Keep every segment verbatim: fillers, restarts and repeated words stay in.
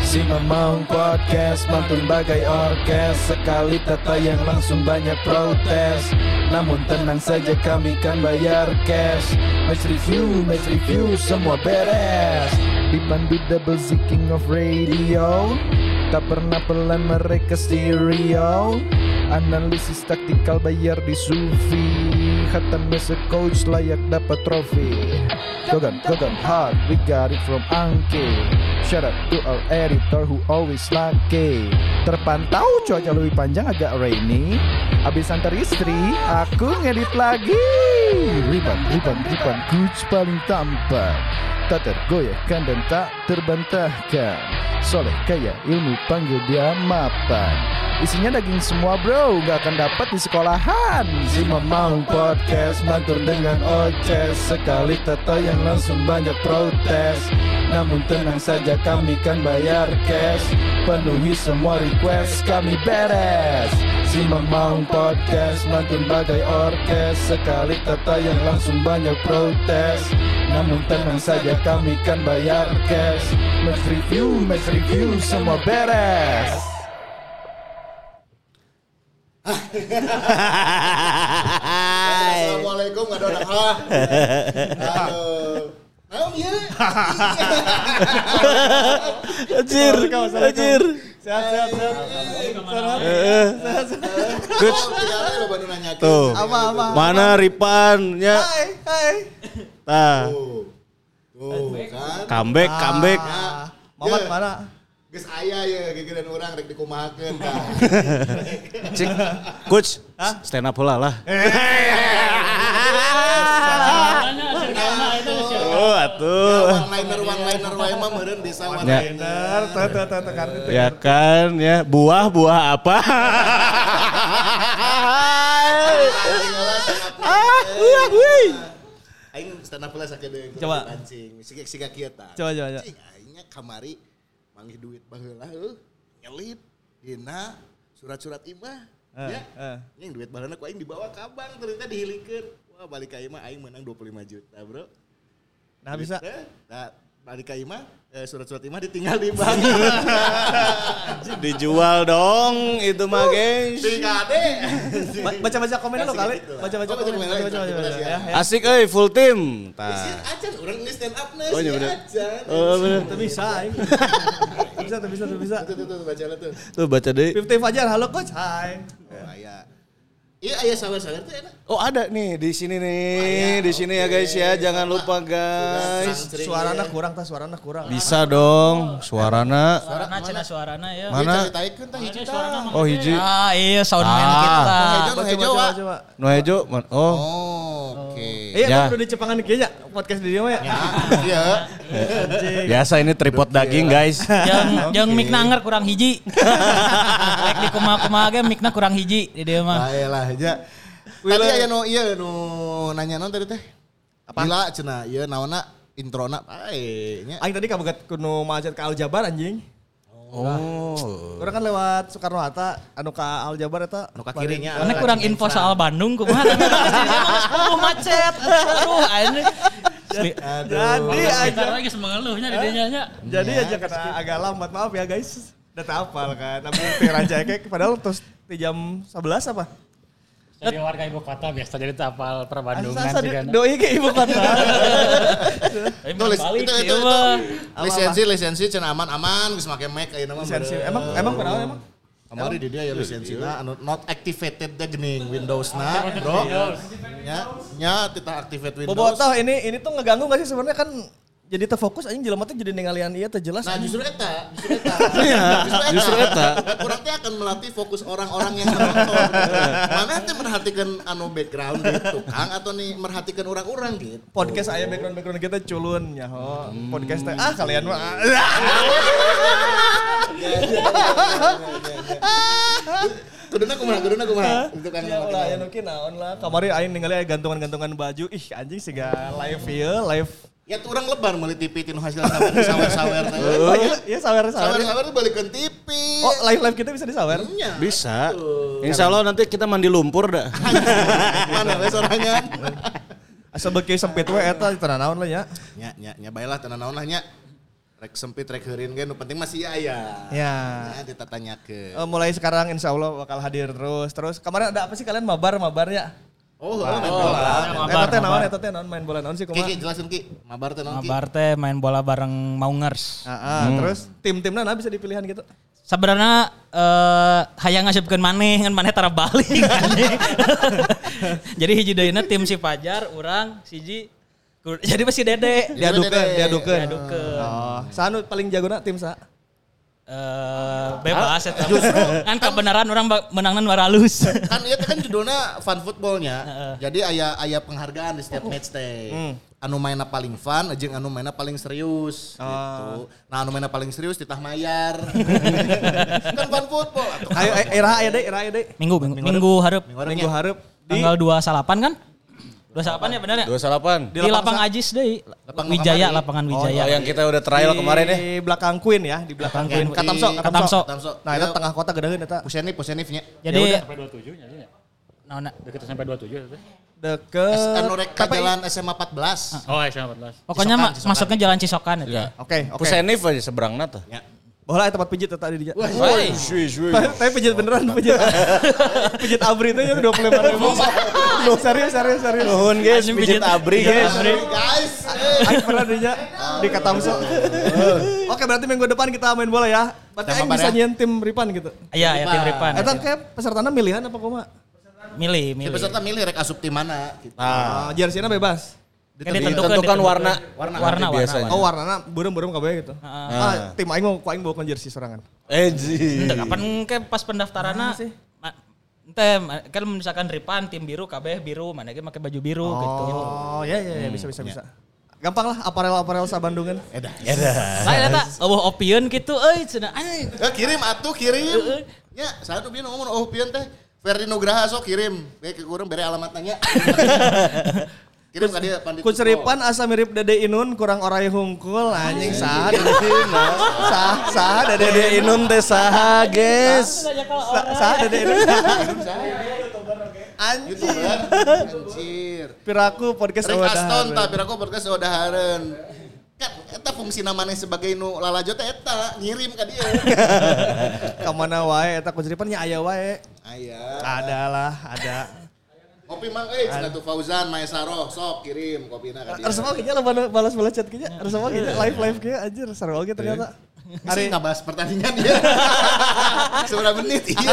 Si Mamang Podcast mantun bagai orkes. Sekali tertayang langsung banyak protes. Namun tenang saja kami kan bayar cash. Match review, match review semua beres. Dipandu double Z King of Radio. Tak pernah pelan mereka stereo. Analisis taktikal bayar di Sufi. Khatam as a coach layak dapat trofi. Gogan, Gogan hard, we got it from Angke. Shout out to our editor who always lucky. Terpantau cuaca lebih panjang agak rainy. Abis antar istri, aku ngedit lagi. Riban, riban, riban, coach paling tampan. Tak tergoyahkan dan tak terbantahkan. Soleh kaya ilmu panggil dia mapan. Isinya daging semua bro, gak akan dapat di sekolahan. Si Mamang Podcast mantur dengan oces. Sekali tertayang langsung banyak protes. Namun tenang saja kami kan bayar cash. Penuhi semua request kami beres. Si Mamang Podcast mantun bagai orkes. Sekali tertayang langsung banyak protes. Namun tenang saja kami kan bayar cash. Match review, match review semua beres. Assalamualaikum nggak ada orang ah. Aduh. Naon ieu? Anjir, anjir. Sehat, sehat, sehat. Coach. Tuh. Mana Ripan nya? Hai, hai. Tah. Tuh, kan. Comeback, comeback. Mamat mana? Geus aya ye gegeran urang rek dikumahakeun tah. Cik. Coach, stand up heula lah. Oh, atuh. One liner one liner wae mah meureun bisa one liner. Tuh, tuh, tuh, tuh, tuh. Ya kan, ya buah-buah apa? Ah, wih, wih. Aing stand up heula sakedeung. Coba. Pancing. Siga-siga kieu tah. Coba, coba, coba. Cing aingnya kamari manggih duit baheula heuh. Nyelit dina surat-surat imah. Ya. Yang duit baheula ku aing dibawa ka bank ternyata dihilikeun. Wah, balik ka imah aing menang dua puluh lima juta, Bro. Nah, bisa. Nah, balik ka imah eh, surat-surat imah ditinggal di bank. Dijual dong itu mah, guys. Tinggal deh. Baca-baca komen lo kali. Baca-baca komen. Baca-baca. Ya, ya. Asik euy, full team. Tah. Acan urang ini stand up nih. Oh, iya bener. Acan. Oh, bener. Tuh bisa, aing. Bisa, tuh bisa, tuh bisa. Tuh, tuh, tuh, baca lah tuh. Tuh baca deh. Fifty Fajar, halo coach. Hai. Oh, aya. Iya, aya sawer-sawer tuh enak. Oh, ada nih di sini nih, di sini ya guys ya. Jangan lupa guys. Suarana kurang, tah suarana kurang. Bisa dong, suarana. Suarana cenah suarana ya. Mana? Caritaikeun tah hiji tah. Oh, hiji. Ah, iya soundman Ah. kita. Hejo, hejo. Coba, coba. Nu hejo. Oh. Oh, oke. Iya, Ya. kan udah di Cepangan kieu nya podcast di dia mah ya. Iya. Biasa ini tripod daging guys. Yang yang mikna anger kurang hiji. Lek di kumaha-kumaha ge mikna kurang hiji di dieu mah. Baelah aja. Tadi aya nu ieu nu nanya naon tadi teh? Apa? Gila cenah ieu naonna introna bae nya. Aing tadi kabogat kudu macet ka Aljabar anjing. Oh. Orang kan lewat Soekarno Hatta anu ka Aljabar eta Nu ka kirinya. Karena kurang info soal Bandung kumaha tadi oh macet. Aduh, anjing. Jadi aja lagi semengeluhnya di dinya nya. jadi aja kena agak lambat maaf ya guys. Udah hafal kan. Tapi teh raja kayak padahal terus di jam sebelas apa? Jadi warga ibu kota biasa jadi tapal perbandungan Asa sih kan. doi ke ibu kota. Tulis Balik itu ieu itu. mah. Lisensi lisensi cenah aman-aman geus make mic ayeuna mah. Lisensi. Emang emang kenapa emang? Kamari di dia ya lisensina anu not activated teh geuning Windows-na, Bro. Nya nya tita activate Windows. Bobotoh ini ini tuh ngeganggu gak sih sebenarnya kan jadi terfokus anjing jelema teh jadi ningalian ieu teh jelas. Nah justru eta, justru eta. Justru eta. Kurang teh akan melatih fokus orang-orang yang menonton. Mana teh merhatikan anu background gitu, Kang atau nih merhatikan orang-orang gitu. Podcast aya background-background kita culun ya ho. Podcast teh ah kalian mah. Kuduna kumaha, kuduna kumaha. Itu kan Ya ulah ya nuki naon lah. Kamari aing ningali aya gantungan-gantungan baju. Ih anjing siga live ieu, live. ya tuh orang lebar meuli T V tinu hasil sawer-sawer teh. Oh iya, iya sawer-sawer. Sawer-sawer tuh balikeun T V. Oh, live-live kita bisa disawer? Nya. Bisa. Insya Allah nanti kita mandi lumpur dah. Mana we sorangan. Asa beuki sempit we eta tenan naon lah nya. Nya nya nya baelah tenan naon lah nya. Rek sempit rek heureun ge nu penting masih aya. Ya. Ya ditatanyakeun. Uh, mulai sekarang insya Allah bakal hadir terus. Terus kemarin ada apa sih kalian mabar mabar ya? Oh, oh main bola. Eta teh naon eta teh naon main bola naon sih kumaha? Ki jelasin Ki. Mabar teh naon Ki? Mabar teh main bola bareng Maungers. Heeh, terus tim-timna nah bisa dipilihan gitu. Sebenarnya eh hayang ngasupkeun maneh ngan maneh tara balik. Jadi hiji deuna tim si Fajar, urang, siji jadi pasti Dede. Diadukeun, diadukeun. Diadukeun. Oh, saha nu paling jagona tim saha? Eh bebas eta. Justru kan kebenaran orang menangna nu halus. Kan ieu teh kan judulna fun footballnya. Jadi aya aya penghargaan di setiap match teh. Anu mainna paling fun jeung anu mainna paling serius gitu. Nah anu mainna paling serius titah mayar. Kan fun football. Ayo era aya deui, era aya deui. Minggu minggu minggu hareup. Minggu hareup di Tanggal dua puluh delapan kan? dua puluh delapan ya benar ya? dua puluh delapan Di, di lapang Ajis deui. Wijaya, lapangan Wijaya. Oh, yang kita udah trial di kemarin ya. Di belakang Queen ya, di belakang Queen. Di- Katamso, Katamso. Katamso. Nah, itu tengah kota gedeun eta. Pusenif, pusenifnya. Jadi Sampai dua puluh tujuh nya. naonna Deket sampai dua puluh tujuh itu. Deket Anu rek ka jalan S M A empat belas. Oh, S M A empat belas. pokoknya Cisokan, ma- Cisokan. masuknya jalan Cisokan itu. Ya. Oke, oke. Pusenif aja seberangna tuh. Ya. Bola tempat pijit eta di dia. Woi, shui shui. Tapi pijit beneran pijit. Pijit abri itu ya dua puluh lima ribu. Loh, serius serius serius. Nuhun guys, pijit abri guys. Guys, Aku pernah di di Katamso. Oke, berarti minggu depan kita main bola ya. Berarti Sama aing Bar bisa ya. nyian tim Ripan gitu. Iya, ya tim Ripan. Eta kayak pesertana milihan apa kumaha? Milih, si milih. peserta milih rek asup tim mana gitu. Ah, jersey-na bebas. Kan ditentukan, Ditentukan warna. Warna, Warna warna, biasanya. warna. Oh, warnana burem-burem kabeh gitu. Ah, tim aing mau ku aing bawa jersey sorangan. Eh ji. Ente kapan ke pas pendaftaranna sih? Ente kan misalkan Ripan tim biru kabeh biru, mana ge make baju biru gitu. Oh, ya ya ya bisa bisa bisa. Gampang lah aparel-aparel sa Bandungan. Edah. Lain eta eueuh opieun kitu euy cenah anjing. Eh, kirim atuh kirim. Ya, satu bieu ngomong oh pian teh. Ferdi Nugraha sok kirim. Bae ke urang bere alamatnya. Kirim ka dieu Pandit. Ku Seripan asa mirip Dede Inun kurang orai hungkul anjing saha Dede Inun. Sah sah Dede Dede Inun teh saha guys? Sa- Saha Dede Inun. Anjing. YouTuber. Anjir. Piraku podcast Rek Oda Aston Hareun. tah piraku podcast Oda Hareun. Kan eta fungsi namanya sebagai nu lalajo teh eta ngirim ka dieu. Ka mana wae eta Ku Seripan nya aya wae. Aya. Ada lah, ada. Kopi mang euy cenah tuh Fauzan Maesaro sok kirim kopina ka dieu. Resep oge nya lah balas balas chat kieu. Resep oge nya live live kieu anjir seru oge ternyata. Hari ngabahas pertandingan dia. Seberapa menit iya.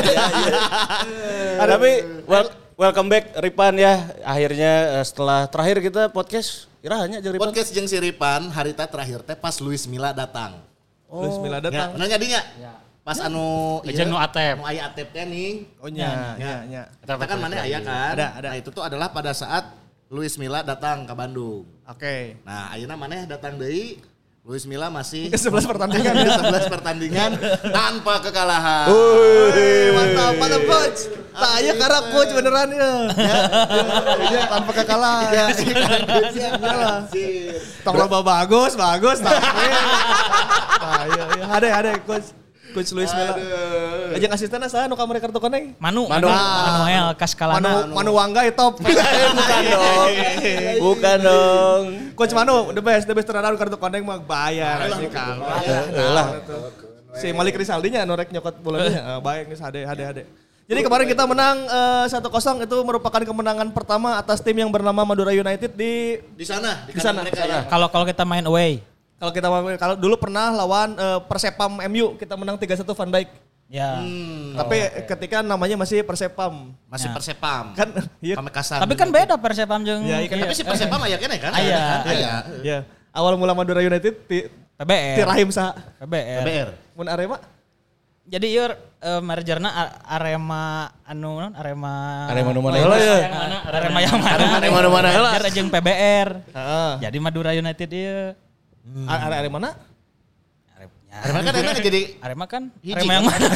Tapi wel- welcome back Ripan ya. Akhirnya eh, setelah terakhir kita podcast irahanya jeung Ripan. Podcast jeung si Ripan harita terakhir teh pas Luis Milla datang. Luis Milla Ya, datang. bener dinya? Pas anu Jeung nu atep. Nu aya atepnya nih. Oh nya nya nya. Kita kan mana aya kan? Ada, ada. Nah itu tuh adalah pada saat Luis Milla datang ke Bandung. Oke. Nah ayeuna maneh datang deui. Luis Milla masih sebelas pertandingan ya. sebelas pertandingan tanpa kekalahan. Wih, mantap, mantap coach. Tah aya karak coach beneran ya. Ya, tanpa kekalahan. Ya, Iyalah. Tong loba bagus, bagus tapi. Tah iya iya hade hade coach. Coach Luis Milla. Ajeng asistenna saha nu kamari kartu koneng? Manu, Manu. Manu, Manuel Kaskalana. Manu Manu Wangga ya top. Bukan dong. Bukan dong. Coach Manu the best, the best tenan kartu koneng mah bayar sih Kang. Lah. Si Malik Rizaldi nya nu rek nyokot bolanya. Baik geus hade hade hade. Jadi kemarin kita menang eh, satu kosong itu merupakan kemenangan pertama atas tim yang bernama Madura United di Di sana, Di sana, mereka di ya. Kalau kalau kita main away. kalau kita kalau dulu pernah lawan eh, Persepam M U kita menang tiga satu Van Dijk. Ya. Tapi ketika namanya masih Persepam. Masih Ya. Persepam. Kan iya. Pamekasan. Tapi kan beda Persepam jeung Ya, iya, Tapi si Persepam aya kene kan? Aya. kan? Aya. Iya. Awal mula Madura United ti, P B R. ti Rahim sa. P B R. B R. Mun Arema Jadi ieu uh, mergerna A- Arema anu non Arema Arema nu mana heula ya? Yang mana? Arema yang mana? Arema nu mana heula? Merger jeung P B R. Heeh. Jadi Madura United ieu. Are Arema mana? Arema kan enak jadi Arema kan Hiji, Arema kan? yang mana?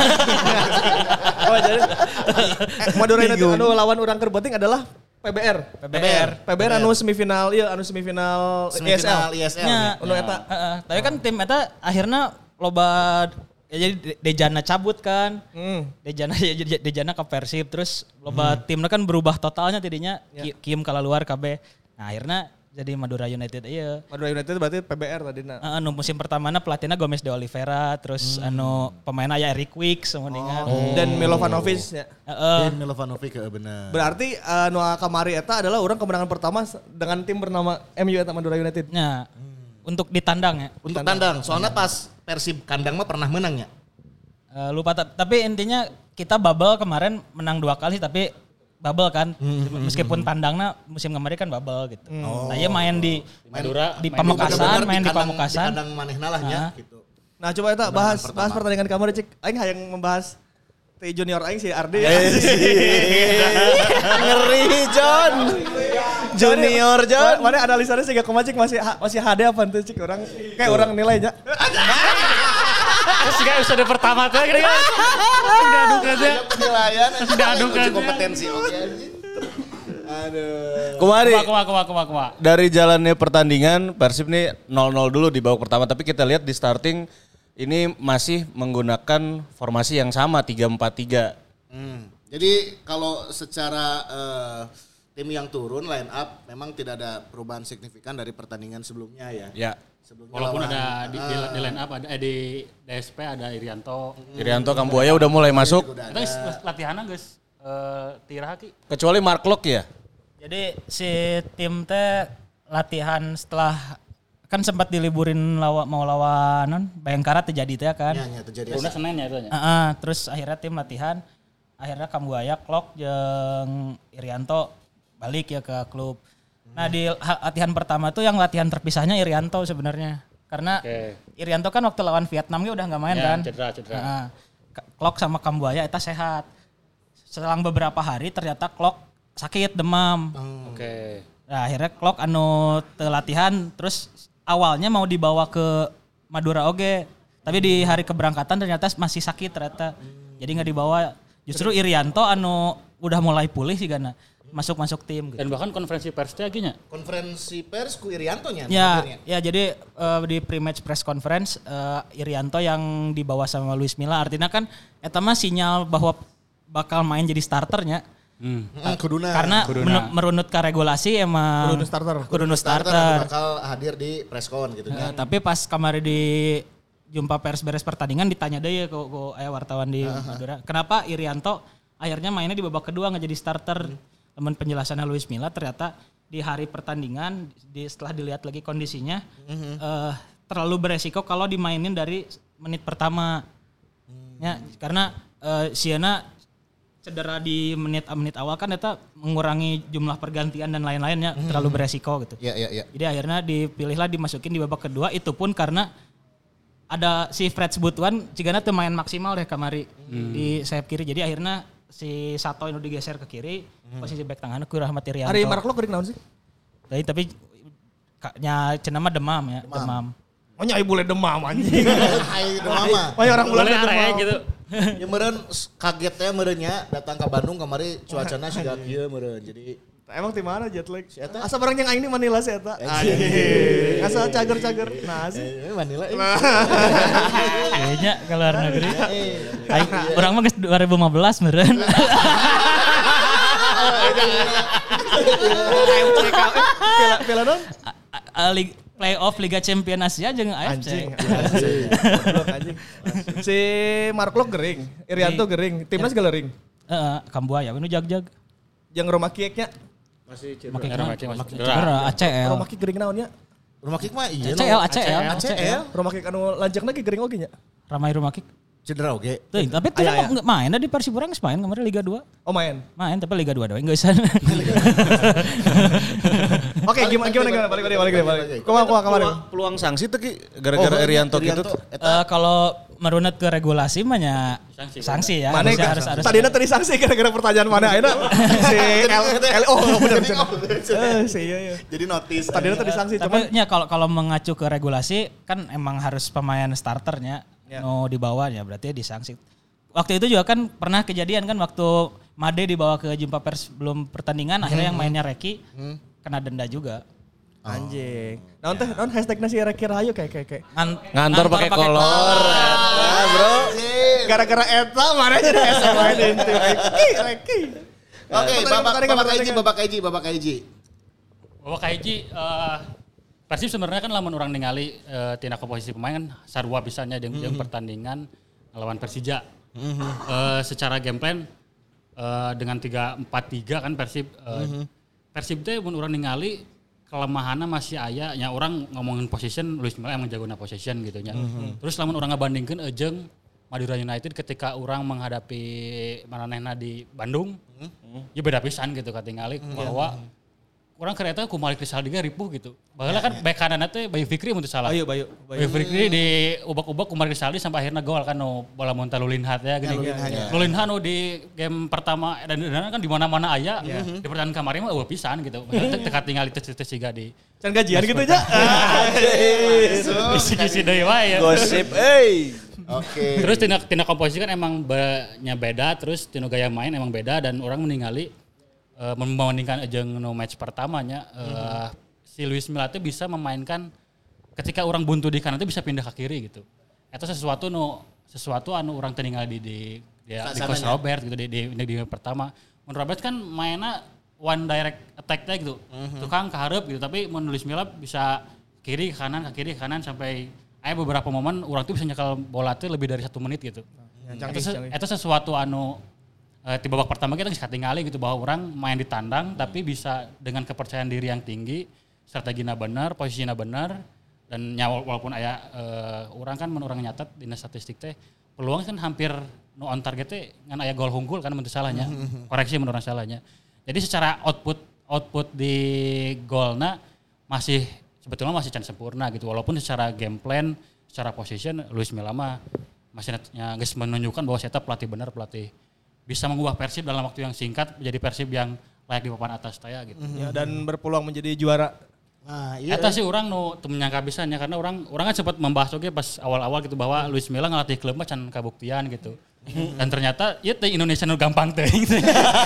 Oh jadi eh, Madura United anu lawan urang keur beuting adalah P B R. P B R. P B R anu semifinal iya anu semifinal I S L. Semifinal I S L. Nya. Anu eta. Heeh. Tapi kan tim eta akhirnya loba ya jadi De- Dejana cabut kan. Hmm. Dejana jadi Dejana ke Persib terus loba timnya kan berubah totalnya tidinya Ki- Kim kala luar K B. Nah akhirnya jadi Madura United iya. Madura United berarti P B R tadi nah. Uh, anu musim pertamana pelatihnya Gomez de Oliveira, terus hmm. anu pemain aya Eric Wicks semuanya. Oh. Dan Milovanovic ya. Heeh. Dan Milovanovic ya benar. Berarti anu uh, kamari eta adalah orang kemenangan pertama dengan tim bernama M U eta Madura United. Nah, hmm. untuk ditandang ya. Untuk tandang. Soalnya pas Persib kandang mah pernah menang ya. Uh, lupa tapi intinya kita bubble kemarin menang dua kali tapi bubble kan, hmm, meskipun hmm, tandangnya musim kemarin kan bubble gitu. Oh. Nah, dia main di Madura, di Pamekasan, main di Pamekasan. Di kandang manehna lah ya gitu. Nah, coba eta bahas pertama. bahas pertandingan kamari cik. Aing hayang membahas T junior aing si Ardi. Ngeri John. Junior John. Mana analisanya sih gak kemacik masih masih H D apa tuh cik orang kayak orang nilainya. Terus gak episode pertama tuh kira-kira sudah aduk aja. Penilaian sudah aduk aja. Kompetensi oke anjing. Aduh. Kumari. Kuma kuma kuma kuma. Dari jalannya pertandingan Persib nih nol nol dulu di babak pertama tapi kita lihat di starting ini masih menggunakan formasi yang sama tiga empat tiga. Hmm. Jadi kalau secara uh, tim yang turun line up memang tidak ada perubahan signifikan dari pertandingan sebelumnya ya. Ya. Sebelumnya walaupun lawan, ada di, uh, di, di line up ada eh, di D S P ada Irianto. Hmm. Irianto Kambuaya udah mulai masuk. Guys latihannya guys uh, Tira Haki. Kecuali Mark Lok ya. Jadi si tim teh latihan setelah kan sempat diliburin lawa, mau lawan Bayangkara terjadi teh kan. Iya, ya, terjadi. Udah Senin ya itu nya. Uh-uh, terus akhirnya tim latihan akhirnya Kambuaya, Klok jeung Irianto balik ya ke klub. Nah di latihan pertama tuh yang latihan terpisahnya Irianto sebenarnya. Karena okay. Irianto kan waktu lawan Vietnam dia udah gak main ya, kan. Cedera, cedera. Nah, Klok sama Kambuaya itu sehat. Selang beberapa hari ternyata Klok sakit demam. Hmm. Oke. Okay. Nah akhirnya Klok anu te latihan terus awalnya mau dibawa ke Madura oge. Tapi di hari keberangkatan ternyata masih sakit ternyata. Hmm. Jadi gak dibawa. Justru Irianto anu udah mulai pulih sih karena masuk-masuk tim gitu. Dan bahkan konferensi persnya akhirnya. Konferensi pers ku Irianto nya. Ya, ya jadi uh, di pre-match press conference uh, Irianto yang dibawa sama Luis Milla artinya kan eta mah sinyal bahwa bakal main jadi starternya. Hmm. Hmm, kuduna. Karena kuduna. merunut ke regulasi emang kuduna starter. Kuduna starter. starter bakal hadir di press con gitu uh, kan. Tapi pas kemarin di jumpa pers beres pertandingan ditanya deh ya ke, ke eh, wartawan di uh-huh. Madura. Kenapa Irianto akhirnya mainnya di babak kedua nggak jadi starter? Hmm. Teman penjelasannya Luis Milla ternyata di hari pertandingan di, setelah dilihat lagi kondisinya mm-hmm. uh, terlalu beresiko kalau dimainin dari menit pertama mm-hmm. ya karena uh, Siena cedera di menit-menit awal kan itu mengurangi jumlah pergantian dan lain-lainnya mm-hmm. terlalu beresiko gitu. Iya iya iya. Jadi akhirnya dipilihlah dimasukin di babak kedua itu pun karena ada si Fred Sebutuan jigana teu main maksimal deh kamari mm. di sayap kiri jadi akhirnya si Sato itu digeser ke kiri, hmm. posisi back tengahnya ku Rahmat Irianto. Hari Mark Lok geuring naon sih? Tapi tapi nya cenah mah demam ya, demam. demam. Oh nyai boleh demam anjing. Ai demam mah. Oh orang bulan demam gitu. Ya meureun kaget teh meureun nya datang ke Bandung kamari cuacana siga kieu meureun. Jadi emang di mana jet lag? Si eta. Asa barang yang aing di Manila si eta. Anjing. Asa cager-cager. Nah sih. Eh, Manila. Kayaknya ke luar negeri. Aing urang mah geus dua ribu lima belas meureun. Piala non? Playoff Liga Champion Asia jeung A F C. Anjing. Si Mark Lok gering, Irianto gering, timnas galering. Heeh, Kambuaya nu jag-jag. Yang rumah kieknya Masih cedera. Masih cedera. A C L. Rumah kiek gering naonnya? Rumah kick mah iya. A C L, A C L, A C L. Rumah kiek anu lanjekna ge gering oge nya. Ramai rumah kick. Cedera oge. Tuh, tapi tuh enggak main di Persib urang geus main kemarin Liga dua. Oh main. Main tapi Liga dua doang geus. Oke, gimana gimana gimana balik balik balik balik. Kumaha kumaha kemarin. Peluang sanksi tuh Ki gara-gara Irianto gitu. Uh, kalau merunut ke regulasi mah nya sanksi, sanksi ya. Mana harus, harus, harus tadi tadi sanksi gara-gara pertanyaan mana ayeuna si L oh benar benar. Eh si iya iya. Jadi notice. Tadi tadi sanksi cuman nya kalau kalau mengacu ke regulasi kan emang harus pemain starternya ya. No dibawanya berarti disanksi. Waktu itu juga kan pernah kejadian kan waktu Made dibawa ke jumpa pers sebelum pertandingan hmm. akhirnya yang mainnya Reki hmm. kena denda juga. Anjing. Naon teh naon hashtagna si Reki Rahayu kayak kayak kayak. Ngan, ngantor pakai kolor. Nah, bro. Gara-gara eta mana jadi S M main itu Reki Reki. Oke, babak babak Aiji, babak Aiji, babak Aiji. Bahwa kahiji uh, Persib sebenarnya kan lamun orang ningali uh, tina komposisi pemain kan sarua pisannya jeung mm-hmm. pertandingan lawan Persija. Mm-hmm. Uh, secara game plan uh, dengan tiga empat tiga kan Persib uh, mm-hmm. Persib teh mun urang ningali kelemahanna masih aya nya orang ngomongin position Luis Milla emang jagona position gitu nya. Mm-hmm. Terus lamun urang ngabandingkeun jeung Madura United ketika orang menghadapi manehna di Bandung, mm-hmm. ya beda pisan gitu katingali mm-hmm. bahwa orang kereta ku Malik Rizaldi ge ripuh gitu. Baheula kan bek kanan teh Bayu Fikri mun teu salah. Bayu Bayu. Bayu Fikri di ubak-ubak ku Malik Rizaldi sampai akhirnya gol kan no bola monta Lulinhat ya gini. Lulinhat no di game pertama dan dan kan di mana-mana aya di pertandingan kemarin mah eueuh pisan gitu. Teka tinggal itu teh siga di can gajian gitu aja. Isi-isi deui wae ya. Gosip euy. Oke. Terus tina tina komposisi kan emang nya beda, terus tina gaya main emang beda dan orang meninggali Uh, membandingkan jeung no match pertamanya uh, mm-hmm. si Luis Milla teh bisa memainkan ketika orang buntu di kanan teh bisa pindah ke kiri gitu. Itu sesuatu no sesuatu anu orang teh ningali di di di, di Coach Robert gitu di di, di, di pertama. Mun Robert kan mainnya one direct attack teh gitu. Mm-hmm. Tukang ke hareup gitu tapi mun Luis Milla bisa kiri ke kanan ke kiri ke kanan sampai aya beberapa momen orang tuh bisa nyekal bola teh lebih dari satu menit gitu. Itu mm-hmm. sesuatu anu Uh, di babak pertama kita nggak tinggali gitu bahwa orang main di tandang hmm. tapi bisa dengan kepercayaan diri yang tinggi, strateginya benar, posisinya benar dan nyawa walaupun aya uh, orang kan menurang nyatet di statistik teh peluang kan hampir no on target teh ngan aya gol unggul kan menurut salahnya. Hmm. Koreksi menurut salahnya. Jadi secara output output di golna masih sebetulnya masih can sempurna gitu walaupun secara game plan, secara position Luis Milla mah masih geus menunjukkan bahwa saya pelatih benar pelatih bisa mengubah Persib dalam waktu yang singkat menjadi Persib yang layak di papan atas taya gitu. Mm-hmm. Ya, dan berpeluang menjadi juara. Nah, iya. Eta sih orang nu teu menyangka bisanya karena orang orang kan sempat membahas oge pas awal-awal gitu bahwa Luis Milla ngelatih klub mah can kabuktian gitu. Mm-hmm. Dan ternyata ya teh Indonesia nu gampang teh. Teh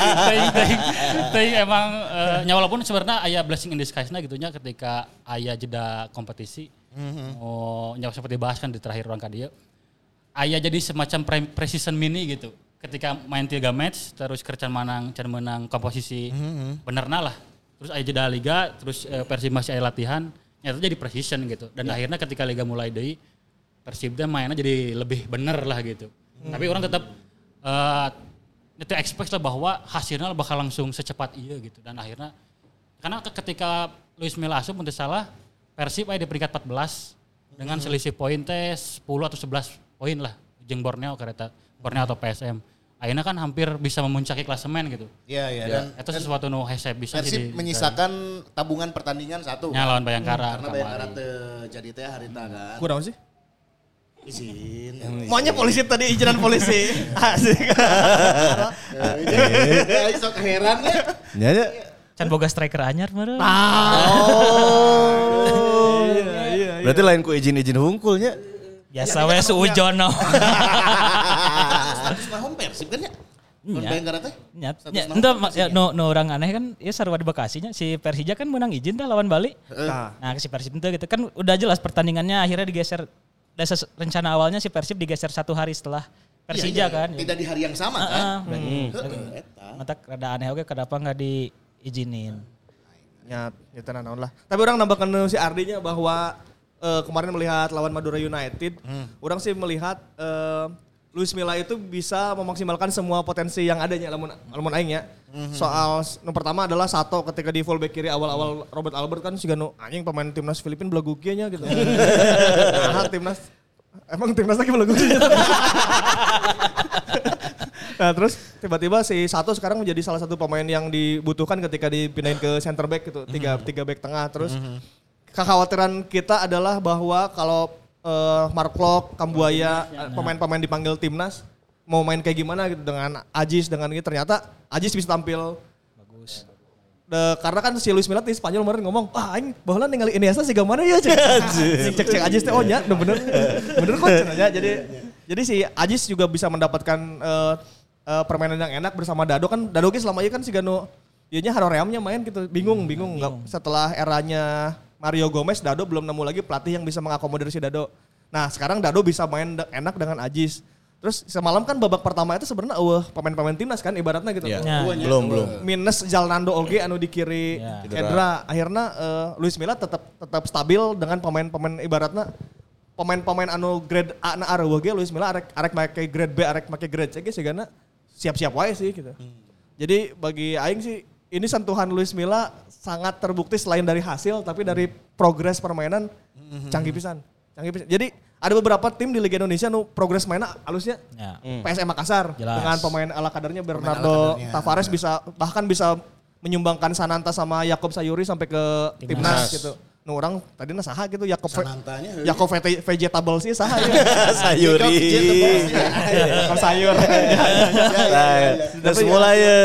teh emang uh, nya walaupun sebenarnya aya blessing in disguise-na gitu nya ketika aya jeda kompetisi. Mm-hmm. Oh, nya seperti dibahas kan di terakhir orang ka dieu. Aya jadi semacam pre- precision mini gitu. Ketika main tiga match terus kercan menang can menang komposisi mm-hmm. benerna lah terus aya jeda liga terus uh, Persib masih aya latihan nyata jadi precision gitu dan yeah. akhirnya ketika liga mulai deui Persib teh mainnya jadi lebih bener lah gitu mm-hmm. tapi orang tetap uh, itu expect lah bahwa hasilnya bakal langsung secepat iya gitu dan akhirnya karena ketika Luis Milla asup untuk salah Persib aya di peringkat empat belas mm-hmm. dengan selisih poin teh sepuluh atau sebelas poin lah jeung Borneo kareta Borneo atau P S M. Akhirnya kan hampir bisa memuncaki klasemen gitu. Iya, iya. Dan itu sesuatu nu hese bisa jadi. Persib menyisakan tabungan pertandingan satu. Ya lawan Bayangkara. Hmm, karena Bayangkara teu jadi teh harita kan. Kurang sih? Izin. Maunya polisi tadi izinan polisi. Asik. Ayo sok heran ya. Ya. Can boga striker anyar meureun. Oh. Iya, iya. Berarti lain ku izin-izin hungkulnya. Biasa we suujono. Status naon Persib kan ya? Mun Bayangkara teh? Nya. Nya ya no no orang aneh kan ya sarua di Bekasi nya si Persija kan menang izin dah lawan Bali. Nah, nah si Persib itu gitu kan udah jelas pertandingannya akhirnya digeser dari rencana awalnya si Persib digeser satu hari setelah Persija kan. Tidak di hari yang sama kan? Heeh. Mata rada aneh oge kenapa enggak diizinin. Ya, ya tenan naon lah. Tapi orang nambahkan si Ardinya bahwa Uh, kemarin melihat lawan Madura United, hmm. orang sih melihat uh, Luis Milla itu bisa memaksimalkan semua potensi yang adanya lamun lamun aing ya. Hmm. Soal yang pertama adalah Sato ketika di fullback kiri awal-awal Robert Albert kan siga nu anjing pemain timnas Filipina belagu kieu nya gitu. Nah, timnas emang timnas lagi belagu kieu. Nah, terus tiba-tiba si Sato sekarang menjadi salah satu pemain yang dibutuhkan ketika dipindahin ke center back gitu, tiga tiga back tengah terus. Hmm. Kekhawatiran kita adalah bahwa kalau uh, Mark Klok, Kambuaya, ya, pemain-pemain dipanggil timnas mau main kayak gimana gitu dengan Ajis dengan ini ternyata Ajis bisa tampil bagus. De, karena kan si Luis Milla di Spanyol kemarin ngomong, "Ah, aing baheula ningali Iniesta siga mana ya?" Cek-cek Ajis teh oh nya, bener. Bener kok cenanya. Jadi jadi si Ajis juga bisa mendapatkan uh, uh, permainan yang enak bersama Dado kan. Dado ge selama ini kan siga nu ieu nya haroreamnya main gitu, bingung, bingung, bingung. Setelah eranya Mario Gomez, Dado belum nemu lagi pelatih yang bisa mengakomodir si Dado. Nah sekarang Dado bisa main enak dengan Ajis. Terus semalam kan babak pertama itu sebenarnya eueuh pemain-pemain timnas kan ibaratnya gitu. Ya. Belum, belum. Minus Jalnando oge anu di kiri Ya. Edra. Akhirnya uh, Luis Milla tetap tetap stabil dengan pemain-pemain ibaratnya pemain-pemain anu grade A na areueuh ge Luis Milla arek arek make grade B, arek make grade C ge sigana siap-siap wae sih gitu. Hmm. Jadi bagi aing sih ini sentuhan Luis Milla sangat terbukti selain dari hasil tapi dari progres permainan canggih pisan. Canggih pisan. Jadi ada beberapa tim di Liga Indonesia nu progres mainnya halusnya. Ya. P S M Makassar Jelas. dengan pemain ala kadarnya Bernardo ala kadarnya. Tavares bisa bahkan bisa menyumbangkan Sananta sama Yakob Sayuri sampai ke timnas gitu. Nu orang tadi na saha gitu Yakob Sanantanya. Yakob vete- vegetable sih saha ya. Sayuri. Yakob sayur. Nah, semula ya.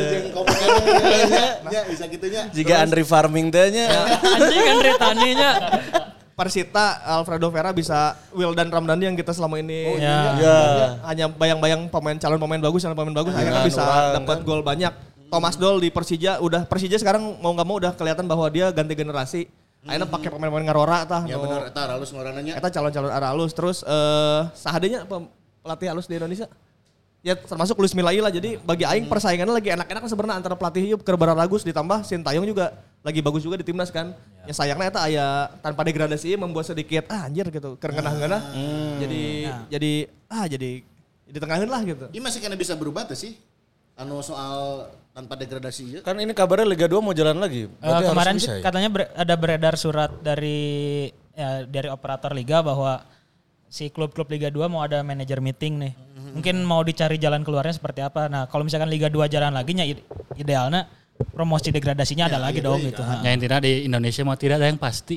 Ya bisa gitunya. Jika Andri farming teh nya. Anjing kan retaninya. Persita Alfredo Vera bisa Wildan Ramdhani yang kita selama ini Ya. Ya. hanya bayang-bayang pemain calon pemain bagus, calon pemain bagus akhirnya Dengan bisa orang, dapat kan. gol banyak. Thomas Doll di Persija udah Persija sekarang mau nggak mau udah kelihatan bahwa dia ganti generasi. Akhirnya pakai pemain-pemain ngarora tah. Ya nu- benar eta halus ngorananya. Eta calon-calon arah halus. Terus eh sahadenya pe- pelatih halus di Indonesia. Ya termasuk Luis Milla lah. Jadi bagi aing persaingannya lagi enak-enak sebenarnya antara pelatih yuk Keur Baragus ditambah Sintayong juga lagi bagus juga di timnas kan. Ya, sayangnya eta aya tanpa degradasi membuat sedikit ah anjir gitu. Keur ngeunah-ngeunah. Jadi jadi ah jadi di tengahin lah gitu. Ini masih kena bisa berubah tuh sih. Anu soal tanpa degradasi ya. Kan ini kabarnya Liga dua mau jalan lagi. Eh, Berarti harus kemarin bisa sih ya? katanya ber- ada beredar surat dari ya, dari operator liga bahwa si klub-klub Liga dua mau ada manajer meeting nih. Mungkin mau dicari jalan keluarnya seperti apa. Nah, kalau misalkan Liga dua jalan lagi nya ide- idealnya promosi degradasinya ada lagi dong gitu. Ha. Ya intinya di Indonesia mau tidak ada yang pasti.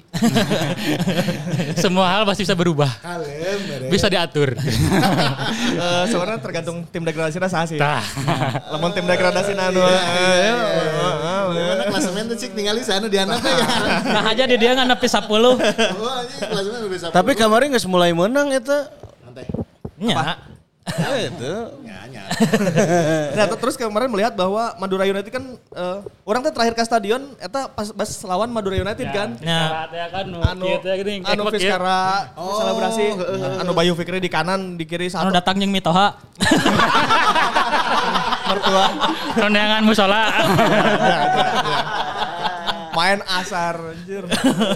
Semua hal pasti bisa berubah. Kalem mere. Bisa diatur. Eh sebenarnya tergantung tim degradasi saha sih. Tah. Lamun tim degradasi anu Bagaimana klasemen tuh cik tinggal di sana di anak ya. Nah aja di dia nggak nepi sepuluh. Oh anjing klasemen udah bisa. Tapi kemarin nggak mulai menang itu. Santai. Nya. Ya itu. Ya nya. Nah ter- terus kemarin melihat bahwa Madura United kan eh, orang tuh terakhir ke stadion eta pas pas lawan Madura United kan. Nah. Ya kan nu Anu kieu teh geuning anu ekmek ya. Fiskara selebrasi anu Bayu Fikri di kanan di kiri Anu satu datang jeung Mitoha. mertua Kondangan musola. main asar anjir.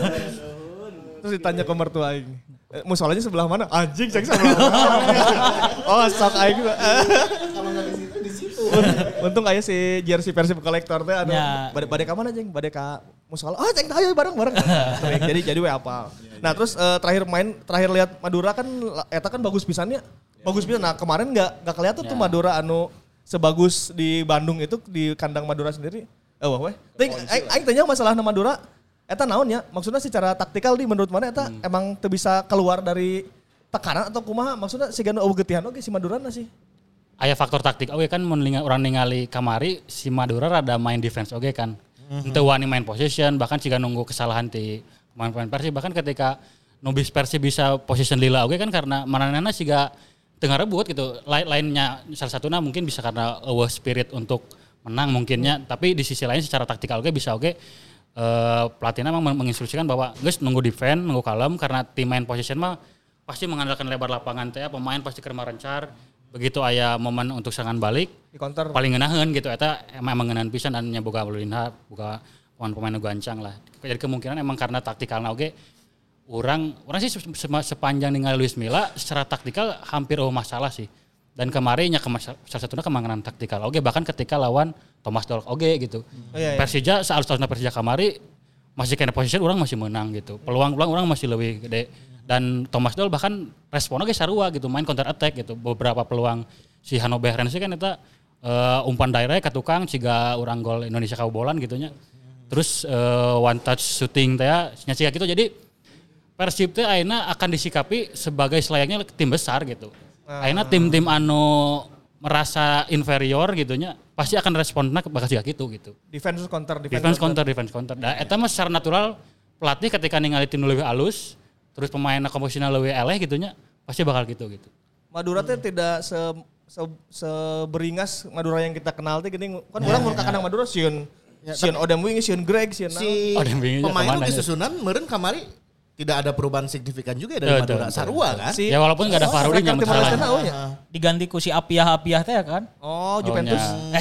Terus ditanya ke mertua aing. Eh, musolanya sebelah mana? Anjing cek sebelah mana. Oh, sok aing. Kalau nggak di situ di situ. Untung aya si jersey Persib kolektor teh anu Ya. bade bade ka mana jeung? Bade ka musola. Oh, cek ayo bareng-bareng. Sering. Jadi jadi we apal. Nah, terus eh, terakhir main terakhir lihat Madura kan eta kan bagus pisannya. Bagus pisan. Nah, kemarin enggak enggak kelihatan tuh Madura anu sebagus di Bandung itu di kandang Madura sendiri. Eh, wah weh. Ting aing aing tanya masalah Madura eta naon ya? Maksudnya secara taktikal di menurut mana eta emang teu bisa keluar dari tekanan atau kumaha? Maksudnya sigana eueuh geutihan oge si Madurana sih. Aya faktor taktik oke kan mun ninga- urang ningali kamari si Madura rada main defense oke kan. Henteu wani main possession bahkan siga nunggu kesalahan ti pemain-pemain Persib bahkan ketika nubis Persib bisa possession lila oke kan karena mananana siga tengah rebut gitu. Lain lainnya salah satunya mungkin bisa karena eueuh spirit untuk menang mungkinnya tapi di sisi lain secara taktikal oke bisa oke eh pelatihnya memang menginstruksikan bahwa guys nunggu defense, nunggu kalem karena tim main possession mah pasti mengandalkan lebar lapangan teh pemain pasti keur marencar. Begitu aya momen untuk serangan balik Di counter. paling ngeunaheun gitu eta emang ngeunaheun pisan dan nya boga Lulinha boga pemain-pemain nu gancang lah. Jadi kemungkinan emang karena taktikalna oge urang urang sih se- se- sepanjang ningali Luis Milla secara taktikal hampir oh masalah sih. Dan kemarin nya kema- salah satunya kemanganan taktikal oge bahkan ketika lawan Thomas Doll oge gitu. Oh, iya, iya. Persija saat tahun Persija kamari masih kena position orang masih menang gitu. Peluang-peluang orang masih lebih gede. Dan Thomas Doll bahkan responnya ge sarua gitu, main counter attack gitu. Beberapa peluang si Hannover Rens kan eta uh, umpan direct ke tukang ciga urang gol Indonesia kabobolan gitu nya. Terus uh, one touch shooting teh nya ciga gitu. Jadi Persib teh ayeuna akan disikapi sebagai selayaknya tim besar gitu. Ayeuna tim-tim anu merasa inferior gitu nya pasti akan responnya bakal ciga gitu gitu. Defense counter Defense counter, defense counter. Nah, eta mah secara natural pelatih ketika ningali tim nu leuwih alus, terus pemain komposisinya leuwih eleh gitu nya, pasti bakal gitu gitu. Madura teh tidak se, se seberingas Madura yang kita kenal teh gini kan orang mun ka kandang Madura sieun sieun Odem Wing, sieun Greg, sieun Si Oh, dan bingungnya pemain kemana itu ya? disusunan meureun kamari tidak ada perubahan signifikan juga dari Betul, Madura betul. Sarua kan. Si- Ya walaupun nggak ada Farudin yang Timor Leste masalah. tahu ya. Diganti ku si Apiah-Apiah teh kan. Oh, Juventus. Oh,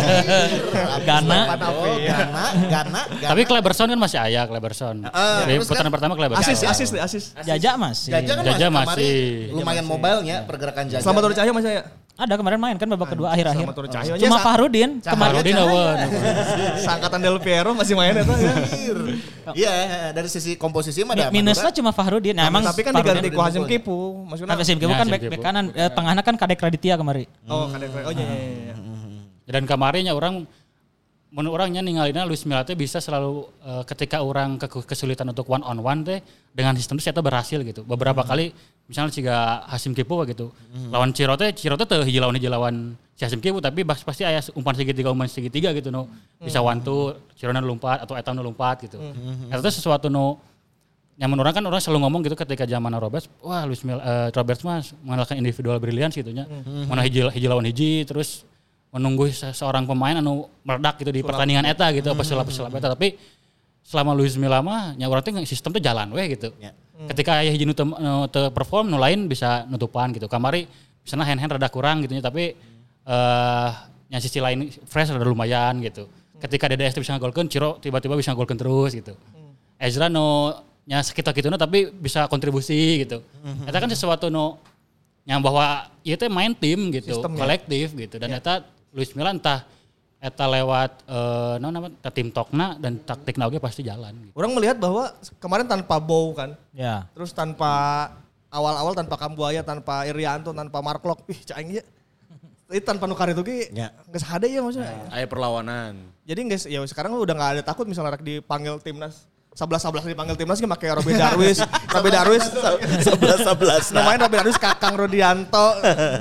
Gana. Oh, Gana, Gana, Gana. Tapi Kleberson kan masih aya Kleberson. Ah, Jadi terus putaran kan pertama Kleberson. Asis, asis deh, asis. Jajak masih. Jaja kan Jaja masih, masih. kemarin lumayan mobilenya pergerakan Jaja. Selamat Tori Cahyo masih ya. Ada kemarin main kan babak kedua akhir-akhir. Selamat Tori Cahyo. Cuma Fahrudin kemarin. Farudin awan. Sangkatan Del Piero masih main eta ya. Iya, dari sisi komposisi mah ada Minusnya Madura. cuma Fahrudin. Nah, emang Tapi kan Fahrudin- diganti ku Hasim Kipu. Maksudnya. Hasim Kipu Ya, kan Hasim bek Kipu. bek kanan, eh, tengahnya kan Kadek Raditya kemarin. Oh, kadek. Oh iya iya iya. Dan kemarinnya orang menurut orangnya ninggalinnya Luis Milla teh bisa selalu uh, ketika orang ke kesulitan untuk one on one teh dengan sistem itu ternyata berhasil gitu. Beberapa hmm. kali misalnya jika Hasim Kipu gitu. Hmm. Lawan Ciro teh Ciro teh teu hiji lawan hiji lawan si Hasim Kipu tapi pasti aya umpan segitiga umpan segitiga gitu no. Bisa one two Ciro nu lompat atau eta nu lompat gitu. Hmm. Eta teh sesuatu nu yang menurut orang kan orang selalu ngomong gitu ketika zaman Roberts, wah Luis Milla uh, Roberts mah mengandalkan individual brilliance gitu nya. Hmm. Mana hiji hiji lawan hiji terus menunggu seorang pemain anu meledak gitu di sulap. Pertandingan eta gitu apa sulap-sulap eta tapi selama Luis Milla mah nya urang teh sistem teh jalan we gitu. Ya. Hmm. Ketika aya hiji nu teu perform nu lain bisa nutupan gitu. Kamari misalnya hand-hand rada kurang gitu nya tapi eh uh, nya sisi lain fresh rada lumayan gitu. Ketika D D S bisa ngagolkeun Ciro tiba-tiba bisa ngagolkeun terus gitu. Hmm. Ezra nu nya sekitar-kituna tapi bisa kontribusi gitu. Hmm. Eta kan sesuatu nu yang bahwa ieu teh main tim gitu, sistem, kolektif ya. Gitu dan ya. Eta Luis Milla entah eta lewat eh uh, nama tim tokna dan taktik oge pasti jalan gitu. Orang melihat bahwa kemarin tanpa Bow kan. Ya. Terus tanpa awal-awal tanpa Kambuaya, tanpa Irianto, tanpa Marklok. Ih, cai ya. Itu tanpa nukar itu ge ya. Geus hade ya maksudnya. Aya perlawanan. Jadi guys, ya sekarang udah enggak ada takut misalnya rek dipanggil timnas sebelas sebelas dipanggil timnas ge make Robby Darwis, Robby Darwis sebelas sebelas. Namanya Robby Darwis Kakang Rodianto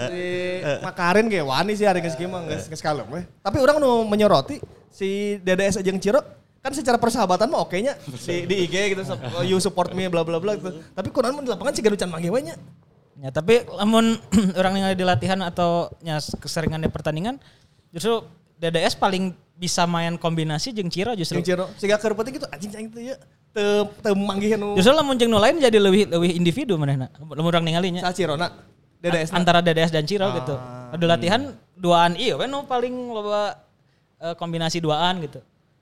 si Makarin ge wani sih hari geus kieu mah geus geus kalem we. Tapi urang nu menyoroti si D D S jeung Ciro kan secara persahabatan mah oke nya di di I G gitu you support me bla bla bla gitu. Tapi kunaon mun di lapangan siga nucan mangge we nya. Ya tapi lamun orang yang di latihan atau nya keseringan di pertandingan justru D D S paling bisa main kombinasi jeung Ciro justru. Jeung Ciro. Siga keur penting gitu anjing cing teh ya. Teu teu manggih nu. Justru lamun jeung nu lain jadi lebih lebih individu manehna. Lamun urang ningali nya. Sa Cirona. D D S antara D D S dan Ciro ah. gitu. Ada latihan hmm. duaan ieu we nu paling loba uh, kombinasi duaan gitu.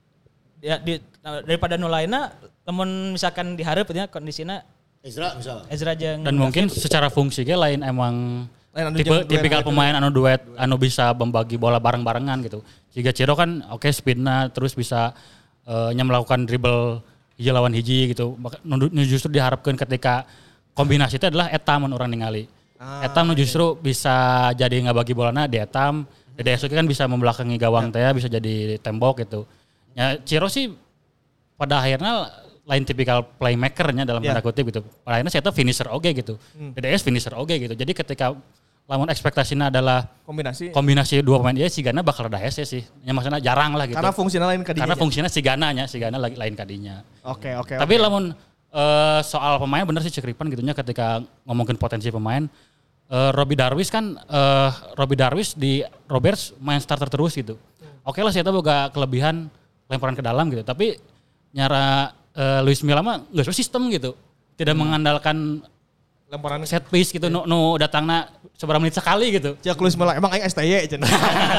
Ya di, daripada nu lainna lamun misalkan dihareup nya kondisina Ezra misalnya. Ezra jeung dan mungkin secara fungsi ge lain emang lain tipe tipikal pemain anu duet anu bisa membagi bola bareng-barengan gitu. Jika Ciro kan oke okay, speedna terus bisa uh, nya melakukan dribble hiji lawan hiji gitu. Nu justru diharapkan ketika kombinasi itu adalah eta mun urang ningali. Ah, eta nu justru iya. bisa jadi ngabagi bolana di etam. D D S kan bisa membelakangi gawang teh ya. Bisa jadi tembok gitu. Ya Ciro sih pada akhirnya lain tipikal playmaker-nya dalam tanda yeah. kutip gitu. Pada akhirnya saya finisher oge gitu. Hmm. D D S finisher oge gitu. Jadi ketika lamun ekspektasinya adalah kombinasi kombinasi dua pemain dia Sigana bakal ada hese sih. Ya maksudnya jarang lah gitu. Karena fungsinya lain kadinya. Karena fungsinya Sigana nya, Sigana lain kadinya. Oke, okay, oke. Okay, Tapi okay. lamun uh, soal pemain bener sih Cekripan gitunya ketika ngomongin potensi pemain uh, Robby Darwis kan uh, Robby Darwis di Roberts main starter terus gitu. Hmm. Oke okay lah saya tahu boga kelebihan lemparan ke dalam gitu. Tapi nyara uh, Luis Milla mah enggak sistem gitu. Tidak hmm. mengandalkan lemparan set piece gitu, nu, nu datangna seberapa menit sekali gitu. Cek Luis Milla emang aing S T Y cenah.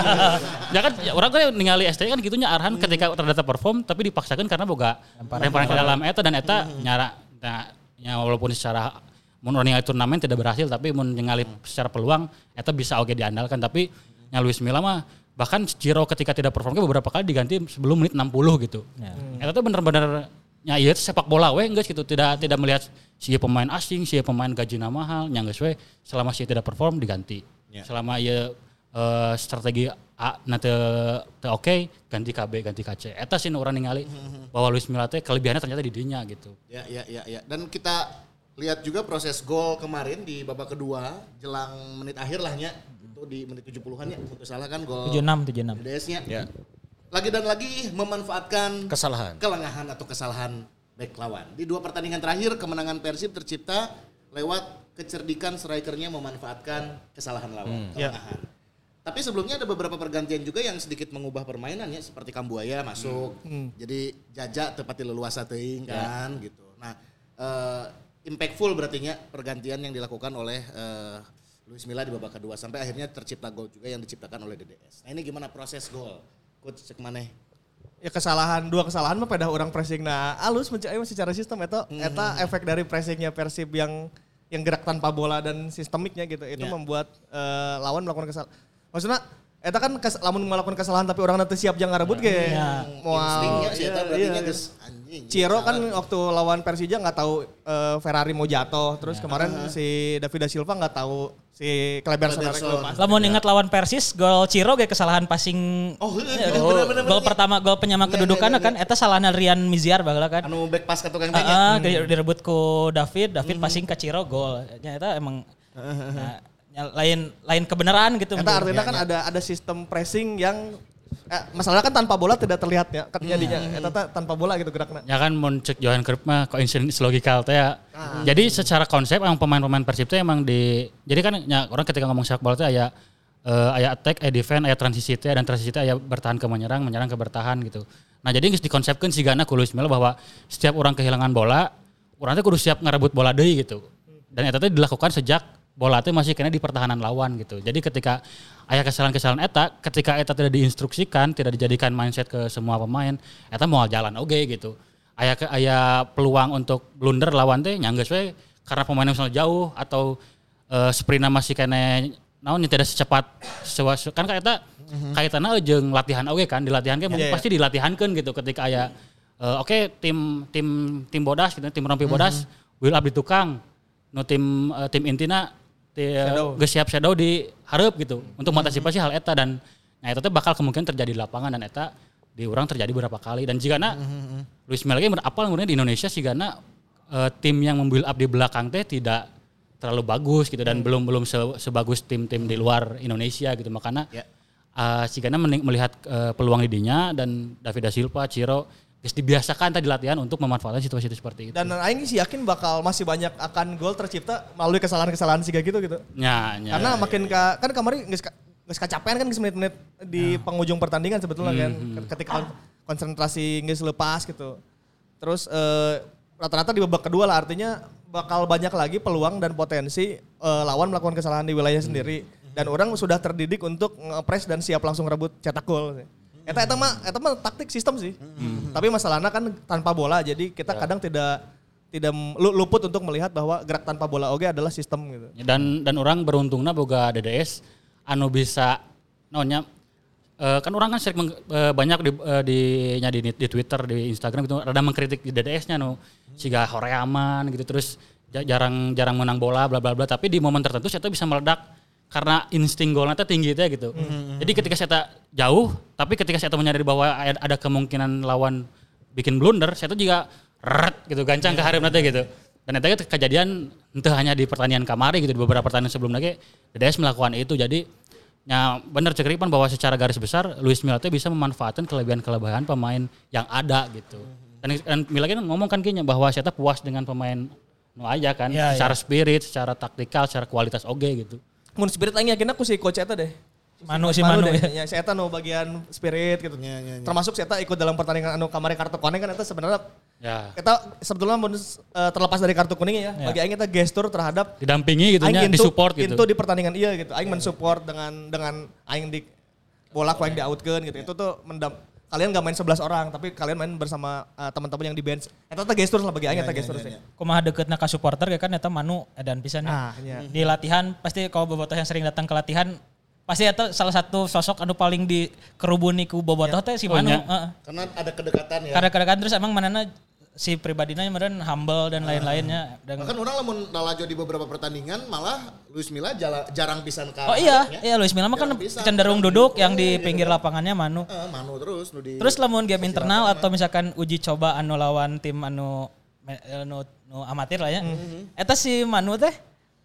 Ya kan orang tuh ningali S T Y kan gitunya Arhan hmm. ketika terdata perform tapi dipaksakan karena boga lemparan ke dalam eta dan eta hmm. nyara nah, ya walaupun secara mun ningali turnamen tidak berhasil tapi mun ningali secara peluang eta bisa oge diandalkan tapi nya Luis Milla mah bahkan Ciro ketika tidak perform beberapa kali diganti sebelum menit enam puluh gitu. Ya. Hmm. Eta tuh bener-bener ya iya sepak bola we geus gitu tidak tidak melihat si pemain asing, si pemain gajina mahal, nya geus we selama si tidak perform diganti. Ya. Selama ieu uh, strategi A na teu teu oke ganti K B, ganti K C. Eta sih urang ningali mm-hmm. bahwa Luis Milla teh kelebihannya ternyata di dinya gitu. Ya ya ya ya. Dan kita lihat juga proses gol kemarin di babak kedua jelang menit akhir lah nya. Itu di menit tujuh puluhan ya, untuk salah kan gol tujuh puluh enam tujuh puluh enam. D D S-nya. Ya. Lagi dan lagi memanfaatkan kesalahan, kelengahan atau kesalahan bek lawan. Di dua pertandingan terakhir kemenangan Persib tercipta lewat kecerdikan strikernya memanfaatkan kesalahan lawan, hmm. kelengahan. Ya. Tapi sebelumnya ada beberapa pergantian juga yang sedikit mengubah permainannya seperti Kambuaya masuk. Hmm. Hmm. Jadi Jaja tepati leluasa teuing kan ya. Gitu. Nah, uh, impactful berarti nya pergantian yang dilakukan oleh uh, Luis Milla di babak kedua sampai akhirnya tercipta gol juga yang diciptakan oleh D D S. Nah ini gimana proses gol? Coach cek maneh? Ya kesalahan dua kesalahan mah pada orang pressing nah alus mencari secara sistem eta hmm. eta efek dari pressingnya Persib yang yang gerak tanpa bola dan sistemiknya gitu itu yeah. membuat uh, lawan melakukan kesalahan. Maksudnya eta kan kes, lamun melakukan kesalahan tapi orang nanti siap jangan ngerebut ge. Yeah. Instingnya sih eta berarti geus anjing. Ciro kan waktu lawan Persija enggak tahu uh, Ferrari mau jatuh terus yeah. kemarin uh-huh. si David da Silva enggak tahu si Kleber Sonarek lepas. Lamun ingat lawan Persis gol Ciro ge kesalahan passing. Oh, ya, oh bener, gol pertama gol penyama kedudukan kan eta salahna Rian Miziar baheula kan. Anu back pass ka tukang teh. Heeh, uh, direbut ku David, David hmm. passing ke Ciro gol. Nya eta emang nah, lain lain kebenaran gitu. Eta artinya kan ada ada sistem pressing yang eh, masalahnya kan tanpa bola tidak terlihat ya. Katanya dinya eta tanpa bola gitu gerakna. Ya kan mun cek Johan Cruyff mah coincidence logikal teh ya. Ah. Jadi secara konsep emang pemain-pemain Persib teh emang di jadi kan ya, orang ketika ngomong sepak bola teh aya uh, aya attack, aya defense, aya transisi teh dan transisi teh aya bertahan ke menyerang, menyerang ke bertahan gitu. Nah, jadi geus dikonsepkeun sigana ku Luis Milla bahwa setiap orang kehilangan bola, urang teh kudu siap ngarebut bola deui gitu. Dan eta teh dilakukan sejak bola teh masih kena di pertahanan lawan gitu. Jadi ketika aya kesalahan-kesalahan eta, ketika eta tidak diinstruksikan, tidak dijadikan mindset ke semua pemain, eta moal jalan oge gitu. Aya aya peluang untuk blunder lawan teh nya geus we karena pemainnya misalnya jauh atau uh, sprintna masih kena naon tidak secepat sewa, kan eta mm-hmm. kaitanna jeung latihan oge kan, di latihan ge yeah, pasti yeah. dilatihankeun gitu ketika aya uh, oke okay, tim tim tim bodas gitu, tim rompi bodas mm-hmm. will up di tukang. No tim uh, tim intina geus siap shadow di hareup gitu untuk mengantisipasi hal eta dan nah eta teh bakal kemungkinan terjadi di lapangan dan eta di urang terjadi beberapa kali dan jigana mm-hmm. Luis Milla ge apal ngurangna di Indonesia sigana uh, tim yang membuild up di belakang teh tidak terlalu bagus gitu dan mm. belum belum se, sebagus tim-tim di luar Indonesia gitu makanya yeah. uh, sigana melihat uh, peluang di dinya dan David da Silva, Ciro geus dibiasakan tadi latihan untuk memanfaatkan situasi itu seperti itu. Dan aing sih yakin bakal masih banyak akan gol tercipta melalui kesalahan-kesalahan siga gitu gitu. Ya, ya, karena ya, makin ya. Ka, kan kemarin geus geus kacapean kan geus menit-menit di ya. penghujung pertandingan sebetulnya hmm, kan hmm. ketika konsentrasi geus lepas gitu. Terus eh, rata-rata di babak kedua lah artinya bakal banyak lagi peluang dan potensi eh, lawan melakukan kesalahan di wilayah hmm. sendiri dan orang sudah terdidik untuk nge-press dan siap langsung rebut cetak gol. Eta eta mah eta mah taktik sistem sih. Hmm. Tapi masalahnya kan tanpa bola jadi kita ya. kadang tidak tidak luput untuk melihat bahwa gerak tanpa bola oge adalah sistem gitu. Dan dan orang beruntungna boga D D S anu bisa naonnya uh, kan orang kan sering uh, banyak di uh, di nya di, di Twitter, di Instagram gitu rada mengkritik di D D S-nya nu siga horeaman gitu terus jarang jarang menang bola bla bla bla tapi di momen tertentu saya bisa meledak karena insting golnya itu tinggi itu gitu. Mm-hmm. Jadi ketika saya jauh, tapi ketika saya menyadari bahwa ada kemungkinan lawan bikin blunder, saya juga ret gitu, gancang yeah. ke hareup nanti gitu. Dan itu kejadian entah hanya di pertandingan kamari gitu, di beberapa pertandingan sebelum lagi D D S melakukan itu. Jadi ya benar cekripan bahwa secara garis besar Luis Milla bisa memanfaatkan kelebihan-kelebihan pemain yang ada gitu. Dan, dan Milla kan ngomong kan kayaknya bahwa saya puas dengan pemain nu aja kan, yeah, secara yeah. spirit, secara taktikal, secara kualitas oge gitu. Mun spirit aing yakin aku si coach eta deh. Manu si Manu, Manu ya. Ya si eta nu bagian spirit gitu. Ya, ya, ya. Termasuk si eta ikut dalam pertandingan anu kamari kartu kuning kan eta sebenarnya ya. Eta sebetulnya mun uh, terlepas dari kartu kuning ya, ya. bagi aing eta gestur terhadap didampingi gitu nya, disupport gitu. Itu di pertandingan iya gitu. Aing mensupport dengan dengan aing di bola ku aing di-outkeun gitu. Itu tuh mendam kalian gak main sebelas orang tapi kalian main bersama uh, teman-teman yang di bench. Eta teh gestur lah bagi aing eta gestur sih. Kumaha deuketna ka supporter ya kan eta Manu edan pisan ah, ya. Di latihan pasti kalau bobotoh yang sering datang ke latihan pasti eta salah satu sosok anu paling dikerubuni ku bobotoh teh si Manu. Uh. Karena ada kedekatan ya. Karena kedekatan terus emang manana si pribadinya meureun humble dan lain-lainnya. Dan bahkan orang lamun nalajo di beberapa pertandingan malah Luis Milla jala, jarang pisan kalah. Oh iya, ya. Iya Luis Milla mah kan cenderung duduk yang di pinggir lapangannya Manu. Uh, Manu terus. Di, terus lamun game internal atau misalkan uji coba anu lawan tim anu anu, anu amatir lah ya. Mm-hmm. Eta si Manu teh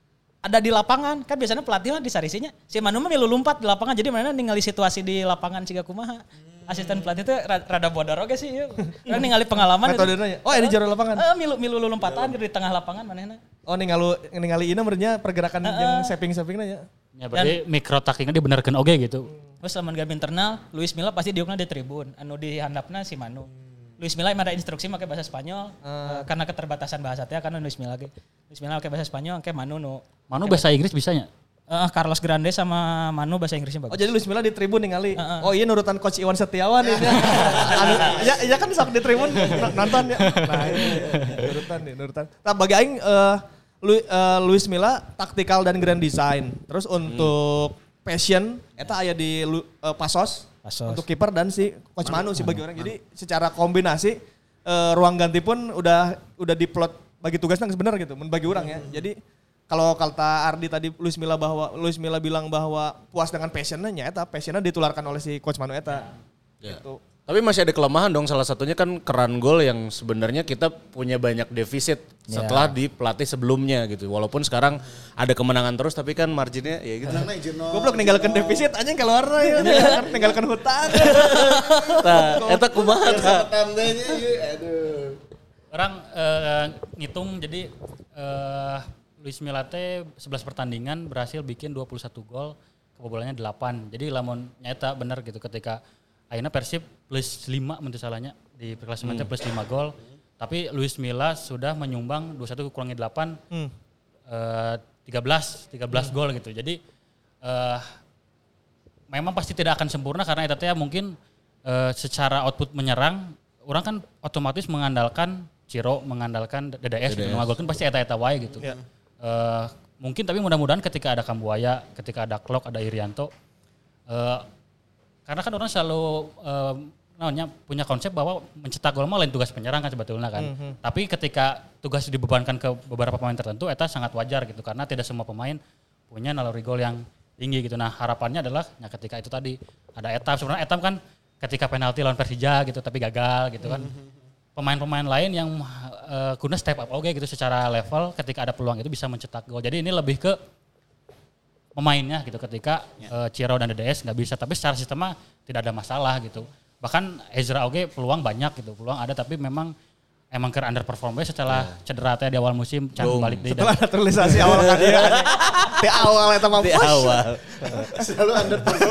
ada di lapangan kan biasanya pelatih lah di sarisinya. Si Manu mah milu lompat di lapangan jadi mana ningali situasi di lapangan siga kumaha. Asisten pelatih itu rada bodor oge sih. Kan ningali pengalaman. Metodenya. Oh, ini jero lapangan. Eh, milu milu lompatan di tengah lapangan manehna. Oh, ningali ningali ieu meureunnya pergerakan uh, yang saving-savingna ya. Ya berarti mikro taktiknya dibenerkeun oge gitu. Terus lamun game internal, Luis Milla pasti diukna di tribun, anu di handapna si Manu. Luis Milla ada instruksi pakai bahasa Spanyol uh. karena keterbatasan bahasa teh karena Luis Milla ge. Luis Milla pakai bahasa Spanyol kayak Manu nu. Manu bahasa Inggris bisanya? Uh, Carlos Grande sama Manu bahasa Inggrisnya bagus. Oh jadi Luis Milla di tribun ningali. Uh, uh. Oh iya nurutan coach Iwan Setiawan ini. anu, ya ya kan sok di tribun nonton ya. Nah ini nurutan nih nurutan. Nah bagi aing uh, Lu, uh, Luis Milla taktikal dan grand design. Terus untuk hmm. passion eta aya di uh, Pasos. Pasos. Untuk kiper dan si coach Manu, Manu sih bagi Manu. Orang. Jadi secara kombinasi uh, ruang ganti pun udah udah diplot bagi tugasnya benar gitu, bagi orang ya. Jadi kalau kata Ardi tadi Luis Milla bahwa Luis Milla bilang bahwa puas dengan passionnya, eta passionnya ditularkan oleh si coach Manu eta. Ya. Gitu. Tapi masih ada kelemahan dong, salah satunya kan keran gol yang sebenarnya kita punya banyak defisit ya. Setelah di pelatih sebelumnya gitu. Walaupun sekarang ada kemenangan terus tapi kan marginnya ya gitu. Goblok ninggalkan defisit aja keluar ya, ninggalkan hutang. Tah, eta kumaha tah. Aduh. Orang uh, ngitung jadi uh, Luis Milla teh sebelas pertandingan berhasil bikin dua puluh satu gol, kebobolannya delapan. Jadi lamun nyata benar gitu ketika akhirnya Persib plus lima menurut salahnya di klasemennya hmm. plus lima gol. Tapi Luis Milla sudah menyumbang dua puluh satu kurangi delapan, hmm. uh, tiga belas hmm. gol gitu. Jadi uh, memang pasti tidak akan sempurna karena itu ya mungkin uh, secara output menyerang orang kan otomatis mengandalkan Ciro, mengandalkan D D S, D D S. Gitu. Ngagolkan pasti eta-eta wae gitu. Yeah. Uh, mungkin tapi mudah-mudahan ketika ada Kambuaya, ketika ada Klok, ada Irianto, uh, karena kan orang selalu uh, namanya punya konsep bahwa mencetak gol mah lain tugas penyerang kan sebetulnya kan. Mm-hmm. Tapi ketika tugas dibebankan ke beberapa pemain tertentu, eta sangat wajar gitu karena tidak semua pemain punya naluri gol yang tinggi gitu. Nah harapannya adalah ya ketika itu tadi ada Etam, sebenarnya Etam kan ketika penalti lawan Persija gitu tapi gagal gitu kan. Mm-hmm. Pemain-pemain lain yang uh, kudu step up oke okay, gitu secara level ketika ada peluang itu bisa mencetak gol. Jadi ini lebih ke pemainnya gitu ketika ya. uh, Ciro dan D D S nggak bisa, tapi secara sistemnya tidak ada masalah gitu. Bahkan Ezra oke okay, peluang banyak gitu, peluang ada tapi memang emang ke underperform setelah yeah. cedera teh di awal musim can balik deui. Setelah naturalisasi awal kan dia. Di awal eta mah di awal. Selalu underperform.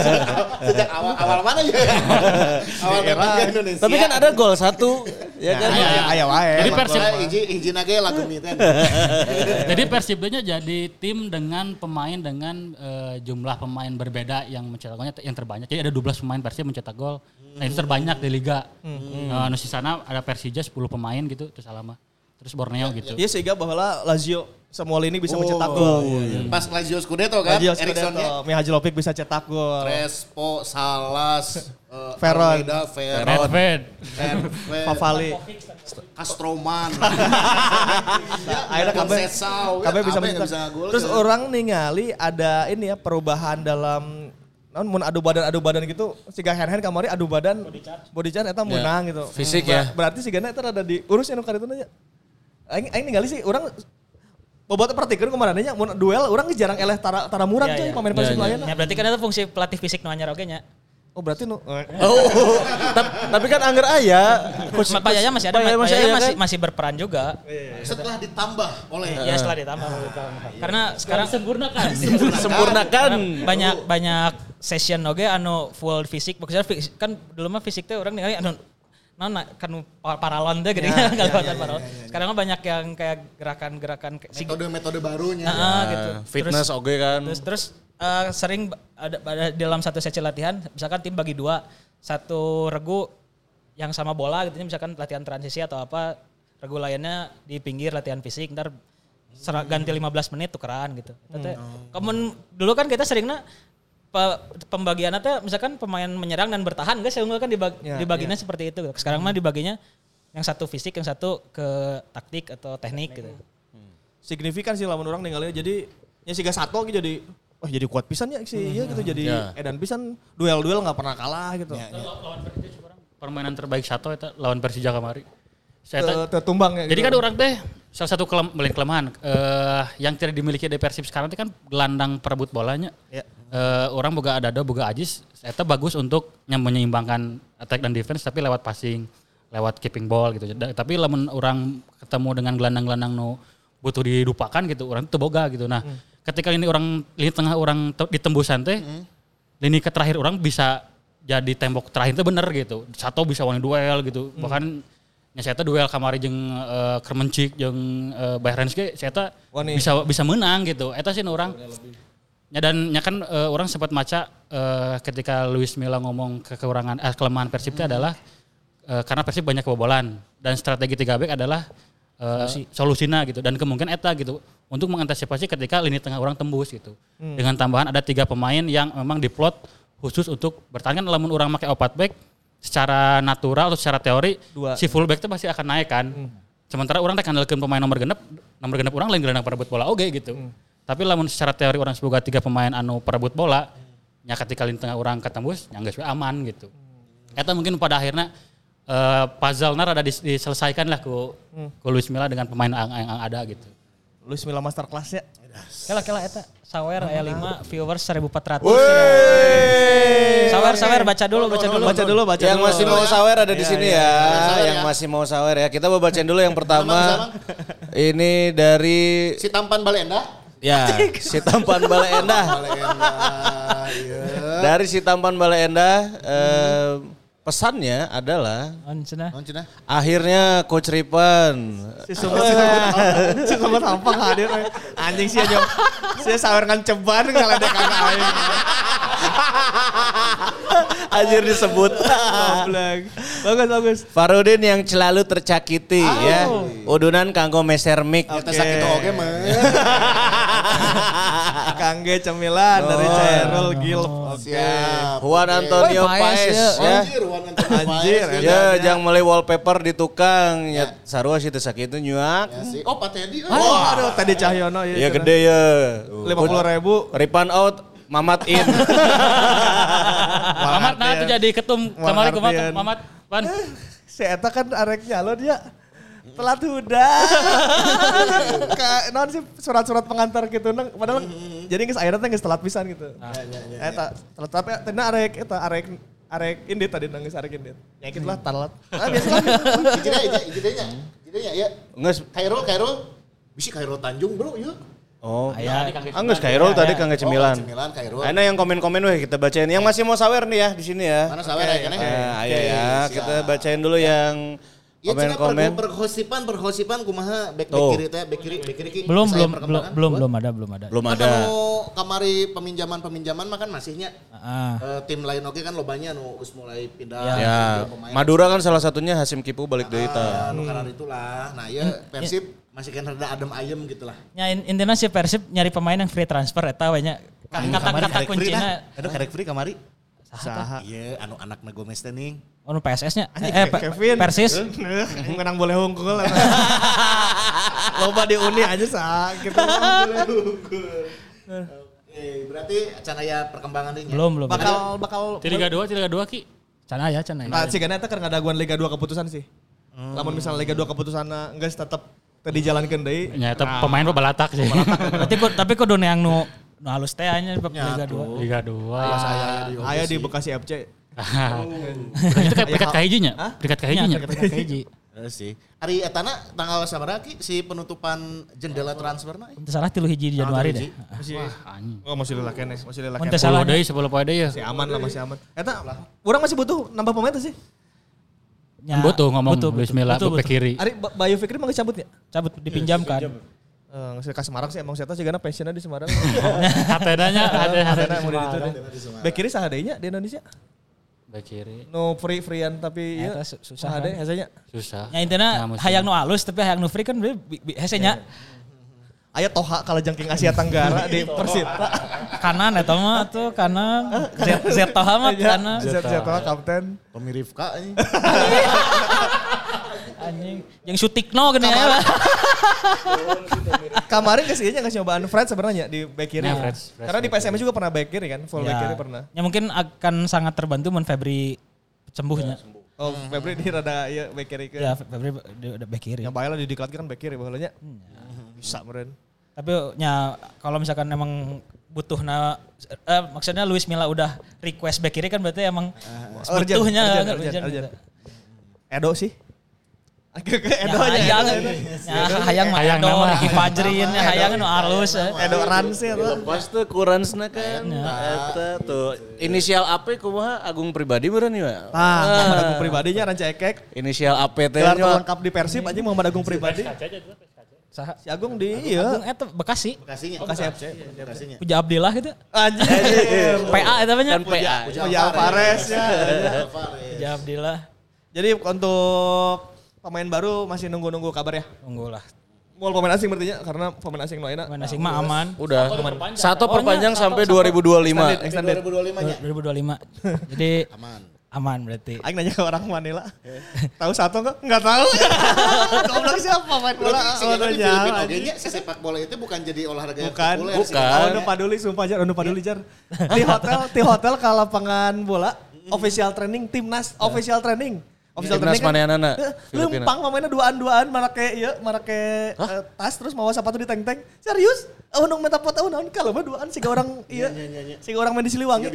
Sejak awal awal mana ya? Awal era Indonesia. Tapi kan ada gol satu ya kan. Aya wae. Jadi Persib hiji hiji nage lagu miten. Jadi Persibnya jadi tim dengan pemain dengan uh, jumlah pemain berbeda yang mencetak golnya yang terbanyak. Jadi ada dua belas pemain Persib mencetak gol. Nah itu terbanyak di liga. Hmm. Uh, di sana ada Persija sepuluh pemain gitu terus alama. Terus Borneo ya, gitu. Iya sehingga bahwa Lazio Samuel ini bisa oh, mencetak gol. Oh, iya. Pas Lazio Scudetto kan, Erikssonnya. Mihajlovic bisa cetak gol. Crespo, Salas, uh, Veron, Almeida, Veron, Redfed, Favali, Castroman. Akhirnya kabeh kabeh bisa mencetak. Terus ya. Orang ningali ada ini ya perubahan dalam namun mun adu badan adu badan gitu siga hand-hand kamari adu badan body charge eta menang ya, gitu. Fisik hmm. ya. Berarti sigana eta rada diurus anu karituna nya. Aing aing ningali sih urang bobot pertikeun kemarin nya mun duel urang jarang eleh tara tara murang ya, tuh ya. pemain Persib ya, lain. Ya berarti kan itu fungsi pelatih fisik nu anyar oge nya. Oh berarti nu Oh, tapi kan angger aya. Coach Payaya masih ada, Payaya masih masih, masih berperan juga. Setelah ditambah oleh ya setelah ditambah. Karena sekarang sempurnakan. Sempurnakan. Banyak banyak session oge anu full fisik. Maksudnya kan dulu mah fisik teh orang ningali anu non kan paralon teh gini kan kalau paralon. Sekarang mah banyak yang kayak gerakan-gerakan metode-metode barunya. Heeh gitu. Fitness oge kan. Terus terus Uh, sering ada, ada dalam satu sesi latihan, misalkan tim bagi dua, satu regu yang sama bola gitu, misalkan latihan transisi atau apa, regu lainnya di pinggir latihan fisik, ntar ser- ganti lima belas menit tukeran gitu. Hmm. Kemun dulu kan kita seringnya pe- pembagiannya tuh misalkan pemain menyerang dan bertahan, guys, sehingga kan dibag- ya, dibaginya ya. Seperti itu. Sekarang mah dibaginya yang satu fisik, yang satu ke taktik atau teknik gitu. Hmm. Signifikan sih lamun orang ninggalin, jadi ya siga satu gitu jadi wah oh, jadi kuat pisan ya sih hmm. ya gitu jadi ya. Edan pisan duel-duel nggak pernah kalah gitu. Ya, ya. Lawan Persija sekarang permainan terbaik satu itu lawan Persija kemarin. Saya tertumbang ya. Jadi gitu. Kan orang teh salah satu kelem, kelemahan uh, yang tidak dimiliki di Persib sekarang itu kan gelandang perebut bolanya. Ya. Uh, orang boga Adado, boga Ajis, itu bagus untuk menyeimbangkan attack dan defense tapi lewat passing, lewat keeping ball gitu. Tapi lamun orang ketemu dengan gelandang-gelandang nu butuh dilupakan gitu, orang itu boga gitu. Nah. Hmm. Ketika ini orang lini tengah orang te, di tembusan teh, mm. lini ke terakhir orang bisa jadi tembok terakhir itu bener gitu. Sato bisa wani duel gitu. Hmm. Bahkan nya saya duel kamari jeung uh, Kermencik jeung uh, Bahrens ge saya bisa bisa menang gitu. Eta sih orang. Ya dan nya kan uh, orang sempat maca uh, ketika Luis Milla ngomong ke kekurangan eh, kelemahan Persib itu hmm. adalah uh, karena Persib banyak kebobolan dan strategi tiga back adalah uh, solusinya gitu dan kemungkinan eta gitu untuk mengantisipasi ketika lini tengah orang tembus gitu. Hmm. Dengan tambahan ada tiga pemain yang memang diplot khusus untuk bertahan kan lamun orang pakai opat back secara natural atau secara teori Dua. si fullback itu pasti akan naik kan. Hmm. Sementara orang teh kandalkeun pemain nomor genep, nomor genep orang lain gelandang perebut bola oge gitu. Hmm. Tapi lamun secara teori orang semoga tiga pemain anu perebut bola, hmm. nya ketika lini tengah orang ketembus, nya geus aman gitu. Hmm. Eta mungkin pada akhirnya uh, puzzle-na rada diselesaikan lah ku hmm. ku Luis Milla dengan pemain yang, yang ada gitu. Luis Milla masterclass-nya. Kela-kela eta sawer aya lima viewers seribu empat ratus. Sawer sawer baca dulu baca dulu baca dulu baca yang dulu. masih mau sawer ada di sini ya, yang masih mau sawer ya. Kita mau bacain dulu yang pertama. Ini dari si Tampan Balenda. Ya, si Tampan Balenda. Dari si Tampan Balenda eh, pesannya adalah akhirnya Coach Ripan si sobat si sobat sampang hadir anjing sih aja sih sawer ngan ceban ngaledek kana aing anjir disebut bagus bagus Farudin yang selalu tercakiti oh. ya udunan kanggo meser mic kita sakit oge mah kangge cemilan dari Cairul Gilp siap Juan Antonio Paes ya anjir ya jangan mulai wallpaper di tukang ya sarua sih teu sakitu nyuak oh Pak Teddy oh aduh Teddy Cahyono ya gede ya lima puluh ribu Ripan out Mamat in Mamat nah tuh jadi ketum kamari kumaha Mamat pan si eta kan arek nyalon dia telat huda ka naon sih surat-surat pengantar gitu nang padahal jadi geus akhirnya teh geus telat pisan gitu eta telat tapi teh arek eta arek arek indit tadi nangis arek indit nyakit lah telat ah biasa lah ijidnya ijidnya ijidnya ya geus Kairul Kairul bisi Kairul Tanjung bro yuk. Oh, aya. Anggus Kairul tadi Kangge Cemilan. Oh, Cemilan Kairul. Ana yang komen-komen weh kita bacain. Yang masih mau sawer nih ya di sini ya. Mana sawer ya kan? Nah, ayo ya, kita bacain dulu yang komen-komen. Pergosipan pergosipan kumaha back back kiri teh, back kiri back kiri ki. Belum belum belum belum belum ada belum ada. Belum ada. Kamari peminjaman-peminjaman mah kan masihnya. Uh, tim lain oke kan lobanya nu geus mulai pindah. Ya. Madura kan salah satunya Hasim Kipu balik deui tah. Nu karena itulah. Nah, ya Persib masih kan rada adem ayem gitu lah. Ya intinya si Persib nyari pemain yang free transfer eta we nya. Kata-kata kuncina. Aduh karek free kamari. Saha? Iya, anu anakna Gomez teh ning. Oh, nu P S S-nya. Eh, Kevin. Persis. Menang boleh hungkul. Loba di Uni aja sah gitu. Oke, berarti can aya perkembangan deui nya. Belum, belum. Bakal bakal Liga dua, Liga dua Ki. Can aya, can aya. Nah, sigana eta keur ngadaguan Liga dua keputusan sih. Lamun misalnya Liga dua keputusanna geus tetep tadi jalankeun deui. Nya eta pemain mah balatak sih. Berarti kok tapi kudu yang nu nu halus teh anya Liga dua. Liga dua. Aya di Bekasi F C. Itu kayak peringkat kahijinya. Peringkat kahijinya. Peringkat kahiji. sih. Ari etana tanggal sabaraha ki si penutupan jendela transferna? Teu salah tilu hiji di Januari deh. Masih oh masih lila kene, masih lila kene. Teu salah deui sepuluh poe deui ya. Masih aman lah, masih aman. Eta urang masih butuh nambah pemain tuh sih. Ya, butuh ngomong Luis Milla ke kiri. Ari Bayu Fikri mah cabut ya? Cabut dipinjamkan. Eh ngasih ke Semarang sih emang saya tahu sih karena pensiunnya di Semarang. Hatena-nya ada hatena mau di itu deh. Bek kiri saha deui nya di Indonesia? Bek kiri. No free freean tapi ya susah deh hasanya. Susah. Ya intinya hayang nu alus tapi hayang nu free kan hasanya. Aya Toha kalau jangking Asia Tenggara di Persita. Kanan eta mah tuh kanan. Z Z Toha mah kanan. Z Z Toha kapten. Tommy Rifka anjing. Anjing yang Sutikno gini ya. Kemarin geus ieu nya geus nyobaan Fred sebenarnya di back kiri. Karena di P S M juga pernah back kiri kan, full back kiri pernah. Ya mungkin akan sangat terbantu mun Febri sembuhnya. Oh, Febri di rada ieu back kiri ke. Ya, Febri udah back kiri. Yang bae lah didiklat kan back kiri baheula nya. Bisa meureun. Tapi ya kalau misalkan emang butuh na eh, maksudnya Luis Milla udah request back kiri kan berarti emang uh, butuhnya urgent, urgent, urgent. Edo sih. Ke ke Ya, Edo nya. hayang. Ya, hayang mah Hayang Edo, nama. Ricky Fajrin, ya, hayang nu halus. eh. Edo Ransi eta. Lepas tuh kuransna kan. Eta tuh inisial A P kumaha Agung Pribadi beureun ieu. Tah, Muhammad Agung Pribadinya ranca ekek. Inisial A P teh Gelar nya. lengkap di Persib anjing Muhammad Agung Pribadi. Saha? Si Agung di Agung ieu. eta Bekasi. Bekasinya. Bekasi F C. Bekasinya. Puja Abdillah gitu. Anjing. P A eta banyak. Kan P A. Oh ya Alvarez ya. Puja Abdillah. Jadi untuk pemain baru masih nunggu-nunggu kabar ya. Tunggu lah. Mau pemain asing berarti karena pemain asing no ayeuna. Pemain asing mah aman. Udah. Satu Oh, perpanjang nya, sampai satu, dua ribu dua puluh lima. Extended. dua ribu dua puluh lima-nya. dua ribu dua puluh lima. Jadi Aman. aman berarti. Aing nanya ke orang Manila. Tahu satu enggak? Enggak tahu. Goblok siapa main bola? Berarti Oh, sehingga di nanya. Filipina oge nya si sepak bola itu bukan jadi olahraga yang Bukan, populer. bukan. sih. Oh, nu paduli sumpah jar, nu paduli jar. Di hotel, di hotel ke lapangan bola, official training timnas, official training. Official Timnas training maneanana, eh, Filipina. lempang pemainnya duaan-duaan, marake ieu, marake eh, tas terus mawa sepatu di teng-teng. Serius? Oh, nu minta foto naon kalau mah duaan siga orang ieu. Siga orang main di Siliwangi.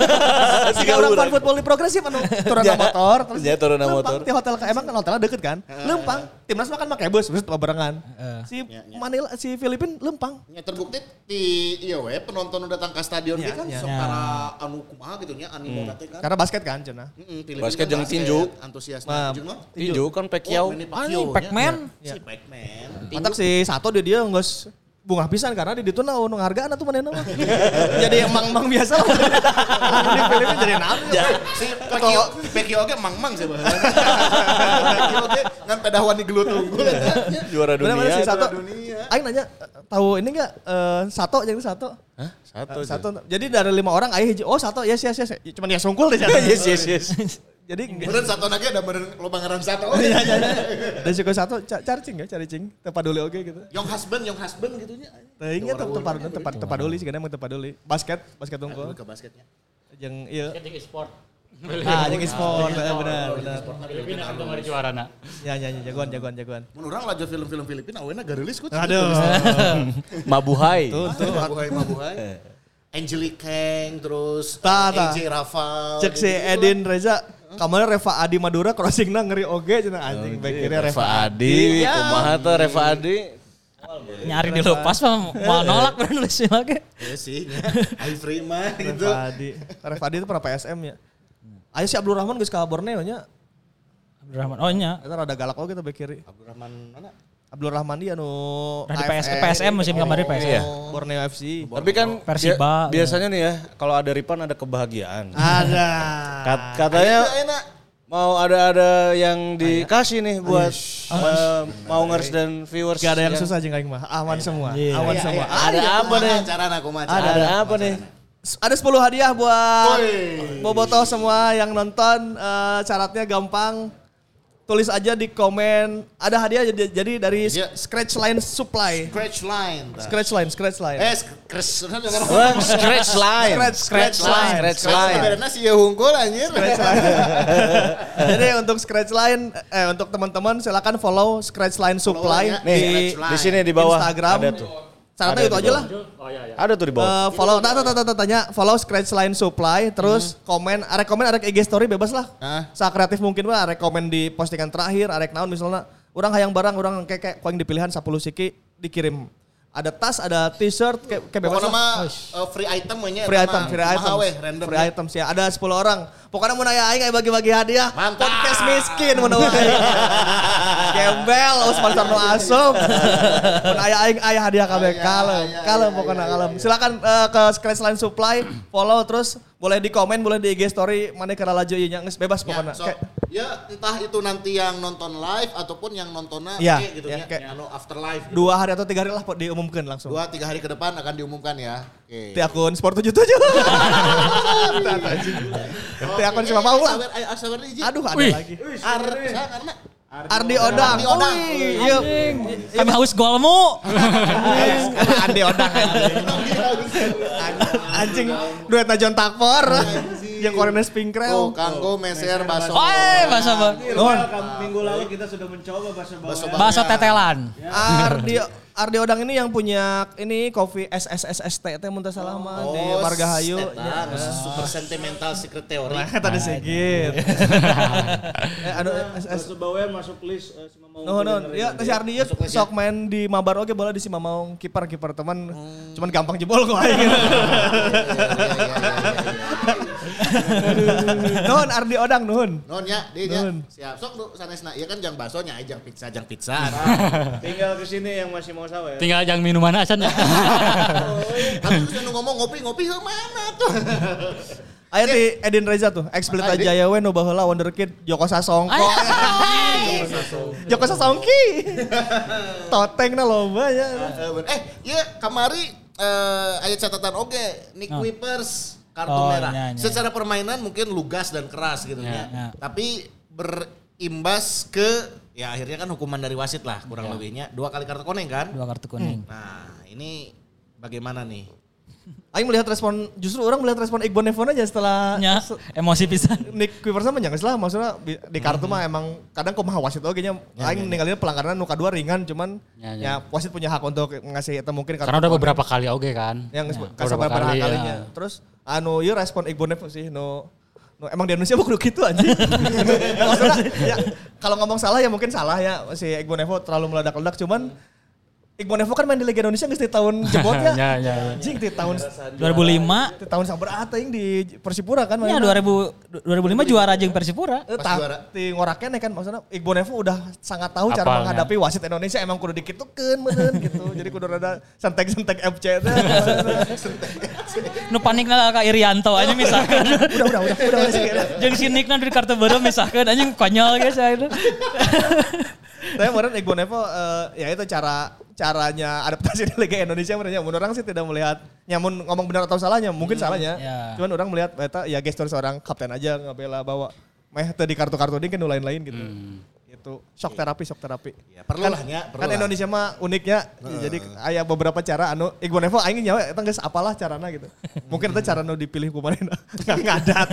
Siga orang fan football di progresif anu turun na motor terus. Ya, turun na lempang motor. Di hotel emang kan hotelnya deket kan? Lempang. Timnas makan make bus, terus barengan. Si Manila si Filipin lempang. Ya terbukti di iya we penonton udah datang ke stadion Ya, ge kan ya. sok para anu kumaha gitu nya animo teh kan. Karena basket kan cenah. Heeh, Filipina Basket kan jeung tinju. Antusias Nah, tinju mah. Tinju kan Pacquiao. Manny Ah, Pacquiao ini nya. Pac-Man. Si Pac-Man. Mantap si Sato dia dia geus bunga pisan karena di ditu na nu nghargaan atuh manehna mah. Jadi emang-emang biasa lah. Di Filipina jadi naon. Si Pacquiao, Pacquiao ge mang-mang sih baheula. Pacquiao ge ngan pedawan di gelut unggul eta. Juara Bener bener si dunia. Sato. dunia. Aing nanya tahu ini enggak eh, Sato jeung Sato. Hah? Satu. Satu. Jadi dari lima orang aya hiji oh Sato yes yes yes. Cuman dia sungkul deh. Yes yes yes. Jadi Beneran satu lagi ada beneran loba ngaran satu. Iya iya. Dan suka Sato ca- cari cing ya, cari cing. Teu paduli oge gitu. Yang husband, yang husband gitu nya. Teuing nya teu paduli tepat teu paduli sih kadang teu paduli. Basket, basket unggul. Ke basketnya. Jeung ieu. Ketik sport. Ah, jeung e-sport bener bener. bener. Filipina kan kemarin juarana. Ya ya ya jagoan jagoan jagoan. Mun urang lajur film-film Filipina awena garilis ku. Aduh. Mabuhay. Tuh tuh. Mabuhay Mabuhay. Angelique Kang terus Tah, tah. A J Rafal. Cek si Edin Reza, kamarnya Reva Adi Madura crossingna ngeri oge cenah anjing back kiri Reva Reva Adi. Ya. Kumaha tuh Reva Adi? Nyari dilepas mah mau nolak bener nulis lagi. Iya sih. I free mah gitu. Reva Adi. Reva Adi itu pernah P S M ya. Ayo si Abdul Rahman geus ka Borneo nya. Abdurrahman. Oh nya. Eta rada galak oge tuh back kiri. Abdurrahman mana? Abdul Rahman dia anu Udah di P S P S M musim kemarin P S M. Iya. Borneo F C. Tapi kan Persiba. bia- biasanya nih ya, kalau ada Ripan ada kebahagiaan. Ada. Kat- katanya Itu enak. mau ada-ada yang dikasih nih buat eh, Maungers dan viewers. Gak ada yang susah jeung aing mah. Aman semua. Iya. Aman Iya, semua. iya. Ada apa nih? Cara aku mah. Ada, ada apa nih? Ada sepuluh hadiah buat Woi. Bobotoh semua yang nonton. Eh, syaratnya gampang. Tulis aja di komen. Ada hadiah jadi, jadi dari Iya. Scratch Line Supply. Scratch line. tah. Scratch Line, Scratch Line. Eh, scratch. Wah, scratch line. Scratch, scratch line. Scratch line. Sebenarnya sih ya hungkul anjir. Jadi untuk Scratch Line, eh untuk teman-teman silakan follow Scratch Line Supply Follow-nya di Scratch Line. Di sini di bawah Instagram. ada tuh. Syaratnya Ada itu di aja lah. Oh iya iya. Ada tuh di bawah. Eh, follow, nah, nah, nah, nah, tanya, follow Scratch Line Supply, terus komen, arek komen, arek I G story bebas lah. Hah? Sa kreatif mungkin lah, arek komen di postingan terakhir, arek naon misalnya, orang hayang barang, orang kayak kayak koing di pilihan sepuluh siki dikirim. Ada tas, ada t-shirt, kayak, kayak bebas Pokoknya lah. mah uh, free item nya. Free item, free item, Maha weh, random. free item sih. Ada sepuluh orang. Pokoknya mau nanya aing aya bagi-bagi hadiah. Mantap. Podcast miskin mun aing. Gembel, sponsor nu asup. Mun aya aing aya hadiah kabeh kalem. Kalem pokoknya kalem. Silakan eh, ke Scratch Line Supply, follow terus boleh di komen, boleh di I G story, mana kira laju ieu nya geus bebas Ya, pokoknya. so, Kayak- ya entah itu nanti yang nonton live ataupun yang nontonnya Iya, oke gitu ya, ya, kayak- anu after live. Gitu. dua hari atau tiga hari lah po- diumumkan langsung. Dua tiga hari ke depan akan diumumkan ya. Oke. Di akun Sport tujuh puluh tujuh. Di akun siapa mau lah. Sabar, ayo, sabar nih, Ji. Aduh ada Wih. lagi. Ar, saya karena Ardi Odang. Ardi Odang. Wih, iya. Kami haus golmu. Andi Odang anjing. Anjing duetna John Takfor. Yang Korenes oh, Pinkrel. kanggo meser baso. Oi, bahasa ba- Nuhun. Minggu lalu kita sudah mencoba bahasa bawah. Baso bahasa tetelan. Ardi Ardi Odang ini yang punya ini kopi S S S S T teh mun teu salah mah di Margahayu. Eta super sentimental secret theory. Nah, tadi segit. Eh anu S S Bawean masuk list uh, si Mamau. No, no, ya si Ardi ya sok main di Mabar oge bola di si Mamau kiper kiper teman. Hmm. Cuman gampang jebol kok aing. Nuhun Ardi Odang nuhun. Nuhun ya, di nya. Siap. Sok lu sanesna ieu kan jang baso nya jang pizza jang pizza. Tinggal ke sini yang masih mau sawe. Tinggal jang minuman acan. Tapi terus ngomong ngopi-ngopi ke mana tuh? Aya di Edin Reza tuh, ex Pelita Jaya we nu baheula wonderkid Joko Sasongko. Joko Sasongki. Totengna loba ya. Eh, ieu kamari eh aya catatan oge Nick Wipers kartu Oh, merah. iya, iya. Secara permainan mungkin lugas dan keras gitu Iya, ya. iya. Tapi berimbas ke ya akhirnya kan hukuman dari wasit lah kurang Iya. lebihnya dua kali kartu kuning kan. Dua kartu kuning. Nah, ini bagaimana nih? Aing melihat respon, justru orang melihat respon Iqbal Nevon aja setelah Nya, emosi pisan. Nick Wipers sama jangan salah maksudnya di, di kartu mah emang kadang kumaha wasit oge nya aing ninggalin pelanggaran nu kadua ringan cuman Ya, ya, ya. wasit punya hak untuk ngasih eta mungkin kartu Karena udah kuning. beberapa kali oge kan. yang Ya, kasih beberapa beberapa kali, kalinya. ya. Terus anu ieu respon Iqbal Nevon sih no no emang di Indonesia kudu gitu anjing. Nah, maksudnya ya kalau ngomong salah ya mungkin salah ya si Iqbal Nevon terlalu meledak-ledak cuman Iqbal Nevon kan main di Liga Indonesia geus di tahun jebotnya. Ya, ya, ya. Anjing di tahun dua ribu lima. di tahun sabar aing di Persipura kan Ya dua ribu dua ribu lima juara jeung Persipura. Eh, Pas ta- juara. Di ngoraknya kan maksudnya Iqbal Nevon udah sangat tahu cara Apalnya. menghadapi wasit Indonesia emang kudu dikitukeun meureun gitu. Jadi kudu rada sentek-sentek F C teh. Nu panikna ka Irianto aja misalkan. Udah udah udah udah udah udah. Jeung si Nickna di kartu baru misalkan anjing konyol guys ya itu. Tapi kemarin Iqbal Nevon eh, ya itu cara caranya adaptasi di Liga Indonesia menurutnya. Menurut orang sih tidak melihat nyamun ngomong benar atau salahnya, mungkin salahnya. ya. Cuman orang melihat eta ya gestur seorang kapten aja ngabela bawa meh teu di kartu-kartu ini kan nu lain-lain gitu. Itu shock terapi, shock terapi. Ya, perlu lah nya, perlu Kan lah. Indonesia mah uniknya, jadi aya beberapa cara anu Iqbal Nevon aing nyawa eta geus apalah carana gitu. Mungkin itu cara nu dipilih kumarin nggak ngadat.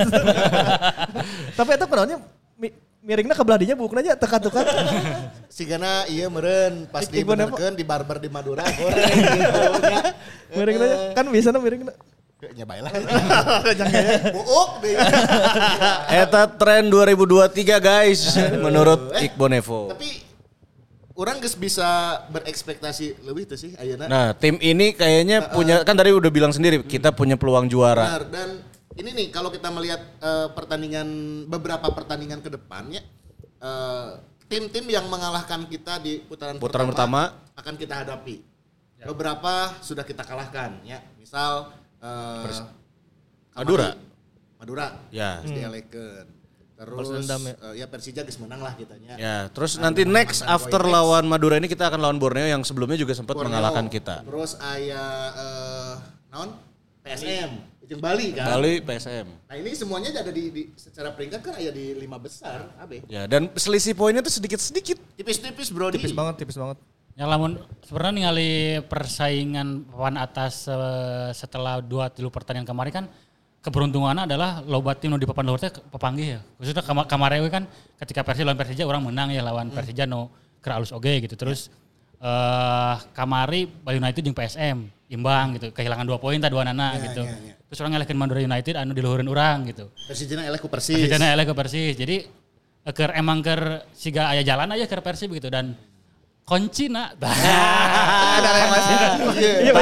Tapi eta kunaonnya mi- miringna ke belah dinya bukna aja teka-teka. Sigana iya meureun pas Ik- Iqbal Nevon. dibenerkeun di barber di Madura goreng gitu nya. Miringna aja. Kan biasana miringna. Nya bae lah. Jangan ya. Buuk deh. Eta tren dua ribu dua puluh tiga guys menurut Iqbal Nevon. Tapi orang geus bisa berekspektasi lebih tuh sih ayeuna. Nah, tim ini kayaknya punya kan tadi udah bilang sendiri kita punya peluang juara. Benar, dan ini nih kalau kita melihat eh, pertandingan beberapa pertandingan ke depannya eh, tim-tim yang mengalahkan kita di putaran, Putaran pertama, pertama. akan kita hadapi. Beberapa sudah kita kalahkan ya. Misal eh, Madura. Madura. Ya. Terus dielekeun. Terus Balas dendam ya. eh, ya Persija geus menang lah kitanya. Ya, terus Nah, nanti dengan next mantan after Boy lawan Madura ini kita akan lawan Borneo yang sebelumnya juga sempat Borneo. mengalahkan kita. Terus aya eh naon? P S M, jeung Bali kan. Bali P S M. Nah ini semuanya ada di, di secara peringkat kan ada di lima besar, abe. Ya, dan selisih poinnya tuh sedikit-sedikit. Tipis-tipis bro. Tipis banget, tipis banget. Ya lamun sebenarnya ningali persaingan papan atas eh, setelah dua tilu pertandingan kemarin kan keberuntungannya adalah loba tim nu di papan luhur teh papanggih ya. Khususnya kama- kemarin we kan ketika Persija lawan Persija orang menang ya lawan Persija no keur alus oge gitu. Terus eh kamari Bali United jeung P S M imbang gitu. Kehilangan dua poin tah dua nana Ya, gitu. ya, ya. Terus orang ngelekeun Madura United anu di luhureun urang gitu. Persijana eleh ku Persis. Persijana eleh ke Persis. Jadi eh, keur emang keur siga aya jalan aja keur Persib gitu dan kuncina. Ada yang masih. Iya,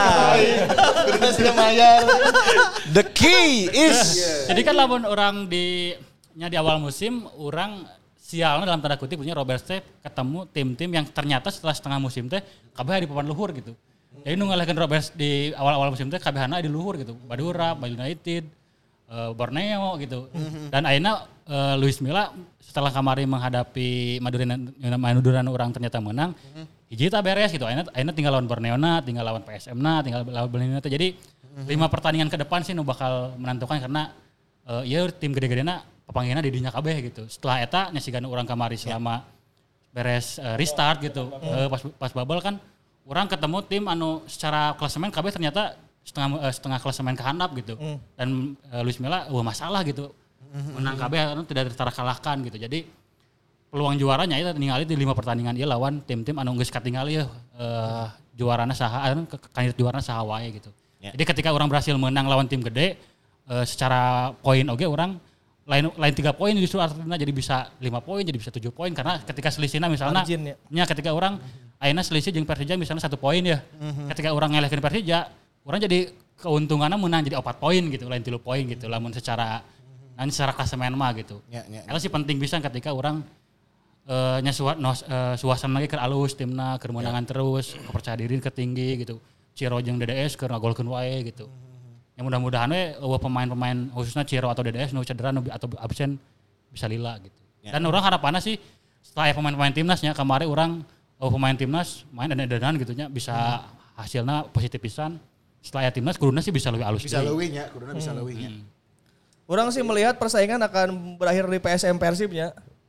Kudu sudah mayar. The key is Jadi kan lamun orang di nya di awal musim orang sialnya dalam tanda kutip punya Robert Step ketemu tim-tim yang ternyata setelah setengah musim teh kabeh di papan luhur gitu. Jadi nu ngalahin Robert di awal-awal musim teh kabehana di luhur gitu. Madura, Bali United, uh, Borneo gitu. Dan akhirnya uh, Luis Milla setelah kemarin menghadapi Madura Madura orang ternyata menang. Hiji tak beres gitu. Akhirnya, akhirnya tinggal lawan Borneo na, tinggal lawan P S M na, tinggal lawan Bali United. Jadi lima pertandingan ke depan sih nu bakal menentukan karena uh, ya tim gede-gedena papanggihna di dinya kabeh gitu. Setelah eta nya sigan urang kamari selama beres uh, restart gitu. Uh, pas pas bubble kan orang ketemu tim anu secara klasemen kabeh ternyata setengah uh, setengah klasemen kehandap gitu. Dan uh, Luis Milla wah masalah gitu. Menang kabeh anu tidak terkalahkan gitu. Jadi peluang juaranya itu ningali di lima pertandingan dia lawan tim-tim anu geus katingali ya uh, juarana saha anu kandidat juarana saha wae gitu. Ya. Jadi ketika orang berhasil menang lawan tim gede uh, secara poin oge orang lain lain tiga poin justru artinya jadi bisa lima poin jadi bisa tujuh poin karena ketika selisihna misalnya ya. nya ketika orang ayeuna selisih jeung Persija misalnya satu poin ya. Mm-hmm. Ketika orang ngelehkeun Persija, orang jadi keuntungannya menang jadi empat poin gitu, lain tiga poin gitu. Lamun secara nanti secara klasemen mah gitu. Ya, ya, ya. Sih penting bisa ketika orang uh, nya suat no, uh, suasana lagi keur alus timna, keur menangan ya. Terus, kepercayaan diri ketinggi gitu. Ciro jeung D D S keur ngagolkeun wae gitu. Mm-hmm. Ya mudah-mudahan we uh, pemain-pemain khususnya Ciro atau D D S nu cedera nu atau absen bisa lila gitu. Ya. Dan orang harapannya sih setelah ya pemain-pemain timnasnya kemarin orang uh, pemain timnas main dan-danan gitu nya bisa hmm. hasilnya positif pisan. Setelah ya timnas kuduna sih bisa lebih halus. Bisa leuwih nya, kuduna bisa leuwih nya. Orang sih melihat persaingan akan berakhir di P S M Persibnya.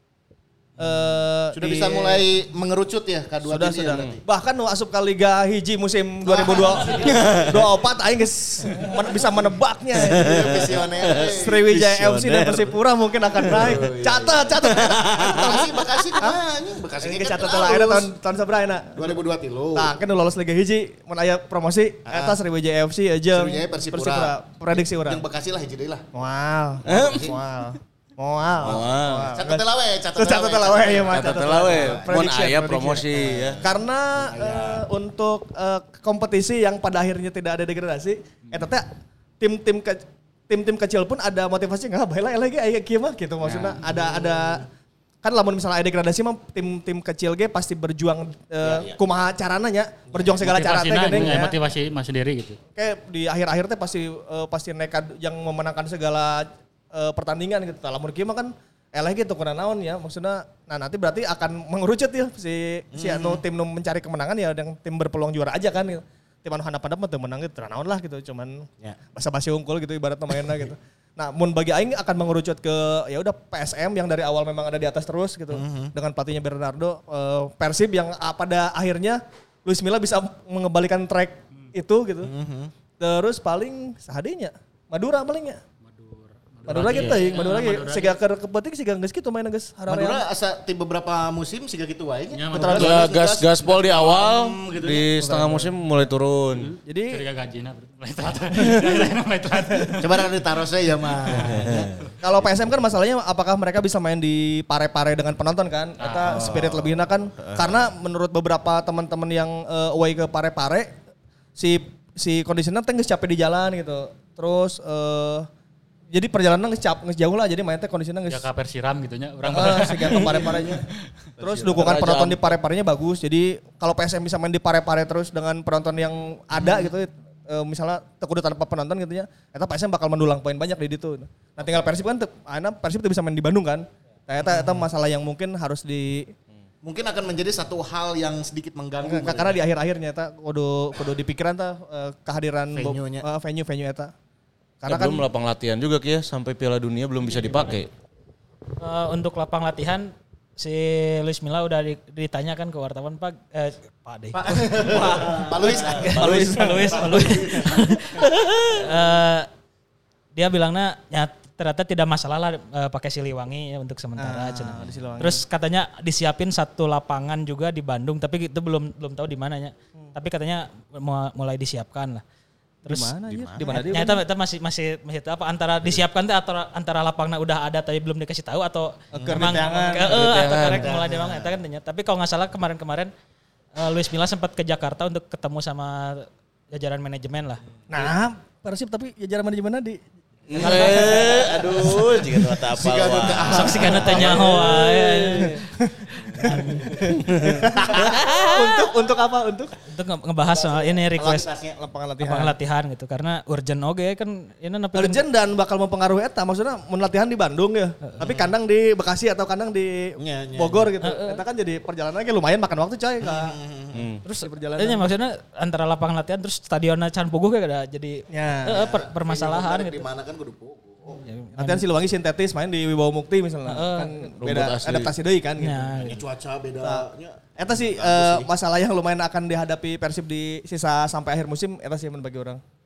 Uh, sudah di, bisa mulai mengerucut ya K dua sudah, tim sudah. ya, Bahkan nu asup ke Liga hiji musim dua ribu dua puluh empat aing geus men- bisa menebaknya. Visioner. Sriwijaya F C dan Persipura mungkin akan naik. Catat, catat. Bekasi, Bekasi kumaha anjing? Bekasi geus catat lah ayeuna tahun tahun sabaraha ayeuna? dua ribu dua tilu. Tah, kan lolos Liga hiji mun aya promosi eta Sriwijaya F C jeung Sriwijaya Persipura. Persipura. Prediksi urang. Jeung Bekasi lah hiji deui lah. Wow. Wow. Wow. Catat teh lawe, catat Catat lawe ya mah. Catat lawe. Mun aya promosi ya. Karena uh, untuk uh, kompetisi yang pada akhirnya tidak ada degradasi, eta teh tim-tim ke, tim-tim kecil pun ada motivasi enggak bae lagi aya kieu mah gitu maksudnya. Ya. Ada ada kan lamun misalnya ada degradasi mah tim-tim kecil ge pasti berjuang uh, ya, ya. kumaha carana nya, berjuang segala cara teh geuning ya. Motivasi mah sendiri gitu. Kayak di akhir-akhir teh pasti uh, pasti nekat yang memenangkan segala Uh, pertandingan gitu. Lamun kieu mah kan eleh gitu kurang naon ya maksudnya. Nah nanti berarti akan mengerucut ya si si hmm. anu tim nu mencari kemenangan ya yang tim berpeluang juara aja kan gitu. Tim anu handap-handap mah teu menang gitu naon lah gitu cuman ya. Basa-basi unggul gitu ibaratnya mainnya gitu. Nah mun bagi aing akan mengerucut ke ya udah P S M yang dari awal memang ada di atas terus gitu. Mm-hmm. Dengan pelatihnya Bernardo uh, Persib yang uh, pada akhirnya Luis Milla bisa mengembalikan track mm. itu gitu. Mm-hmm. Terus paling sahadinya Madura palingnya. Madura lagi teh, Madura lagi siga keur kepenting siga geus kitu main geus hararea. Madura asa ti beberapa musim siga kitu wae nya. Ya, gas gaspol di awal gitu di ya. Setengah musim mulai turun. Hmm. Jadi curiga gajina mulai telat. Coba ada tarosnya ya mah. Kalau P S M kan masalahnya apakah mereka bisa main di pare-pare dengan penonton kan? Eta spirit lebihna kan karena menurut beberapa teman-teman yang uh, away ke pare-pare si si kondisinya teh geus capek di jalan gitu. Terus uh, jadi perjalanan ngecap ngejauh lah jadi main teh kondisinya nge ya ka Persiram gitu nya urang uh, sehingga ke pare-parenya. Terus dukungan penonton di pare-parenya bagus. Jadi kalau P S M bisa main di pare-pare terus dengan penonton yang ada hmm. gitu uh, misalnya teu kudu tanpa penonton gitu nya. Eta P S M bakal mendulang poin banyak di ditu. Nah tinggal Persib kan ayeuna Persib teu bisa main di Bandung kan. Nah eta eta masalah yang mungkin harus di mungkin akan menjadi satu hal yang sedikit mengganggu. Karena ya. Di akhir-akhirnya eta kudu kudu dipikiran tah uh, kehadiran venue-nya uh, venue-venue eta. Karena ya, kan belum lapang latihan juga ya sampai Piala Dunia belum bisa dipakai. Uh, untuk lapang latihan si Luis Milla udah ditanyakan ke wartawan Pak eh, Pak deh. Pak, Pak Luis. Pak Luis, Pak Luis, Pak Luis. uh, dia bilangnya ya ternyata tidak masalah lah uh, pakai Siliwangi ya, untuk sementara. Ah, terus katanya disiapin satu lapangan juga di Bandung tapi itu belum belum tahu di mananya. Hmm. Tapi katanya mulai disiapkan lah. Terus di mana ya? Di mana dia? Nyata itu masih masih masih apa antara disiapkan teh atau antara lapangnya udah ada tapi belum dikasih tahu atau memang ke eh atau karek mulai demang eta kan tanya. Tapi kalau enggak salah kemarin-kemarin uh, Luis Milla sempat ke Jakarta untuk ketemu sama jajaran manajemen lah. Nah, Persib tapi jajaran manajemennya di Eh, aduh, jika nu apa Sok sika nu teh nyaho wae. Untuk untuk apa? Untuk untuk ngebahas soal ini request lapangan latihan. Lapangan latihan gitu karena urgent oge kan ini nepi urgent dan bakal mempengaruhi eta maksudnya mun latihan di Bandung ya. Uh, tapi kandang di Bekasi atau kandang di nye, nye, Bogor gitu. Uh, uh. Eta kan jadi perjalanannya lumayan makan waktu coy ka. Hmm. Terus perjalanan. Iya maksudnya antara lapangan latihan terus stadionnya can puguh kayak ada jadi ya, uh, per, permasalahan gitu. Di mana kan kudu puguh. Oh, ya, latihan Siliwangi sintetis main di Wibawa Mukti misalnya uh, kan beda asli. Adaptasi deui kan gitu. Ya, ya. Cuaca bedanya. Nah, eta sih uh, masalah yang lumayan akan dihadapi Persib di sisa sampai akhir musim eta sih bagi orang.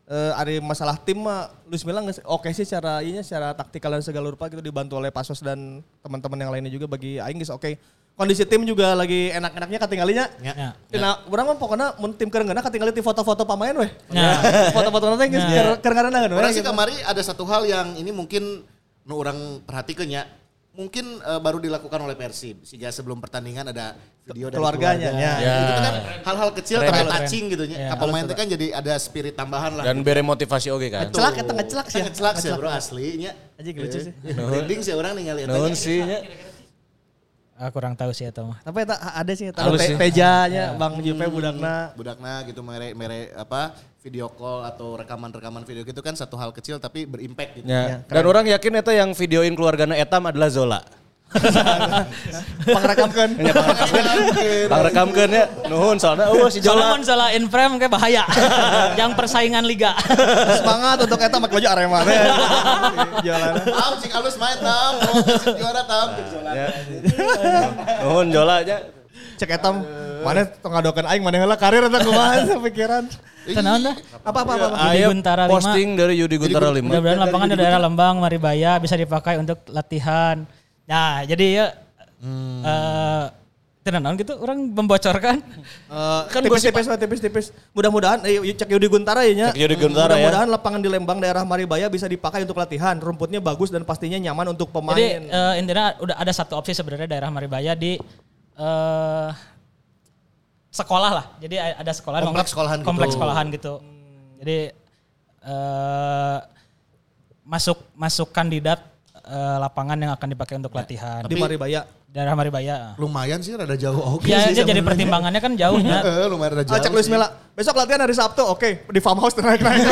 Uh, ada masalah tim mah Luis Milla oke okay sih secara ininya secara taktikal dan segala rupa gitu dibantu oleh Pasos dan teman-teman yang lainnya juga bagi aing geus oke. Okay. Kondisi tim juga lagi enak-enaknya katinggalinya. Ya. Nah, urang mah pokona mun tim keur ngeunah katinggali ti foto-foto pamain weh. Ya. Foto-foto nanti geus keur keur ngaranna we. Urang sih kamari ada satu hal yang ini mungkin nu urang perhatikeun nya. Mungkin uh, baru dilakukan oleh Persib. Sehingga sebelum pertandingan ada video dari keluarganya. keluarga. Ya. Itu kan hal-hal kecil Keren, tapi keren. touching gitu nya. Ya. Pemain itu kan jadi ada spirit tambahan lah. Dan bere motivasi oke kan. Celak eta ngecelak sih. Ngecelak sih bro aslinya. Aja lucu sih. Branding sih orang ningali eta. Naon sih nya? Ah, kurang tahu sih eta mah. Tapi eta ada sih eta Halus sih. Tejanya Bang Jupe budakna. Budakna gitu mere mere apa video call atau rekaman-rekaman video gitu kan satu hal kecil tapi berimpact gitu. Ya. Dan orang yakin eta yang videoin keluargana Etam adalah Zola. Pangrekamkeun. Nya pangrekamkeun. Pangrekamkeun ya. Nuhun soalnya eueuh si Zola. Solomon Zola in frame kayak bahaya. Yang persaingan liga. Semangat untuk eta make baju Arema teh. Jualan. Tam sing alus main tam, mau kasih juara tam cek Zola. Nuhun Zola nya. Cek eta mana tong ngadokeun aing mana heula karir eta kumaha pikiran. Tenaon dah? Apa apa apa. Yudi Guntara lima. Posting dari Yudi Guntara lima. Mudah-mudahan lapangan di daerah Lembang, Maribaya bisa dipakai untuk latihan. Nah, jadi ya hmm. uh, tenan gitu orang membocorkan. Uh, kan tipis-tipis tipis-tipis. Mudah-mudahan eh, cek Yudi Guntara ya nya. Cek Yudi Guntara ya. Mudah-mudahan lapangan di Lembang daerah Maribaya bisa dipakai untuk latihan. Rumputnya bagus dan pastinya nyaman untuk pemain. Jadi uh, intinya udah ada satu opsi sebenarnya daerah Maribaya di uh, sekolah lah. Jadi ada sekolah kompleks sekolahan gitu. Kompleks sekolahan gitu. Hmm. Jadi uh, masuk masuk kandidat Uh, lapangan yang akan dipakai untuk latihan. Di Maribaya. Daerah Maribaya. Lumayan sih rada jauh oke ya, sih. Ya jadi pertimbangannya kan jauhnya. Heeh, lumayan rada jauh. Ah, cek Luis Milla. Besok latihan hari Sabtu, oke. Okay. Di farmhouse naik-naik.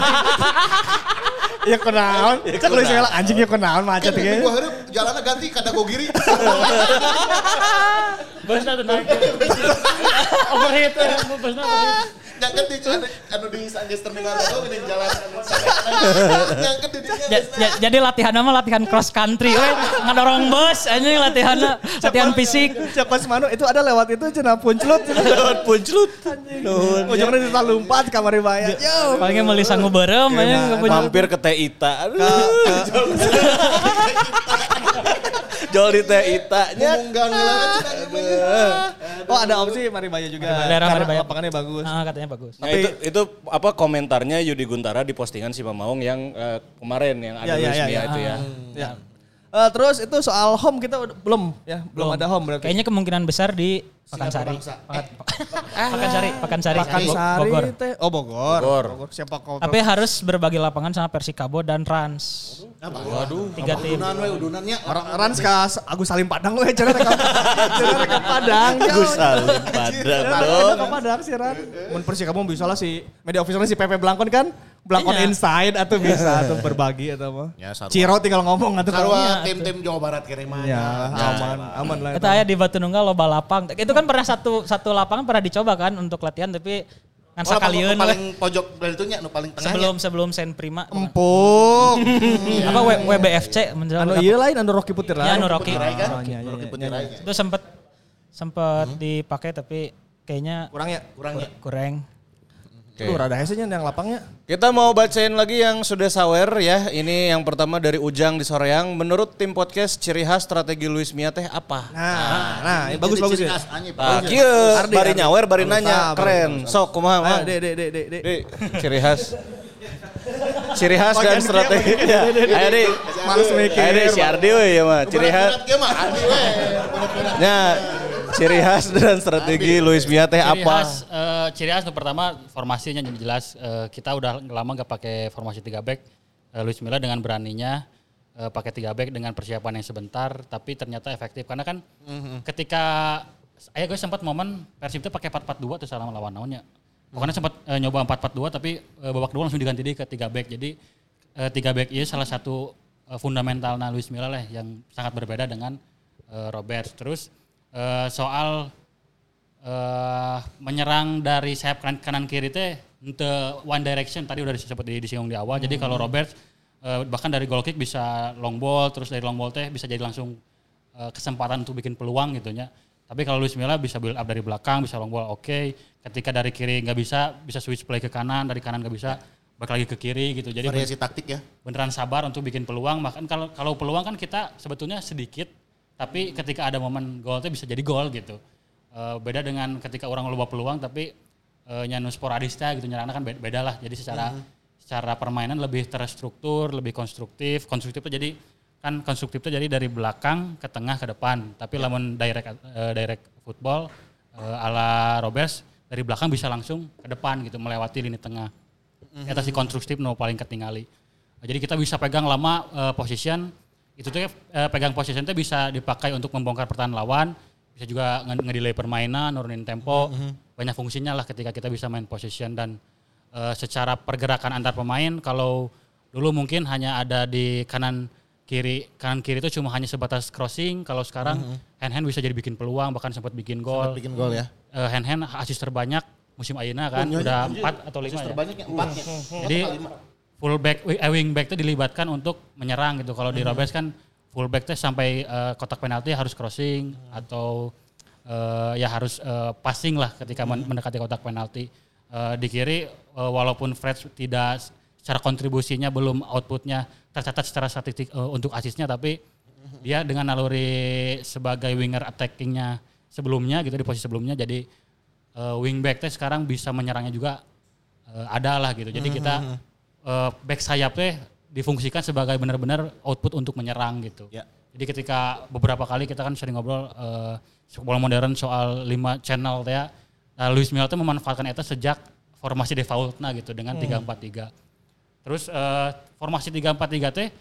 Ya kenaon. Cek Luis Milla anjingnya kenaon macet ge. Gua hareup jalanna ganti kada gogiri. Basna tenang. Overheat, basna overheat. Nyangket di anu di Sanggeus terminal itu geuning jalan anu nyangket di dinya. Jadi latihan mah latihan cross country we ngadorong bus anjing latihanna latihan fisik. Cek pas manu itu ada lewat itu cenah punclut. Lewat punclut. Nuhun. Ujungna kita lompat ka Maribaya. Yo. Palingnya meuli sangu beureum anjing mampir ke Teh Ita. Jol di Teh Ita nya. Munggang lah. Oh ada opsi Maribaya juga. Daerah Maribaya lapangannya bagus. Ah katanya bagus. Nah, itu itu apa komentarnya Yudi Guntara di postingan si Mamaung yang uh, kemarin yang ada ya, Luis ya, Milla ya, itu ya. Ya. Uh, terus itu soal home kita udah, belum ya, belum, belum ada home berarti. Kayaknya kemungkinan besar di Pakansari. Pakansari, Pakansari. Pakansari Bogor. Teh. Oh Bogor. Bogor. Bogor. Siapa kau? Tapi harus berbagi lapangan sama Persikabo dan Rans. Waduh. Tiga tim. Udunan we udunannya. Orang Rans ka Agus Salim Padang we cenah rek. Cenah rek Padang. Agus Salim Padang dong. Ka Padang sih Ran. Mun Persikabo bisa lah si media officernya si Pepe Blankon kan. Blankon Iya. Inside atau bisa atau berbagi atau apa. Ya, Ciro tinggal ngomong atau Sarua tim-tim Jawa Barat kene mah. Ya, aman, aman lah. Kita aya di Batu Nunggal loba lapang. Itu kan pernah satu satu lapangan pernah dicoba kan untuk latihan tapi kan Oh, sakalieun paling pojok dari itu nya nu paling tengahnya. sebelum sebelum Sen Prima. Empuk. Apa W- W B F C Anu iya lain anu Rocky Putih Ya, lah. anu Rocky. Putirai kan? Oh, iya, iya, Rocky iya, Putirai. Itu sempat sempat dipakai tapi kayaknya Kurang ya. Kurangnya. kurang. Tuh rada hesenya yang lapangnya. Kita mau bacain lagi yang sudah sawer ya. Ini yang pertama dari Ujang di Soreang. Menurut tim podcast ciri khas strategi Luis Milla teh apa? Nah, nah, ini bagus bagus ya. Nah, kieu Ardi, bari Ardi. nyawer bari Bagus, nanya ah, keren. bagus, Sok kumaha Ayo, mah? dek, dek, dek, dek, dek. Di, ciri khas. Ciri khas dan Bagian strategi. dia, Ayo di. Males mikir. Ayo di si Ardi we ya mah. Ciri khas. Nya ciri khas dan strategi Luis Milla teh Ciri apa? khas, eh, ciri khas itu pertama formasinya jadi jelas. Eh, kita udah lama gak pakai formasi tiga back. Eh, Luis Milla dengan beraninya eh, pakai tiga back dengan persiapan yang sebentar, tapi ternyata efektif karena kan mm-hmm. ketika saya gue sempat momen Persib itu pakai empat empat dua tuh salah lawan naonnya. Pokoknya sempat eh, nyoba empat empat dua tapi eh, babak kedua langsung diganti di ke tiga back. Jadi eh, tiga back ini salah satu eh, fundamentalnya Luis Milla lah yang sangat berbeda dengan eh, Robert. Terus eh, soal eh, menyerang dari sayap kanan, kanan kiri teh untuk one direction tadi udah sempat disinggung di awal. Hmm. Jadi kalau Robert eh, bahkan dari goal kick bisa long ball, terus dari long ball teh bisa jadi langsung eh, kesempatan untuk bikin peluang gitu nya. Tapi kalau Luis Milla bisa build up dari belakang, bisa long ball oke. Okay. Ketika dari kiri nggak bisa, bisa switch play ke kanan, dari kanan nggak bisa, balik lagi ke kiri gitu. Jadi variasi taktik ya. Beneran sabar untuk bikin peluang. Bahkan kalau kalau peluang kan kita sebetulnya sedikit, tapi ketika ada momen gol itu bisa jadi gol gitu. Uh, beda dengan ketika orang loba peluang tapi uh, nyanu sporadisnya gitu nyerangnya kan beda, beda lah. Jadi secara hmm. secara permainan lebih terstruktur, lebih konstruktif. Konstruktif itu jadi kan konstruktif itu jadi dari belakang ke tengah ke depan. Tapi yeah. lamun direct uh, direct football uh, ala Robes dari belakang bisa langsung ke depan gitu melewati lini tengah. Mm-hmm. Eta si konstruktif no paling ketinggali. Uh, jadi kita bisa pegang lama uh, position. Itu tuh uh, pegang position itu bisa dipakai untuk membongkar pertahanan lawan, bisa juga ngedelay permainan, nurunin tempo. Mm-hmm. Banyak fungsinya lah ketika kita bisa main position dan uh, secara pergerakan antar pemain kalau dulu mungkin hanya ada di kanan kiri kanan kiri itu cuma hanya sebatas crossing. Kalau sekarang mm-hmm. hand hand bisa jadi bikin peluang bahkan sempat bikin gol. Sempat bikin gol ya. Uh, hand hand asis terbanyak musim ayeuna kan oh, udah empat atau lima ya. Terbanyaknya empat ya. Jadi full back eh, wing back itu dilibatkan untuk menyerang gitu. Kalau di Robes kan full back itu sampai uh, kotak penalti harus crossing hmm. atau uh, ya harus uh, passing lah ketika hmm. mendekati kotak penalti. Uh, di kiri uh, walaupun Fred tidak secara kontribusinya belum outputnya tercatat secara statistik uh, untuk asisnya tapi hmm. dia dengan naluri sebagai winger attackingnya sebelumnya gitu di posisi sebelumnya jadi uh, wingback teh sekarang bisa menyerangnya juga uh, ada lah gitu. Jadi mm-hmm. kita uh, back sayap teh difungsikan sebagai benar-benar output untuk menyerang gitu. Yeah. Jadi ketika beberapa kali kita kan sering ngobrol uh, sepak bola modern soal lima channel teh ya. Nah, Luis Milla teh memanfaatkan eta sejak formasi defaultna gitu dengan mm. tiga empat tiga. Terus uh, formasi tiga empat tiga teh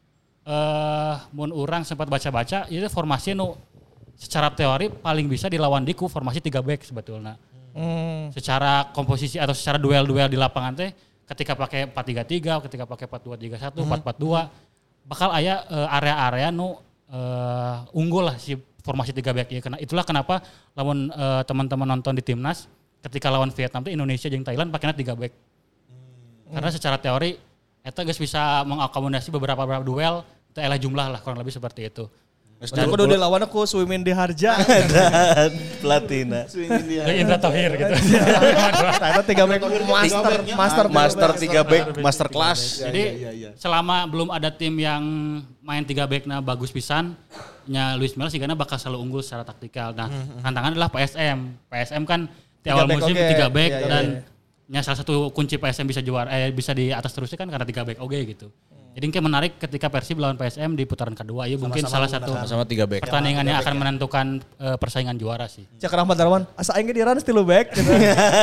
uh, mun urang sempat baca-baca itu formasi nu secara teori paling bisa dilawan di ku formasi tiga back sebetulnya. Hmm. Secara komposisi atau secara duel-duel di lapangan teh ketika pakai empat tiga tiga, ketika pakai empat dua tiga satu, hmm. empat empat dua bakal aya uh, area-area nu uh, unggul lah si formasi tiga back ya. Karena itulah kenapa lawan uh, teman-teman nonton di timnas ketika lawan Vietnam teh Indonesia jeung Thailand pakainya tiga back. Hmm. Karena secara teori eta geus bisa mengakomodasi beberapa beberapa duel teh ela jumlah lah kurang lebih seperti itu. Dan kudu dilawan aku Swimin di Harja dan Platina. Swimin di Harja. Indra Tohir gitu. Ternyata tiga back master master master tiga back master class. Jadi selama belum ada tim yang main tiga backna bagus pisan, nya Luis Milla sigana bakal selalu unggul secara taktikal. Nah, tantangan adalah P S M. P S M kan di awal musim tiga back dan nya salah satu kunci P S M bisa juara eh bisa di atas terusnya kan karena tiga back oke gitu. Jadi kayak menarik ketika Persib lawan P S M di putaran kedua. Ya mungkin salah satu sama tiga back. Pertandingan yang akan menentukan uh, persaingan juara sih. Cak Rahmat Darwan, asa aing ge di run stilu back gitu.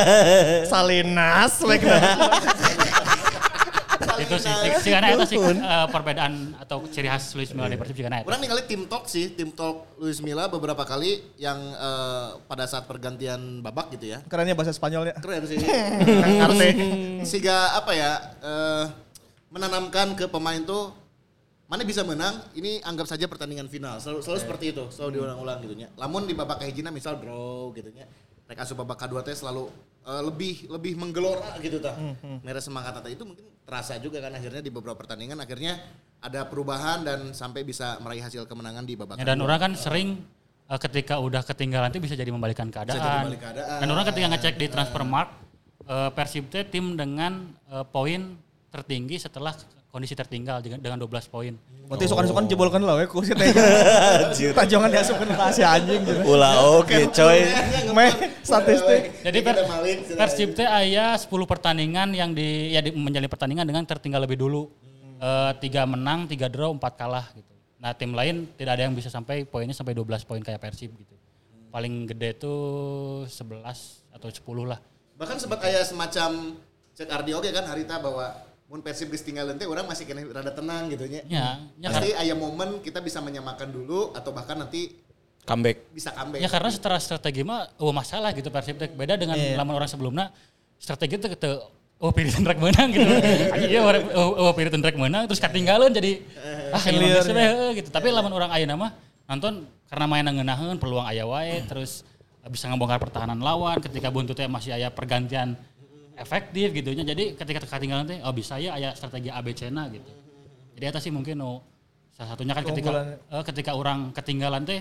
Salinas back. Itu sih, sih karena itu sih uh, perbedaan atau ciri khas Luis Milla di Persib sih karena itu. Orang ningali tim talk sih, tim talk Luis Milla beberapa kali yang uh, pada saat pergantian babak gitu ya. Kerennya bahasa Spanyolnya. Keren sih. Arti sehingga apa ya? Uh, menanamkan ke pemain tuh mana bisa menang ini anggap saja pertandingan final selalu, selalu seperti itu selalu diulang-ulang gitu nya. Lamun di babak kahijina misal draw gitu nya rek asup babak kedua teh selalu uh, lebih lebih menggelora gitu tah. Hmm. Mere semangat tata itu mungkin terasa juga kan akhirnya di beberapa pertandingan akhirnya ada perubahan dan sampai bisa meraih hasil kemenangan di babak ya, dan orang kan sering uh, ketika udah ketinggalan itu bisa jadi membalikkan keadaan. Bisa jadi membalik keadaan. Dan orang ketika ngecek di Transfermarkt uh, Persib teh tim dengan uh, poin tertinggi setelah kondisi tertinggal dengan dua belas poin. Berarti oh. sukan-sukan jebolkan lah we ku si teh. Tajongan diasupkeun ka si anjing gitu. Ulah oke coy. Meh statistik. Jadi per, Persib teh aya sepuluh pertandingan yang di ya di, menjalani pertandingan dengan tertinggal lebih dulu. Hmm. E, tiga menang, tiga draw, empat kalah gitu. Nah, tim lain tidak ada yang bisa sampai poinnya sampai dua belas poin kayak Persib gitu. Hmm. Paling gede tuh sebelas atau sepuluh lah. Bahkan sempat aya semacam cek Ardi oge kan harita bahwa mun Persib geus tinggal teh orang masih kena rada tenang gitu nya. Ya, ya pasti aya momen kita bisa menyamakan dulu atau bahkan nanti comeback. Bisa comeback. Ya karena secara strategi mah oh masalah gitu Persib teh beda dengan yeah. lamun orang sebelumnya strategi teh teu oh Piriton rek menang gitu. Iya oh, oh Piriton rek menang terus katinggalan jadi ah ini mah gitu. Tapi lamun orang ayeuna mah nonton karena mainan ngeunaheun peluang aya wae terus bisa ngebongkar pertahanan lawan ketika buntu teh masih aya pergantian efektif gitunya. Jadi ketika ketinggalan teh oh bisa ya aya strategi A B C-na gitu. Jadi eta sih mungkin oh salah satunya kan ketika uh, ketika orang ketinggalan teh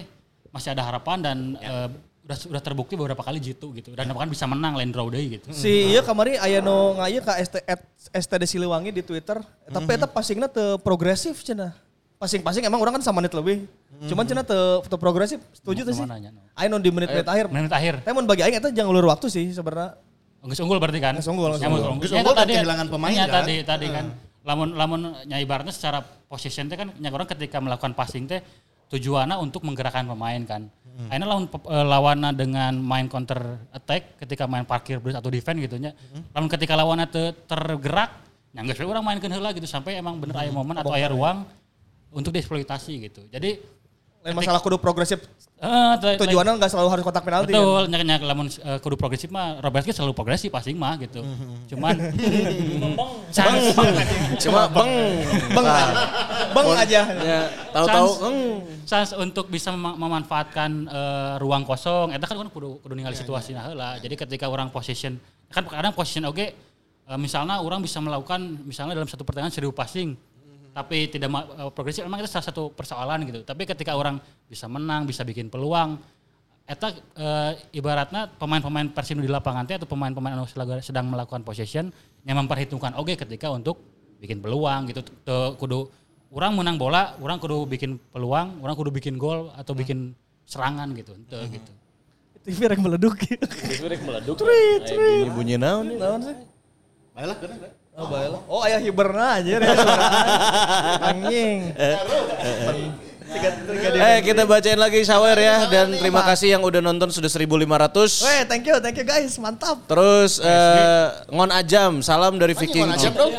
masih ada harapan dan ya. uh, udah udah terbukti beberapa kali jitu gitu dan bahkan bisa menang lain draw deui gitu. Si ieu kamari aya nu ngaya ka S T D Siliwangi di Twitter, mm-hmm. tapi eta passingna teu progresif cenah. Passing-passing emang orang kan sama menit lebih. Mm-hmm. Cuman cenah teu teu progresif. Setuju teh sih? Aya nu di menit-menit akhir. Menit akhir. Tapi mun bagi aing eta jangan ulur waktu sih sebenarnya. Geus unggul berarti kan? Geus unggul. Geus unggul kan kehilangan pemain kan? Tadi tadi kan lamun lamun nya ibaratnya secara position teh kan nya orang ketika melakukan passing teh tujuannya untuk menggerakkan pemain kan. Hmm. Akhirnya lawan lawannya dengan main counter attack ketika main parkir bus atau defense gitu nya. Hmm. Lamun ketika lawannya te, tergerak, nya geus orang mainkeun heula gitu sampai emang bener hmm. aya momen atau aya ruang untuk dieksploitasi gitu. Jadi lain masalah kudu progresif. Uh, tujuannya enggak selalu harus kotak penalti. Betul, kan? nya lamun uh, kudu progresif mah Robertski selalu progresif passing mah gitu. Hmm. Cuman chance cuma beng beng beng aja. Ya, tahu-tahu chance untuk bisa mem- memanfaatkan uh, ruang kosong eta kan kudu kudu ningali situasina heula. Jadi ketika orang position kan kadang position oge uh, misalnya orang bisa melakukan misalnya dalam satu pertandingan seribu passing mm-hmm. tapi tidak uh, progresif memang itu salah satu persoalan gitu. Tapi ketika orang bisa menang, bisa bikin peluang eta uh, ibaratnya pemain-pemain Persib di lapangan teh atau pemain-pemain anu sedang melakukan possession yang memperhitungkan oge ketika untuk bikin peluang gitu. Tuh, kudu orang menang bola, orang kudu bikin peluang, orang kudu bikin gol atau bikin serangan gitu, ente hmm. gitu. T V rek meleduk. T V rek meleduk. Trit, trit. Bunyi naon nih? Naon sih? Baiklah, kena. Oh, baiklah. Oh, aya hiberna aja ya suara. Anjing. Tiga, tiga eh kita bacain lagi shower ya dan terima kasih yang udah nonton sudah seribu lima ratus. Weh, thank you, thank you guys, mantap. Terus uh, Ngon Ajam, salam dari Viking. Ngon Ajam dong.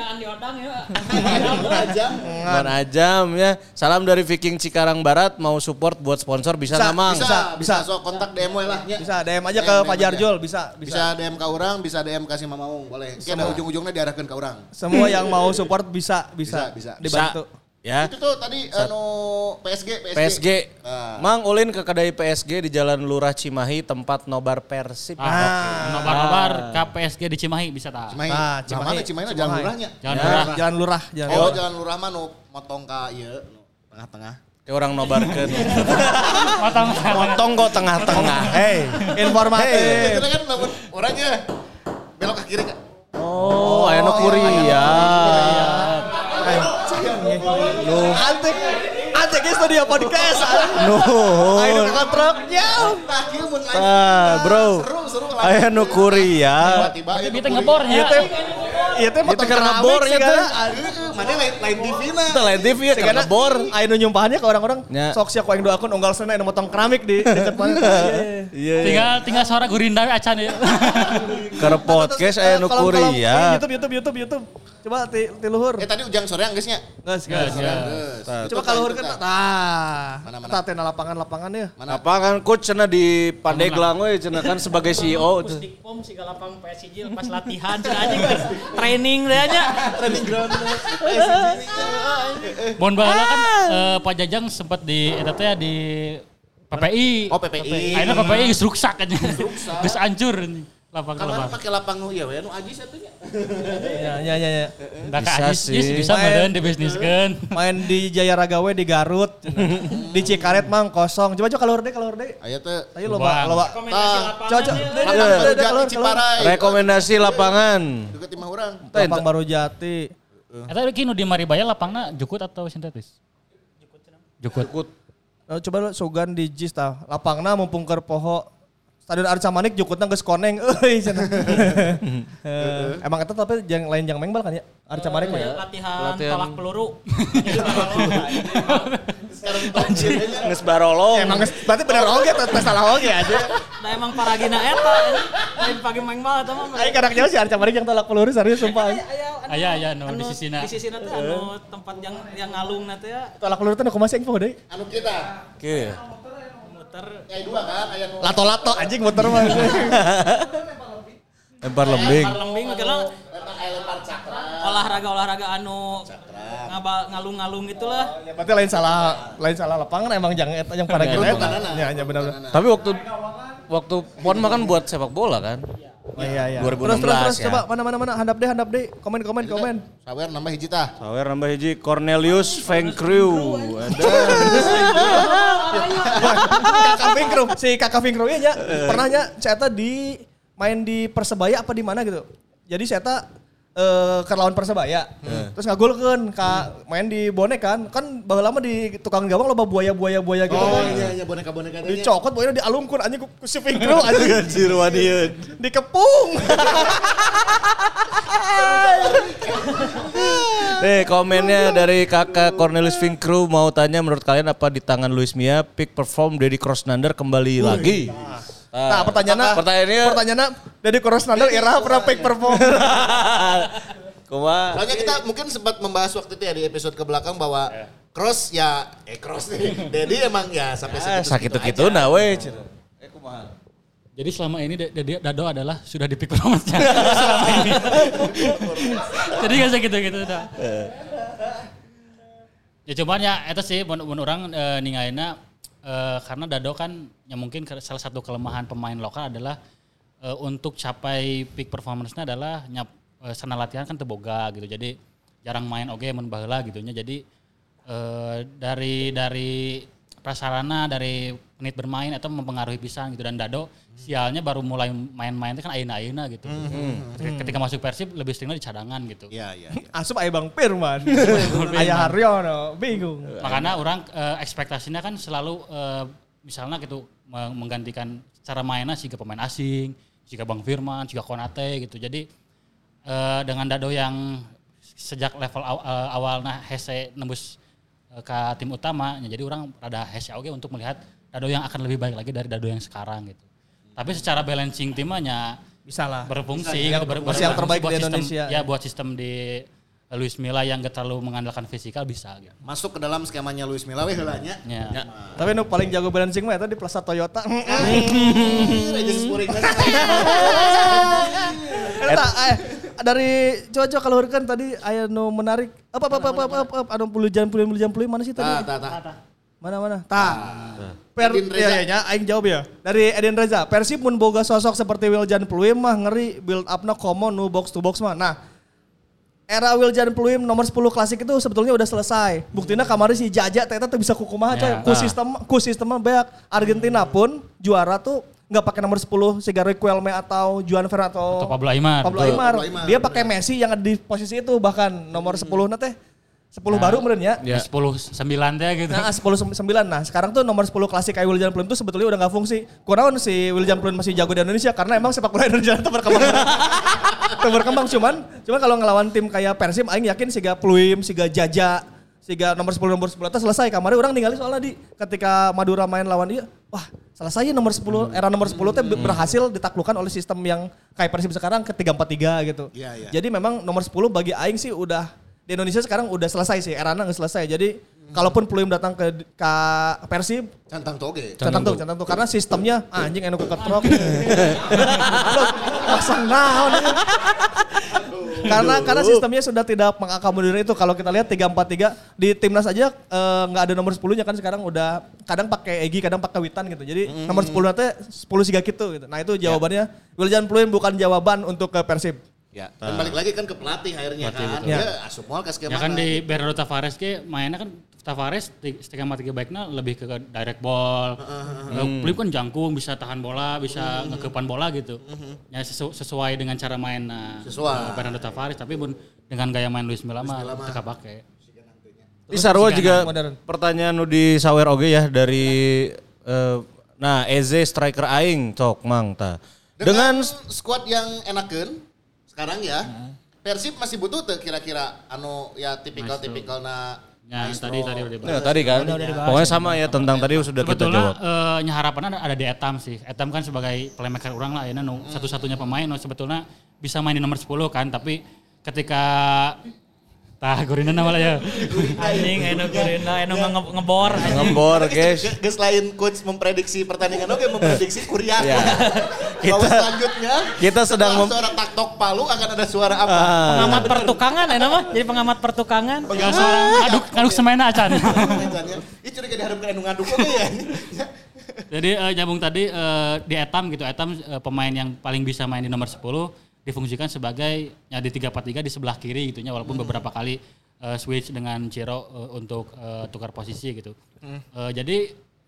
Ngon Ajam ya, salam dari Viking Cikarang Barat, mau support buat sponsor bisa, bisa namang. Bisa, bisa, so kontak D M we lah. Bisa D M aja ke Fajar Jul, bisa, bisa. Bisa D M ke orang, bisa D M kasih Mamaung, boleh. Kita ujung-ujungnya diarahkan ke orang. Semua yang mau support bisa, bisa, bisa, bisa. dibantu. Ya. Itu tuh tadi anu P S G, P S G. P S G. Nah. Mang ulin ke kedai P S G di Jalan Lurah Cimahi tempat nobar Persib. Ah, okay. Nobar-nobar ke P S G di Cimahi bisa tak? Cimahi. Nah, Cimahi. Nah, mana Cimahi, Cimahi. Jalan Lurahnya? Jalan ya. Lurah. Jalan Lurah. Jalan oh, Jalan Lurah mah nu motong ka ieu nu tengah-tengah. Kayak orang nobarkeun. Motong motong kok tengah-tengah. Hei, informatif. Hey. Itu kan lamun orangnya belok ke kiri kan. Oh, aya nu kuriat. Nuh. Antek, antek ke studio podcast. Nuh. Ayo kontraknya. Ah, bro. Seru, seru. Aya nu kuriat. Tiba-tiba itu ngebornya. Iya teh motor keramik sih kan. Mana lain lain T V na. Itu lain T V ya karena bor. Ayo nu nyumpahannya ke orang-orang. Sok sia ku aing doakeun unggal sana anu motong keramik di dekat mana. Iya. Tinggal tinggal suara gurinda acan ya. Keur podcast aya nu kuriat. YouTube YouTube YouTube YouTube. Coba ti, ti luhur. Eh tadi ujang sore geus nya. Geus geus. Coba ka luhur kan. Tah. Tah teh lapangan-lapangan ya. Lapangan coach cenah di Pandeglang we cenah kan sebagai C E O. Pusdikpom siga lapang P S I J pas latihan cenah anjing training teh nya. Training ground. Mohon baheula kan Pak Jajang sempat di eta teh di P P I. Oh P P I. Ayeuna P P I geus ruksak aja. Geus hancur nih. Lapang lapang. Kamar pakai lapang nu ieu we nu Ajis atunya. Ya ya ya ya. Da ka Ajis bisa meureun dibisniskeun. Main di Jaya Ragawe di Garut. Di Cikaret mang kosong. Coba coba keluar deh keluar deh. Aya teh. Ayo loba loba. Rekomendasi lapangan. Rekomendasi lapangan. Dekat imah urang. Lapang Baru Jati. Eta ki nu di Maribaya lapangna jukut atau sintetis? Jukut. Jukut. Coba Sugan di Jis tah. Lapangna mumpung keur poho. Stadion Arca Manik jukutna geus koneng euy cenah. Emang eta tapi yang lain yang mengbal kan ya? Arca Manik mah ya. Latihan tolak peluru. Geus barolong. Emang berarti bener oge teh salah oge aja. Da emang paragina eta lain pagi mengbal eta mah. Ai kadang nyawa si Arca Manik yang tolak peluru serius sumpah. Aya aya nu di sisina. Di sisina teh anu tempat yang yang ngalungna teh ya. Tolak peluru teh nu kumaha sih info deui? Anu kita. Oke. Muter. Aya dua kan, aya nu lato-lato anjing muter mah. Lempar lembing. Lempar lembing karena lempar aya lempar cakra. Olahraga-olahraga anu ngabal ngalung-ngalung gitulah. Ya berarti lain salah, lain salah lapangan emang jangan eta yang pada kita. Ya hanya benar. Tapi waktu waktu pon mah kan buat sepak bola kan. Oh iya iya. dua ribu enam belas terus terus, terus ya. Coba mana mana mana handap deh handap deh. Komen komen komen. Sawer nambah hiji tah. Sawer nambah hiji Cornelius Feng Crew. Ada. Kakak Vinkru, si Kakak Vinkru nya pernah nya saya di main di Persebaya apa di mana gitu. Jadi saya Uh, ke lawan Persebaya, hmm. terus ngagulkeun ka main di bonek kan, kan baheula lama di tukang gawang loba buaya-buaya buaya gitu oh, kan. Oh iya iya boneka-boneka tanya. Dicokot buaya dialungkeun anjing ku si Vinkru anjing. Anjir wadieu. Dikepung. Nih komennya dari kakak Cornelis Vinkru mau tanya menurut kalian apa di tangan Luis Milla peak perform Deddy Krosnander kembali Uy. lagi? Nah, pertanyaannya, pertanyaannya, pertanyaannya Deddy Krosnander era pernah peak perform. Kuma. Soalnya kita mungkin sempat membahas waktu itu ya di episode ke belakang bahwa yeah. Cross ya, eh Cross nih, Deddy emang ya sampai ya, segitu sakit gitu nah we. Eh kumaha. Jadi selama ini Deddy Dado adalah sudah di peak performance-nya selama ini. Jadi gak usah gitu-gitu dah. Ya cuman ya itu sih mun orang e, ningaina e, karena Dado kan ya mungkin salah satu kelemahan pemain lokal adalah e, untuk capai peak performance-nya adalah nyap e, sana latihan kan teboga gitu. Jadi jarang main oge mun baheula gitu nya. Jadi e, dari dari prasarana dari menit bermain atau mempengaruhi pisan gitu dan Dado sialnya baru mulai main-main itu kan ayeuna-ayeuna gitu. Mm-hmm. Ketika, ketika masuk Persib lebih seringnya di cadangan gitu. Iya iya. Asup aya Bang Firman. Aya Haryono, bingung. Makanya orang uh, ekspektasinya kan selalu uh, misalnya gitu menggantikan cara mainnya jika pemain asing, jika Bang Firman, jika Konate gitu. Jadi uh, dengan Dado yang sejak level aw, uh, awalnya hese nembus uh, ke tim utama, jadi orang rada hese oke untuk melihat Dado yang akan lebih baik lagi dari Dado yang sekarang gitu. Tapi secara balancing timnya bisa lah berfungsi bisa, gitu, ber, ber, yang terbaik buat di sistem, Indonesia. Ya buat sistem di Luis Milla yang gak terlalu mengandalkan fisikal bisa gitu. Masuk ke dalam skemanya Luis Milla we heulanya. Ya. Ya. Tapi nu paling jago balancing mah eta di Plaza Toyota. Rejen Spuring. Eta eh dari coba-coba kalau kan tadi aya nu menarik. Apa apa apa apa apa anu puluh jam puluh jam puluh mana sih tadi? Tah tah tah. Mana mana? Tah. Per ya, ya, aing jawab ya. Dari Eden Reza, Persib mun boga sosok seperti Wiljan Pluim mah ngeri build up-na common nu box to box mah. Nah, era Wiljan Pluim nomor sepuluh klasik itu sebetulnya udah selesai. Buktinya kemarin si Jaja teh teh bisa kukumaha coy. Ku sistem ku sistemnya beak. Argentina pun juara tuh enggak pakai nomor sepuluh si Riquelme atau Juan Ferran atau, atau Pablo Aimar. Pablo Aimar. Pablo Aimar. Dia pakai Messi yang ada di posisi itu bahkan nomor sepuluh na teh sepuluh nah, baru meren ya. Ya sepuluh sembilan teh gitu. Nah sepuluh sembilan. Nah sekarang tuh nomor sepuluh klasik kayak Wiljan Pluim tuh sebetulnya udah gak fungsi. Kurang si Wiljan Pluim masih jago di Indonesia karena emang sepak bola Indonesia itu berkembang. Itu berkembang cuman, cuman kalau ngelawan tim kayak Persib aing yakin siga Pluim, siga Jaja, siga nomor sepuluh nomor sepuluh itu selesai. Kemarin orang ninggalin soalnya di ketika Madura main lawan dia, wah selesai nomor sepuluh, era nomor sepuluh itu berhasil ditaklukkan oleh sistem yang kayak Persib sekarang ke tiga empat tiga gitu. Ya, ya. Jadi memang nomor sepuluh bagi aing sih udah di Indonesia sekarang udah selesai sih, erana nggak selesai. Jadi hmm. kalaupun Pluim datang ke, ke Persib, cantang toge. Cantang tuh, cantang tuh. Karena sistemnya anjing enu keketrok. Pasang naon. karena karena sistemnya sudah tidak mengakomodir itu. Kalau kita lihat tiga empat tiga di timnas aja nggak uh, ada nomor sepuluh-nya kan sekarang udah kadang pakai Egy, kadang pakai Witan gitu. Jadi hmm. nomor sepuluh nanti sepuluh siga gitu gitu. Nah itu jawabannya. Ya. Wiljan Pluim bukan jawaban untuk ke Persib. Ya, dan balik lagi kan ke pelatih akhirnya pelatih, kan. Ya. Ya, asup moal ke skema. Ya kan di Bernardo Tavares ke mainnya kan Tavares skema tiga baiknya lebih ke direct ball. Uh, uh, uh. Pluim kan jangkung, bisa tahan bola, bisa uh, ngekepan bola gitu. Uh, ya sesu, sesuai dengan cara main nah, uh, Bernardo Tavares tapi pun dengan gaya main Luis Milla mah teka pakai. Di Sarwa juga modern. Pertanyaan nu di sawer oge ya dari uh, nah Eze striker aing cok mang ta. Dengan, dengan squad yang enakeun sekarang ya, hmm. Persib masih butuh tuh kira-kira anu ya tipikal-tipikal na ya, tadi tadi udah dibahas. Ya, tadi kan. Udah, udah pokoknya sama ya tentang ya. Tadi sudah kita jawab. Sebetulnya uh, harapannya ada di Etam sih. Etam kan sebagai playmaker orang lah ya no, hmm. satu-satunya pemain no, sebetulnya bisa main di nomor sepuluh kan, tapi ketika tah Gorina nama lah ya. Anjing eno Gorina eno nge- ngebor ngebor guys. Geus lain coach memprediksi pertandingan oke memprediksi Kuriak. Ya. Kita selanjutnya kita sedang mem- suara taktok palu akan ada suara apa? Ah. Pengamat pertukangan ya nama? Jadi pengamat pertukangan. Enggak suara ngaduk ngaduk semena acan. Ih curiga diharapkan anu ngaduk oke ya. Jadi uh, nyambung tadi uh, di Etam gitu. Etam uh, pemain yang paling bisa main di nomor sepuluh difungsikan sebagai ya di tiga empat tiga di sebelah kiri gitu nya walaupun hmm. beberapa kali uh, switch dengan Ciro uh, untuk uh, tukar posisi gitu. Hmm. Uh, jadi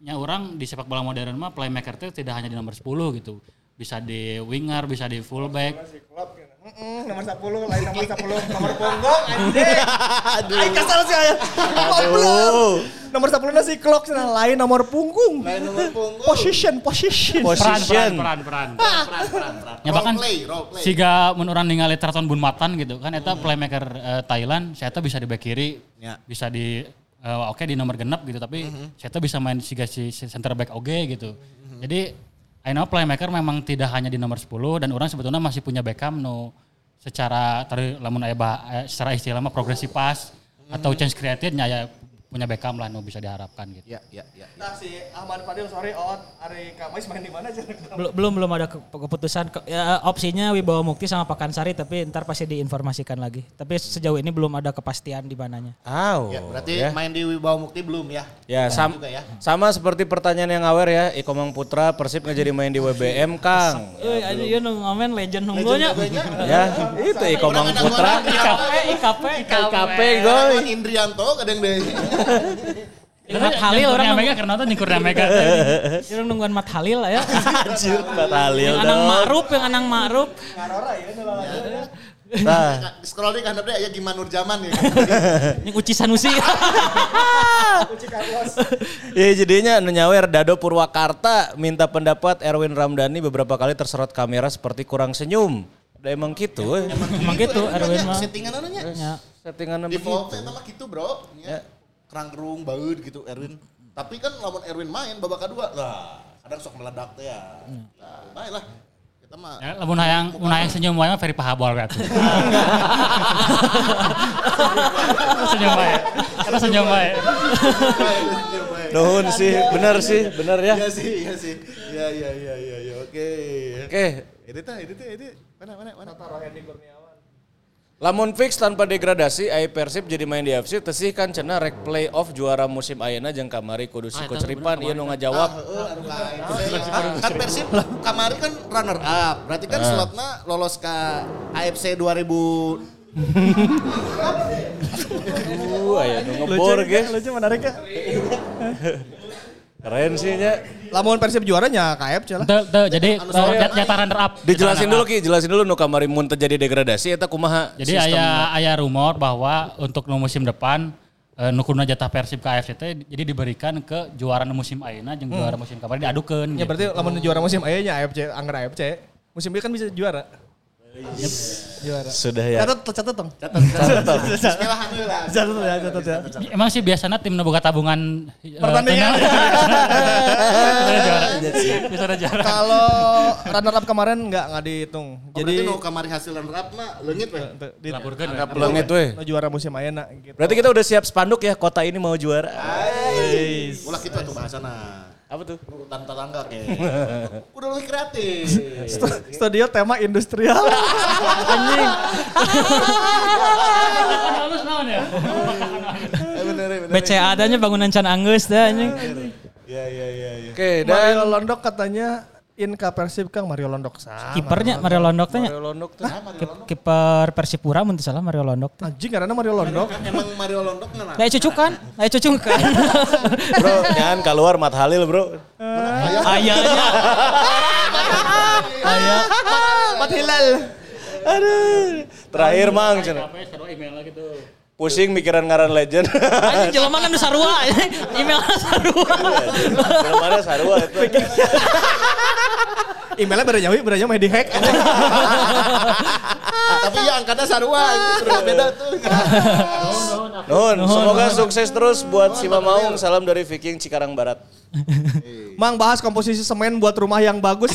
nya orang di sepak bola modern mah playmaker itu tidak hanya di nomor sepuluh gitu. Bisa di winger, bisa di fullback. Mm-mm, nomor sepuluh, lain nomor sepuluh, nomor punggung anjing. Aduh. Ay, kesal sih aya. Aduh. Nomor sepuluh nasi clock cenah lain nomor punggung. Lain nomor punggung. Position, position. Peran, peran, peran, peran. Peran, peran, peran. Ya bahkan Role play, role play. siga mun urang ningali Traton Bunmatan gitu kan eta playmaker uh, Thailand, saya bisa di back kiri, Ya. bisa di uh, oke okay, di nomor genep gitu tapi saya bisa main siga si center back oge gitu. Jadi I know playmaker memang tidak hanya di nomor sepuluh dan orang sebetulnya masih punya Beckham no secara tadi lamun aya bah, secara istilah mah progressive pass hmm. atau chance created nya ya punya Beckham lah no bisa diharapkan gitu. Ya, ya, ya. ya. Nah si Ahmad Fadil sorry out Ari Kamais main di mana aja? Belum belum belum ada ke- keputusan Ke- ya, opsinya Wibawa Mukti sama Pakansari tapi ntar pasti diinformasikan lagi. Tapi sejauh ini belum ada kepastian di mananya. Oh, Ya, berarti ya. main di Wibawa Mukti belum ya? Ya, Belum sam- juga ya. sama seperti pertanyaan yang awer ya, Iko Mang Putra Persib nggak jadi main di W B M, Kang. Euy, aja ieu nu ngamen legend nunggunya. Ya, itu Iko Mang Putra. I K P, I K P, K P goy. Lawan Indrianto kadang deh. Mat Halil orang Mega karena itu nyukur Mega. orang nungguan Mat Halil lah ya. Anjir, Mbak Halil Yang anang dong. Ma'ruf, yang anang Ma'ruf. Nah, Scroll di handap deh ya gimana Nur Zaman ya. Yang Uci Sanusi. ya jadinya anu nyawer Dado Purwakarta minta pendapat Erwin Ramdhani beberapa kali tersorot kamera seperti kurang senyum. Udah emang gitu. eh. Emang gitu Erwin mah. Settingan nya. Ya. Settingannya Di begitu. Volta itu mah gitu bro. Ya. Kerang-kerung baut gitu Erwin. Tapi kan lawan Erwin main babak kedua. Lah kadang sok meledak teh ya. Nah, baiklah. Kita mah. Ya, lamun hayang mun hayang senyum wae mah very pahabol kan. Senyum wae. Kata senyum wae. Nuhun sih, bener sih, bener ya. Iya sih, iya sih. Iya, iya, iya, iya, iya. Oke. Oke, Ini tuh, ini tuh, ini mana, mana, mana. lamun fix tanpa degradasi, ai Persib jadi main di F C, tesih kan cenah rek playoff juara musim ayeuna jeung kamari kudu si Coach Ripan ieu nu ngajawab. Heeh, anu lain. Kan Persib kamari kan runner up. Berarti kan slotna lolos ke A F C dua ribu. Uh, aya nu ngebor ge. Lucu menarik ya. Keren sih nya. Lamun Persib juaranya K F C lah. Tuh, tuh, jadi uh, jatah runner up. Dijelasin Jatah dulu runner Ki, jelasin dulu nu kamari mun terjadi degradasi eta kumaha? up. Jadi aya aya rumor bahwa untuk nu musim depan uh, nu kuna jatah Persib ke A F C teh jadi diberikan ke juara nu musim ayeuna jeung juara musim kamari diadukeun. Ya berarti lamun juara musim aya nya A F C, anggar A F C. Musim ieu kan bisa juara. Juara. Sudah ya. Catat, catat dong. Bismillah lah. Catat ya, catat ya. Emang sih biasanya tim nu boga tabungan uh, Pertandingan. Bisa juara. Bisa juara. Kalau runner up kemarin enggak enggak dihitung. Jadi Jadi nu kamari hasil runner up mah leungit weh. Laporkeun. Anggap leungit we. nu juara musim ayeuna gitu. Berarti kita udah siap spanduk ya, kota ini mau juara. Ulah kitu atuh bahasana. Apa tuh? Urutan tetangga kayak. Udah lebih kreatif. Studio tema industrial. Anjing. Halus naon ya? Bener, bener. B C A adanya bangunan can anggeus dah anjing. Iya, iya, iya, iya. Oke, Mario dan Londok katanya in ka Persib Kang Mario Londok sama. Kipernya Mario Londok tanya. Mario Londok tuh. Kip- Kiper Persipura mun teu salah Mario Londok teh. Anjing karena Mario Londok. Emang Mario Londok ngana? Lah cucukan, lah cucukan. Bro, jangan keluar Mat Halil, Bro. Ayahnya. Ayah. Mat Hilal. Aduh. Terakhir Mang cenah. Apa ya, email lah gitu. Pusing mikiran ngaran legend. Anjing jelema kan nu sarua. Email sarua. Mana sarua itu. Emailnya beda nyawi, beda nyawi di hack. Tapi ya angkatnya sarua, itu beda tuh. Nuhun, semoga sukses terus buat si Mamaung. Salam dari Viking Cikarang Barat. Mang bahas komposisi semen buat rumah yang bagus.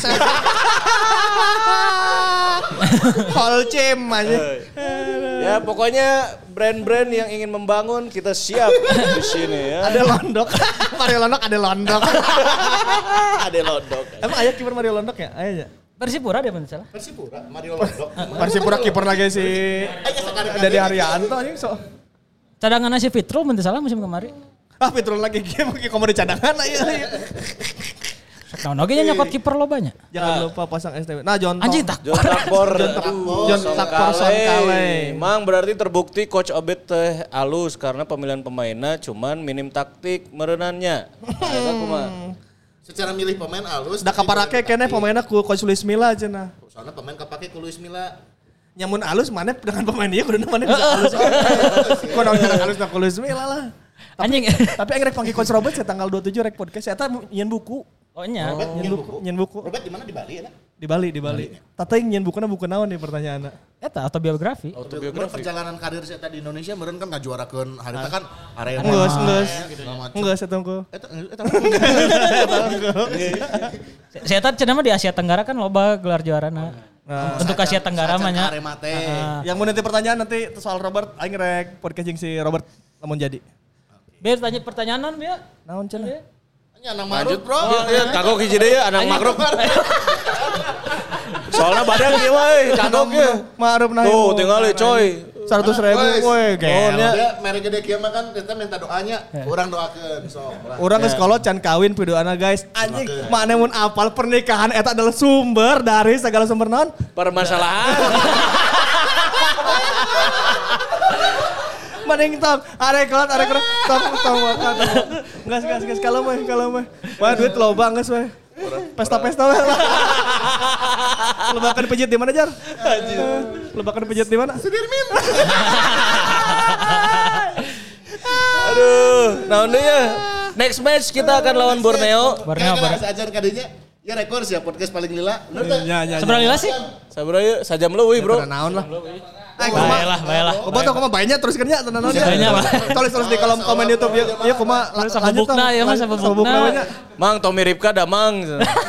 Holcim aja. Ya pokoknya brand-brand yang ingin membangun kita siap di sini ya. Ada Londok. Mario Londok ada Londok. Ada Londok. Emang ayah kiper Mario Londok ya? Ayah. Persipura dia mun teu salah. Persipura, Mario Londok. Persipura kiper lagi si Dede Haryanto anjing so. Cadangan si Fitrul mun teu salah musim kemarin. Ah Fitrul lagi game kamu di cadangan aja. Nah, oge nya nyokot kiper lobanya. Jangan lupa pasang S T W. Nah, John Anjing tak. John Takbor. John Takbor Songkale. Mang berarti terbukti coach Obet teh alus karena pemilihan pemainnya cuman minim taktik merenannya. Eta kumaha? Secara milih pemain alus. Da kaparake keneh pemainna ku Coach Luis Milla cenah. Soalnya pemain kapake ku Luis Milla. Nyamun alus mana dengan pemain dia kudu mana bisa alus. Ku naon alus na ku Luis Milla lah. Anjing. Tapi aing rek panggil Coach Robert ya tanggal dua puluh tujuh rek podcast eta nyeun buku. Oh nya. Nyeun buku, nyeun buku. Robert di mana di Bali ya? Di Bali, di Bali. Tata yang nyeun bukuna buku naon nih pertanyaanna. Eta autobiografi. Autobiografi. Perjalanan karir saya tadi di Indonesia meureun kan ngajuarakeun harita kan arena. Enggeus, enggeus. Enggeus eta engko. Eta eta. Saya tadi cenah mah di Asia Tenggara kan loba gelar juarana. Nah, untuk Asia Tenggara mah nya. Yang mau nanti pertanyaan nanti soal Robert aing rek podcast jeung si Robert lamun jadi. Biar tanya pertanyaan non dia. Naon cenah? Nya nang marut, Bro. Iya, kagok hiji deui ya anak makruk. Soalnya badan ieu mah euy, kagok ge. Ma'ruf nah. Tuh, tinggal coy. seratus ribu woi gel. Dia mere gede kieu mah kan kita minta doanya, urang doakeun sok. Urang geus kolot can kawin pidoana guys. Anjing, mana mun apal pernikahan eta adalah sumber dari segala sumber naon? Permasalahan. Mending tong, arek kolot, arek kolot, tong, tong, makan. Ngas, ngas, ngas, kalau mah, kalau mah. Wah duit loba ngas weh. Pesta-pesta weh lah. Lebakan pijit di mana Jar? Lebakan pijit di mana? Sudirmin. Aduh, naon deui ya? Next match kita akan lawan Borneo. Borneo, Borneo. Sajar kadinya. Ya rekor sih ya podcast paling lila. Bener tak? Ya, ya. Seberapa lila sih? Sabaraha yeuh, sajam leuwih, Bro. Naon lah. Baiklah, baiklah. Kok tau koma banyak terus kerja tenan naon ya. Banyak, Pak. Tulis-tulis di kolom komen YouTube ya. Ya koma lanjut bukna ya Mas, sama bukna. Mang Tommy Ripka da mang.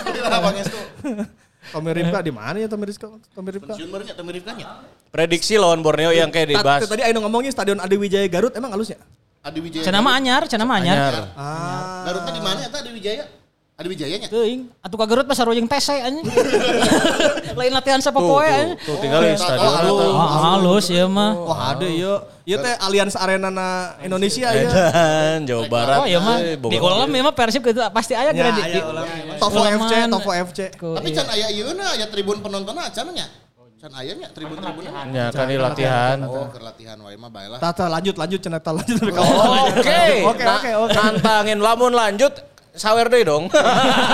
Tommy Ripka di mana ya Tommy Ripka? Tommy Ripka. Pensiun barunya Tommy Ripkanya. Prediksi lawan Borneo yang kayak dibahas. Tadi ayo ngomongnya Stadion Adi Wijaya Garut emang halusnya? Adi Wijaya. Cenah mah anyar, cenah mah anyar. Ah. Garutnya di mana eta Adi Wijaya? Adi Wijayanya. Teuing, atuh ka Garut mah sarojeng tese anjing. Lain latihan sapopoe anjing. Tuh tinggal di stadion. Ah, halus ya mah. Wah ada ya. Ieu teh Allianz Arena na Indonesia ya. Dan Jawa Barat. Oh iya mah di ulam memang Persib gitu pasti aya Ya, di ya, Tofo F C, Tofo F C. Tapi can aya ieuna aya tribun penontonna can nya. Can aya nya tribun-tribunna. Ya kan ini latihan. Oh, keur latihan wae mah bae lah. Tata lanjut lanjut cenah tata lanjut. Oke. Oke oke oke. Nantangin lamun lanjut sawer deui dong. Buka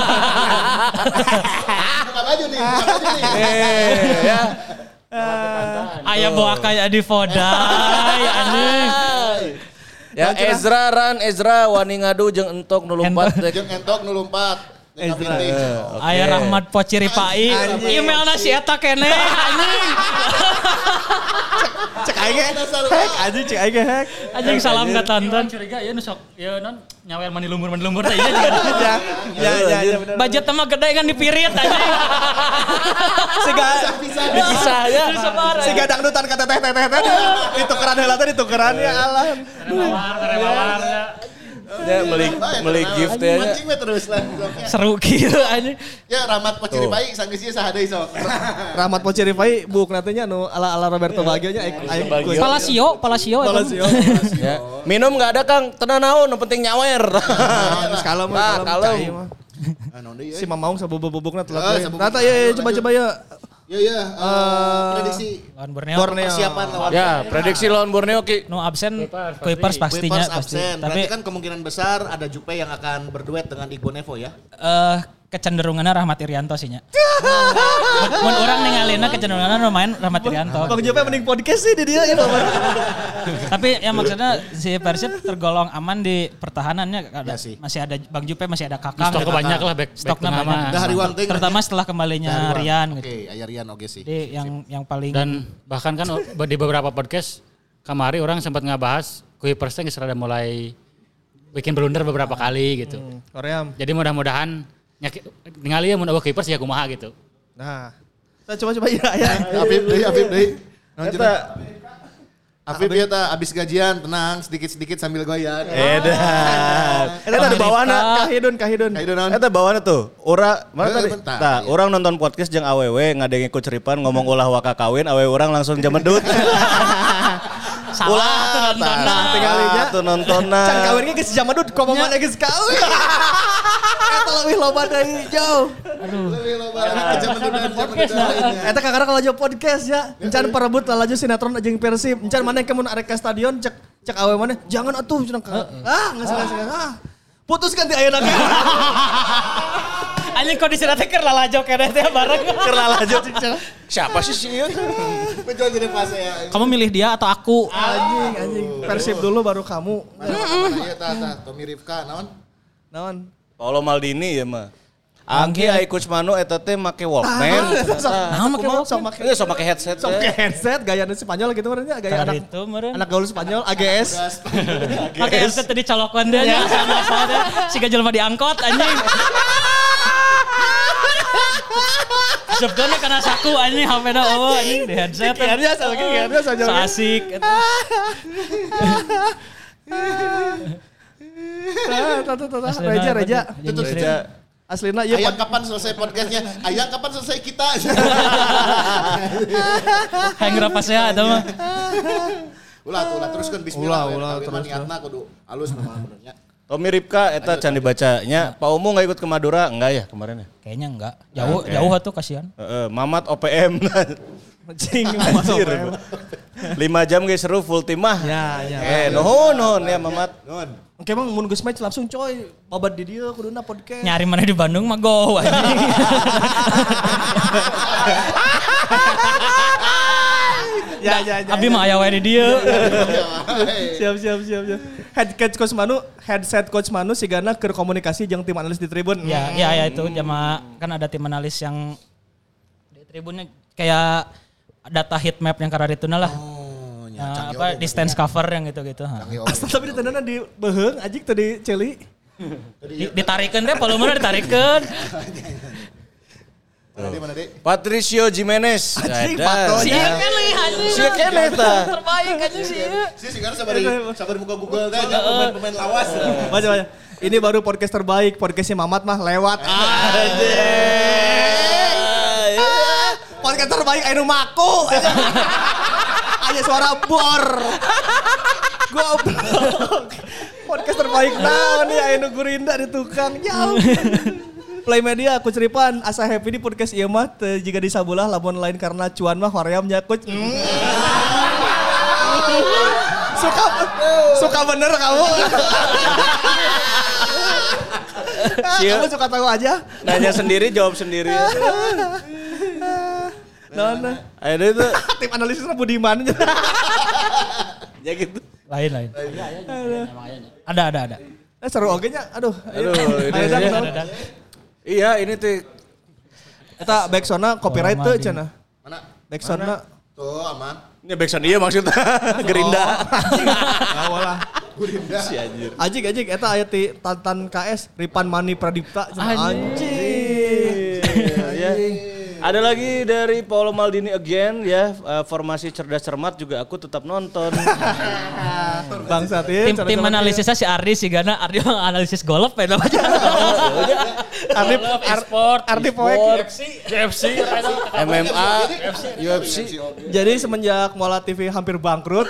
baju nih, buka baju nih. Eh, ya. Aya bawa kayak di Vodai anjing. Ya Ezra Ran Ezra wani ngadu jeung entok nu lumpat teh. Jeung entok nu lumpat. Ezra. Aya Rahmat Pociripai. Emailna si eta keneh anjing. Cek aing hack anjing cek aing hack. Anjing salam ka Tantan. Curiga ya nu sok ya non nyawer mani lumpur mani lumpur teh juga. Ya ya ya benar. Budget mah gede kan dipirit anjing. Siga Bisa ya. siga dangdutan ka teteh teteh teh ditukeran heula teh ditukeran ya Allah. Rewar, rewar. Ya beli beli gift ya. Mancing we terus lah. Seru kieu anjing. Ya Rahmat Pociripai sanggeus ieu saha deui sok. Rahmat Pociripai buk natenya nu ala-ala Roberto Baggio nya aing kuis. Palacio, Palacio. Palacio. Ya. Minum enggak ada Kang, tenang naon, yang penting nyawer. Terus kalem Nah, kalem. Ah naon deui? Si Mamaung sabubuk-bubukna Ah, telat. sabubuk. Tata ya coba-coba ya. Ya ya, eh, prediksi Lawan Borneo. Borneo. persiapan lawan Ya, prediksi lawan Borneo Ki. Nu absen Kuipers pastinya Kuipers pasti. absen. Tapi Berarti kan kemungkinan besar ada Jupe yang akan berduet dengan Igbo Nevo ya. eh kecenderungannya Rahmat Irianto sih nya. Mun orang ningalina kecenderungannya main Rahmat Irianto. Bang Jope mending podcast sih di dia itu. Tapi ya maksudnya si Persib tergolong aman di pertahanannya. Ada, Ya sih. masih ada Bang Jupe, masih ada Kakang. Stok banyak lah back Stoknya back tengah banyak. mah. Dah hari Wang Ting. Terutama setelah kembalinya Rian Oke, gitu. aya Rian oge sih. Jadi yang yang paling Dan bahkan kan di beberapa podcast kemarin orang sempat ngabahas Kuipers teh geus rada mulai bikin blunder beberapa kali gitu. Korea. Jadi mudah-mudahan nyaki- ningali ya mun eueuh Kuipers ya kumaha gitu. Nah. Kita coba-coba ya ya. Afif deui, Afif deui. Naon cenah? Afif ya ta abis gajian tenang sedikit-sedikit sambil goyang. Edan. Eta di bawahna. Kahidun kahidun. Ayo naon? Eta bawahna tuh. Ora, mana Eh, tadi? bentar, Tah, iya. orang nonton podcast jeung awewe ngadenge ku ceripan ngomong ulah waka kawin, awewe orang langsung jamedut. Salah tuh nontonna. Nah, tinggalinya tuh nontonna. Can kawin ge geus jaman dud komo mana geus kawin. Eta leuwih loba deui jauh. Aduh. Lebih loba lagi zaman dulu Podcast lah. Eta kakara kalau jauh podcast ya. Encan perebut lalaju sinetron jeung Persib. Encan mana ke mun arek ka stadion cek cek awe mana jangan atuh cenah. Ah geus geus ah. Putus ganti ayeuna ge. Anjing kondisi teh keur lalajo keneh teh bareng. Keur lalajo. Siapa sih sih ieu? Betul jadi fase ya. Kamu milih dia atau aku? Anjing anjing Persib dulu baru kamu. Iya tah tah Tommy Rifka naon? Naon? Paulo Maldini ya mah. Angki ai Coach Manu eta teh make Walkman. Nah, make sok make Iya, sok make headset. sok make headset gayana Spanyol gitu meureun nya gaya anak Itu meureun. anak gaul Spanyol A G S. Pakai headset tadi colokan dia nya sama-sama siga jelema diangkot anjing. Sebetulnya karena saku anjing H P-na oh anjing di headset. Kiannya sama kiannya saja. So asik. Tah tah tah Reja Reja. Tutup Reja. Aslina ieu Ayang kapan selesai podcastnya? Ayang kapan selesai kita? Hayang rapasea eta mah. Ulah tuh ulah teruskeun bismillah. Ulah, ulah, terus. terus. Niatna kudu alus nama benernya. Tommy Ripka eta can dibacanya. Pak Umu enggak ikut ke Madura enggak ya kemarin ya? Kayaknya enggak. Jauh jauh atuh kasihan. Heeh, Mamat O P M. Anjing Anjir. lima jam guys seru full tim mah. Ya, ya. Eh, nuhun nuhun ya Mamat. Nuhun. Oke emang mun geus match langsung coy babat di dieu kuduna podcast. Nyari mana di Bandung mah go anjing. Ya ya ya. Abi mah aya wae di dieu. Siap siap siap siap. Head coach Coach Manu, headset Coach Manu sigana keur komunikasi jeung tim analis di Tribun. Ya, ya, ya itu jama kan ada tim analis yang di tribunnya kayak data heat map yang karena itu lah. Oh, nya Nah, canggih apa oge. distance cover yang gitu-gitu. Ha. Canggih oge. Asal tapi ditandana di beheung ajik teh di celi. Di, ditarikeun deh, volumenya ditarikeun. Mana mana deh? Patricio Jimenez. Anjing, Ada. patronya. Sia kali anjing. Sia keneh tah. Terbaik anjing sih. Si sekarang sabar sabar buka Google teh aja pemain-pemain lawas. Baca baca. Ini baru podcast terbaik, podcastnya Mamat mah lewat. Podcast terbaik anu maku. Aya suara bor. Goblok. Podcast terbaik naon nih aya nu gurinda di tukang jauh. Play Media aku ceripan asa happy di podcast ieu mah teu jiga di sabulah lamun lain karena cuan mah hoream nya coach. Mm. Suka suka bener kamu. Kamu suka tahu aja. Nanya sendiri jawab sendiri. Nah, nah. Ayo itu Tim analisisnya Budiman. ya gitu. Lain lain. Ada ada ada. Eh, seru oge nya. Aduh. Aduh, ini Ayo, ya. Dang, Ada. Iya, ini tuh eta backsoundna copyright teu cenah. Mana? Backsoundna Tuh aman. ini backsound iya maksudnya. Gerinda. awalah. Gurinda. Si anjir. Ajik ajik eta aya ti Tantan K S Ripan Mani Pradipta. Anjing. Ya. Ada lagi dari Paulo Maldini again ya, uh, formasi cerdas cermat juga aku tetap nonton. Bangsat ieu. Tim tim analisisnya si Ardi si Gana Ardi mah analisis golf ya namanya. Ardi Sport, Ardi Poek. U F C, M M A, U F C. Jadi semenjak Mola T V hampir bangkrut.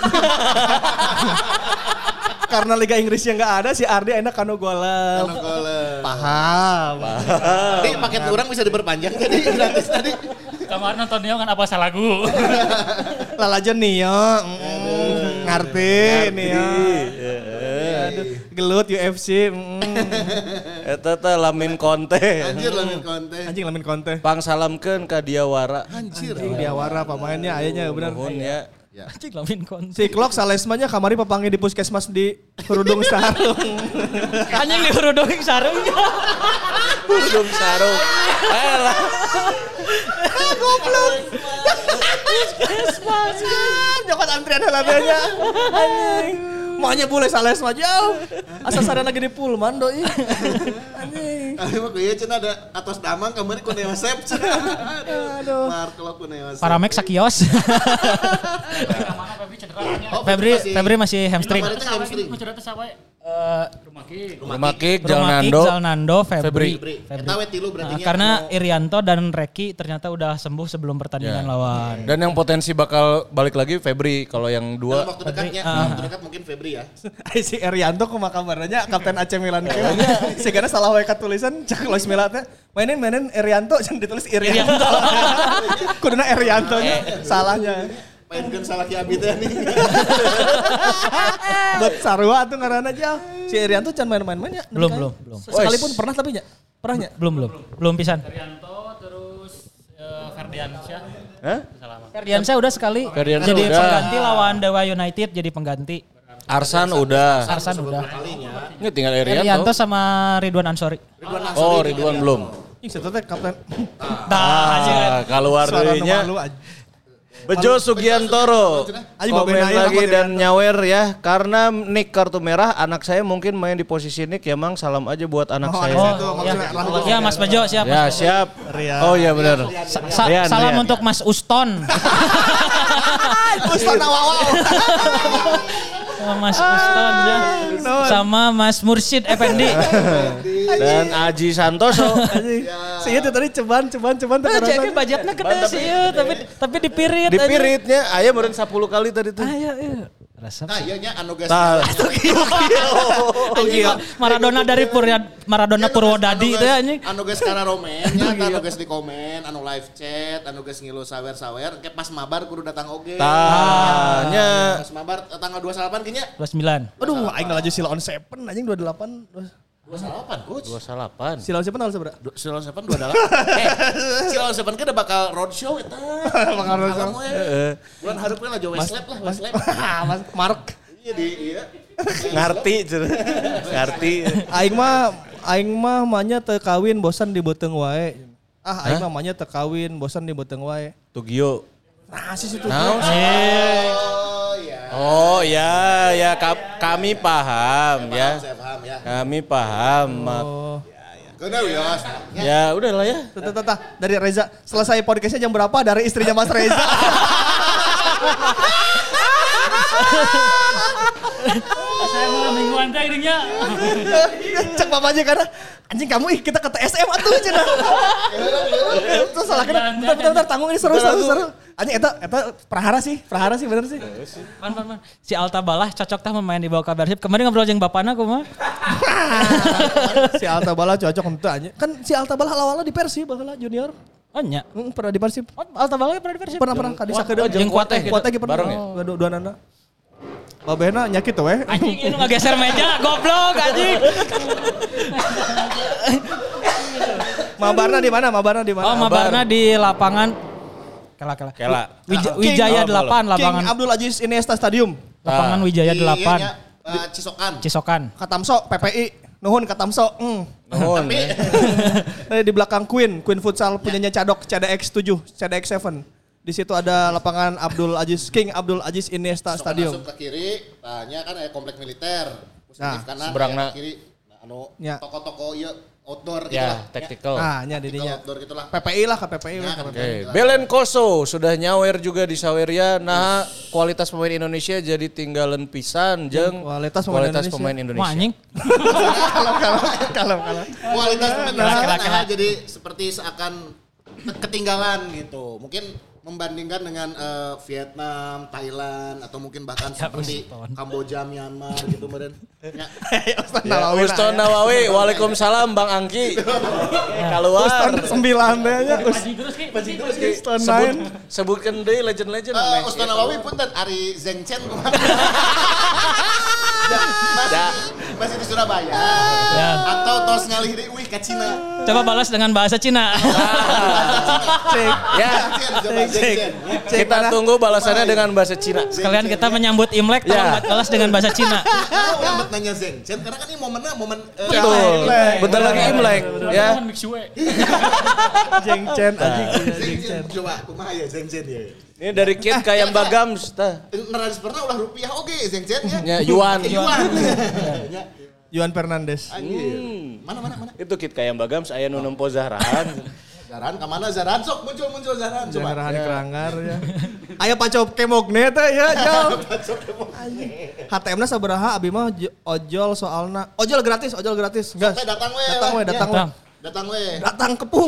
Karena Liga Inggrisnya nggak ada, si Ardi enak kanu golep. Anu golep. Paham. Tadi paket orang bisa diperpanjang tadi gratis tadi. Kemarin nonton Nio kan apa salah lagu. Lalajan Nio, mm, ngerti Nio. Aduh, gelut U F C. Mm. Eta teh lamin konte. Anjir lamin konten. Anjing lamin konten. Pang salamkeun ka Diawara. Anjir. Anjing diawara pemainnya ayahnya bener. Nuhun ya. Anjing lamin kon. Si Klok salesmanya kamari papangi di puskesmas di Kerudung Sarung. Anjing di hurudung sarung. Hudung sarung. Ayolah. Goblok. Puskesmas. Nyokot antrian helabenya. Anjing. Maunya boleh sales mah jauh. Asa sarana lagi di Pullman doi. Anjing. Ari mah kieu cenah ada atos damang kamari ku Neosep cenah. Aduh. Mark lo ku Neosep. Paramek sakios. Mana Febri cedera. Oh, Febri masih- Febri masih hamstring. Kemarin teh hamstring. Ku cedera teh sawe. Uh, Rumah Kick. Rumah Kick, Rumah Kick, Jalnando, Zalnando, Febri. Febri. Febri. Eta we tilu berarti Nah, nya. karena Irianto dan Reki ternyata udah sembuh sebelum pertandingan Ya. lawan. Dan yang potensi bakal balik lagi Febri. Kalau yang dalam dua waktu dekatnya, Febri, dalam waktu dekat mungkin Febri ya. Si Erianto kumaha kabarnya Kapten A C Milan kieu. Sigana salah wae tulisan cak Luis Milla teh. Mainin mainin Erianto jangan ditulis Irianto. Kuduna Erianto nya salahnya. Painkeun salah ki abi teh nih. Buat sarua tuh ngaranna aja. Si Erianto can main-main nya. Belum, belum, belum. Sekalipun pernah tapi nya. Pernah nya? Belum, belum. Belum pisan. Rianto terus uh, Ferdiansyah. Hah? Salah. Ferdiansyah udah sekali Ferdiansyah jadi udah. pengganti lawan Dewa United jadi pengganti. Arsan udah. Arsan udah. Ini tinggal Irianto Irianto. sama Ridwan Ansori. Oh, Ridwan belum. Ih, setu teh kapten. Ah, keluar Suara nu deunya. malu aja. Bejo Sugiantoro. Ayo, Komen Babe Naya lagi sama dan nyawer ya. Karena Nick kartu merah, anak saya mungkin main di posisi Nick ya Mang. Salam aja buat anak Oh, saya. anak Oh, Itu ya. maksudnya Rahul. Ya Mas Bejo siap. Ya Mas Bejo. siap. Rian. Oh iya benar. Sa- sa- Rian, salam Rian. untuk Mas Uston. Ustaz Nawawau. Sama Mas Uston ya. Sama Mas Mursyid Effendi. Dan Aji Santoso. Si itu tadi ceban ceban ceban Nah, terus. jadi budgetnya gede sih ya, tapi tapi dipirit Di aja. piritnya ayah meureun sepuluh kali tadi tuh. Ayo, iya. Rasa. Nah, ieu nya anu geus. Tah. Anjing, Maradona dari Purya Maradona Purwodadi itu ya anjing. Anu geus kana romen nya, anu geus di komen, anu live chat, anu geus ngilu sawer-sawer, ke pas mabar kudu datang oge. Tanya. Pas mabar tanggal dua puluh delapan kinya. dua puluh sembilan. Aduh, aing laju Silon Seven anjing dua puluh delapan. dua puluh delapan coach. dua puluh delapan. Silon Seven tanggal seberapa? Du- Silon Seven dua puluh delapan. Eh, Silon Seven kan udah bakal roadshow eta. Bakal roadshow. Alam we. Bulan hareupeun lah Joe Westlap lah, Westlap. Mas Mark. Iya di iya. Ngarti cenah. Ngarti. Aing mah aing mah manya teu kawin bosan di beuteung wae. Ah, aing mah manya teu kawin bosan di beuteung wae. Tugio. Nah, si situ. Oh iya. Oh ya, ya ka- kami paham ya. Saya paham ya. Kami paham. Mak. Oh. Kena wios. Ya udahlah ya. Tata tata dari Reza. Selesai podcastnya jam berapa dari istrinya Mas Reza? Saya malam mingguan teh geunya. Cek mamanya karena anjing kamu ih kita ke T S M atuh cenah. Terus salah kena. Bentar bentar bentar tanggung ini seru seru seru. Anjing eta eta prahara sih, prahara sih bener sih. Man, man, man. Si Alta Balah cocok tah memain di bawah Persib. Kemarin ngobrol jeung bapana kumaha? Si Alta Bala cocok untuk anjing. Kan si Alta Bala awalnya di Persib baheula junior. Oh nya. Hmm, pernah di Persib. Oh, Alta Balah pernah di Persib. Pernah pernah kadi sakedeung. jeung Kuateh gitu. Kuateh ge pernah. Bareng ya? Oh, dua dua nana. Babehna nyakit tuh weh. Anjing itu ngageser meja, goblok anjing. Mabarna di mana? Mabarna di mana? Oh, mabarna di lapangan Kela kela. Kela. Wija- King- Wijaya oh, delapan King lapangan. Abdul Aziz Iniesta Stadium. Lapangan Wijaya Di delapan. ieu nya, eh, Cisokan. Cisokan. Katamso P P I. Nuhun Katamso. Hmm. Nuhun. Eh, di belakang Queen, Queen Futsal punyanya Cadok, C D X tujuh, C D X tujuh. Di situ ada lapangan Abdul Aziz King Abdul Aziz Iniesta Cisokan Stadium. masuk ke kiri, tanya kan ada komplek militer. Terus Nah, di kanan seberangna. aya kiri. Nah, anu Ya. toko-toko ieu outdoor gitu Ya, lah. tactical. Ah, nya Tactical didinya. outdoor gitulah. P P I lah, ke P P I. Ya, lah, kan. ke P P I. Oke, Belen Koso sudah nyawer juga di Saweria. Nah, kualitas pemain Indonesia jadi tinggalan pisan jeung Kualitas pemain kualitas Indonesia. pemain Indonesia. Wah anjing. Kalau kalau kalau kalau. Kualitas pemain Kela, Indonesia kela, kan kela. jadi seperti seakan ketinggalan gitu. Mungkin membandingkan dengan eh, Vietnam, Thailand atau mungkin bahkan seperti Kamboja, Myanmar gitu meureun. Ya. Ya, Uston Nawawi, Waalaikumsalam Bang Angki. Keluar. Uston sembilan deh nya. Uston Sebut, nine. sebutkan deh legend-legend. Eh, Meh. Ustaz Nawawi punten Ari Zeng Chen kumaha? masih, masih di Surabaya. Ya. Atau tos ngalih deui wih ka Cina. Coba balas dengan bahasa Cina. Cek. Ya, Chen, coba Zeng Chen. kita tunggu balasannya dengan bahasa Cina. Sekalian kita menyambut Imlek, tolong Ya. balas dengan bahasa Cina. Kenapa yang buat nanya Zeng Chen? Karena kan ini momennya momen eh, Betul. Bentar lagi Imlek, ya. Jeng Chen anjing. Zeng Chen. Coba kumaha ya Zeng Chen ya. Ini dari Kid kayak Bagams tah. Neras pernah ulah rupiah oke Zeng Chen ya. Ya, Yuan. Yuan. Yuan Fernandes. Anjir. Mana mana mana. Itu Kid kayak Bagams aya nu nempo Zahrahan. Zaran kemana Zaran? Sok muncul-muncul Zaran. Coba. Jangan ya. Keranggar ya. Aya pacop kemogne teh ya, jauh. H T M-na sabaraha abi mah ojol soalna. Ojol gratis, ojol gratis. Gas. Datang we. Datang we, datang we. Datang we. Datang kepung.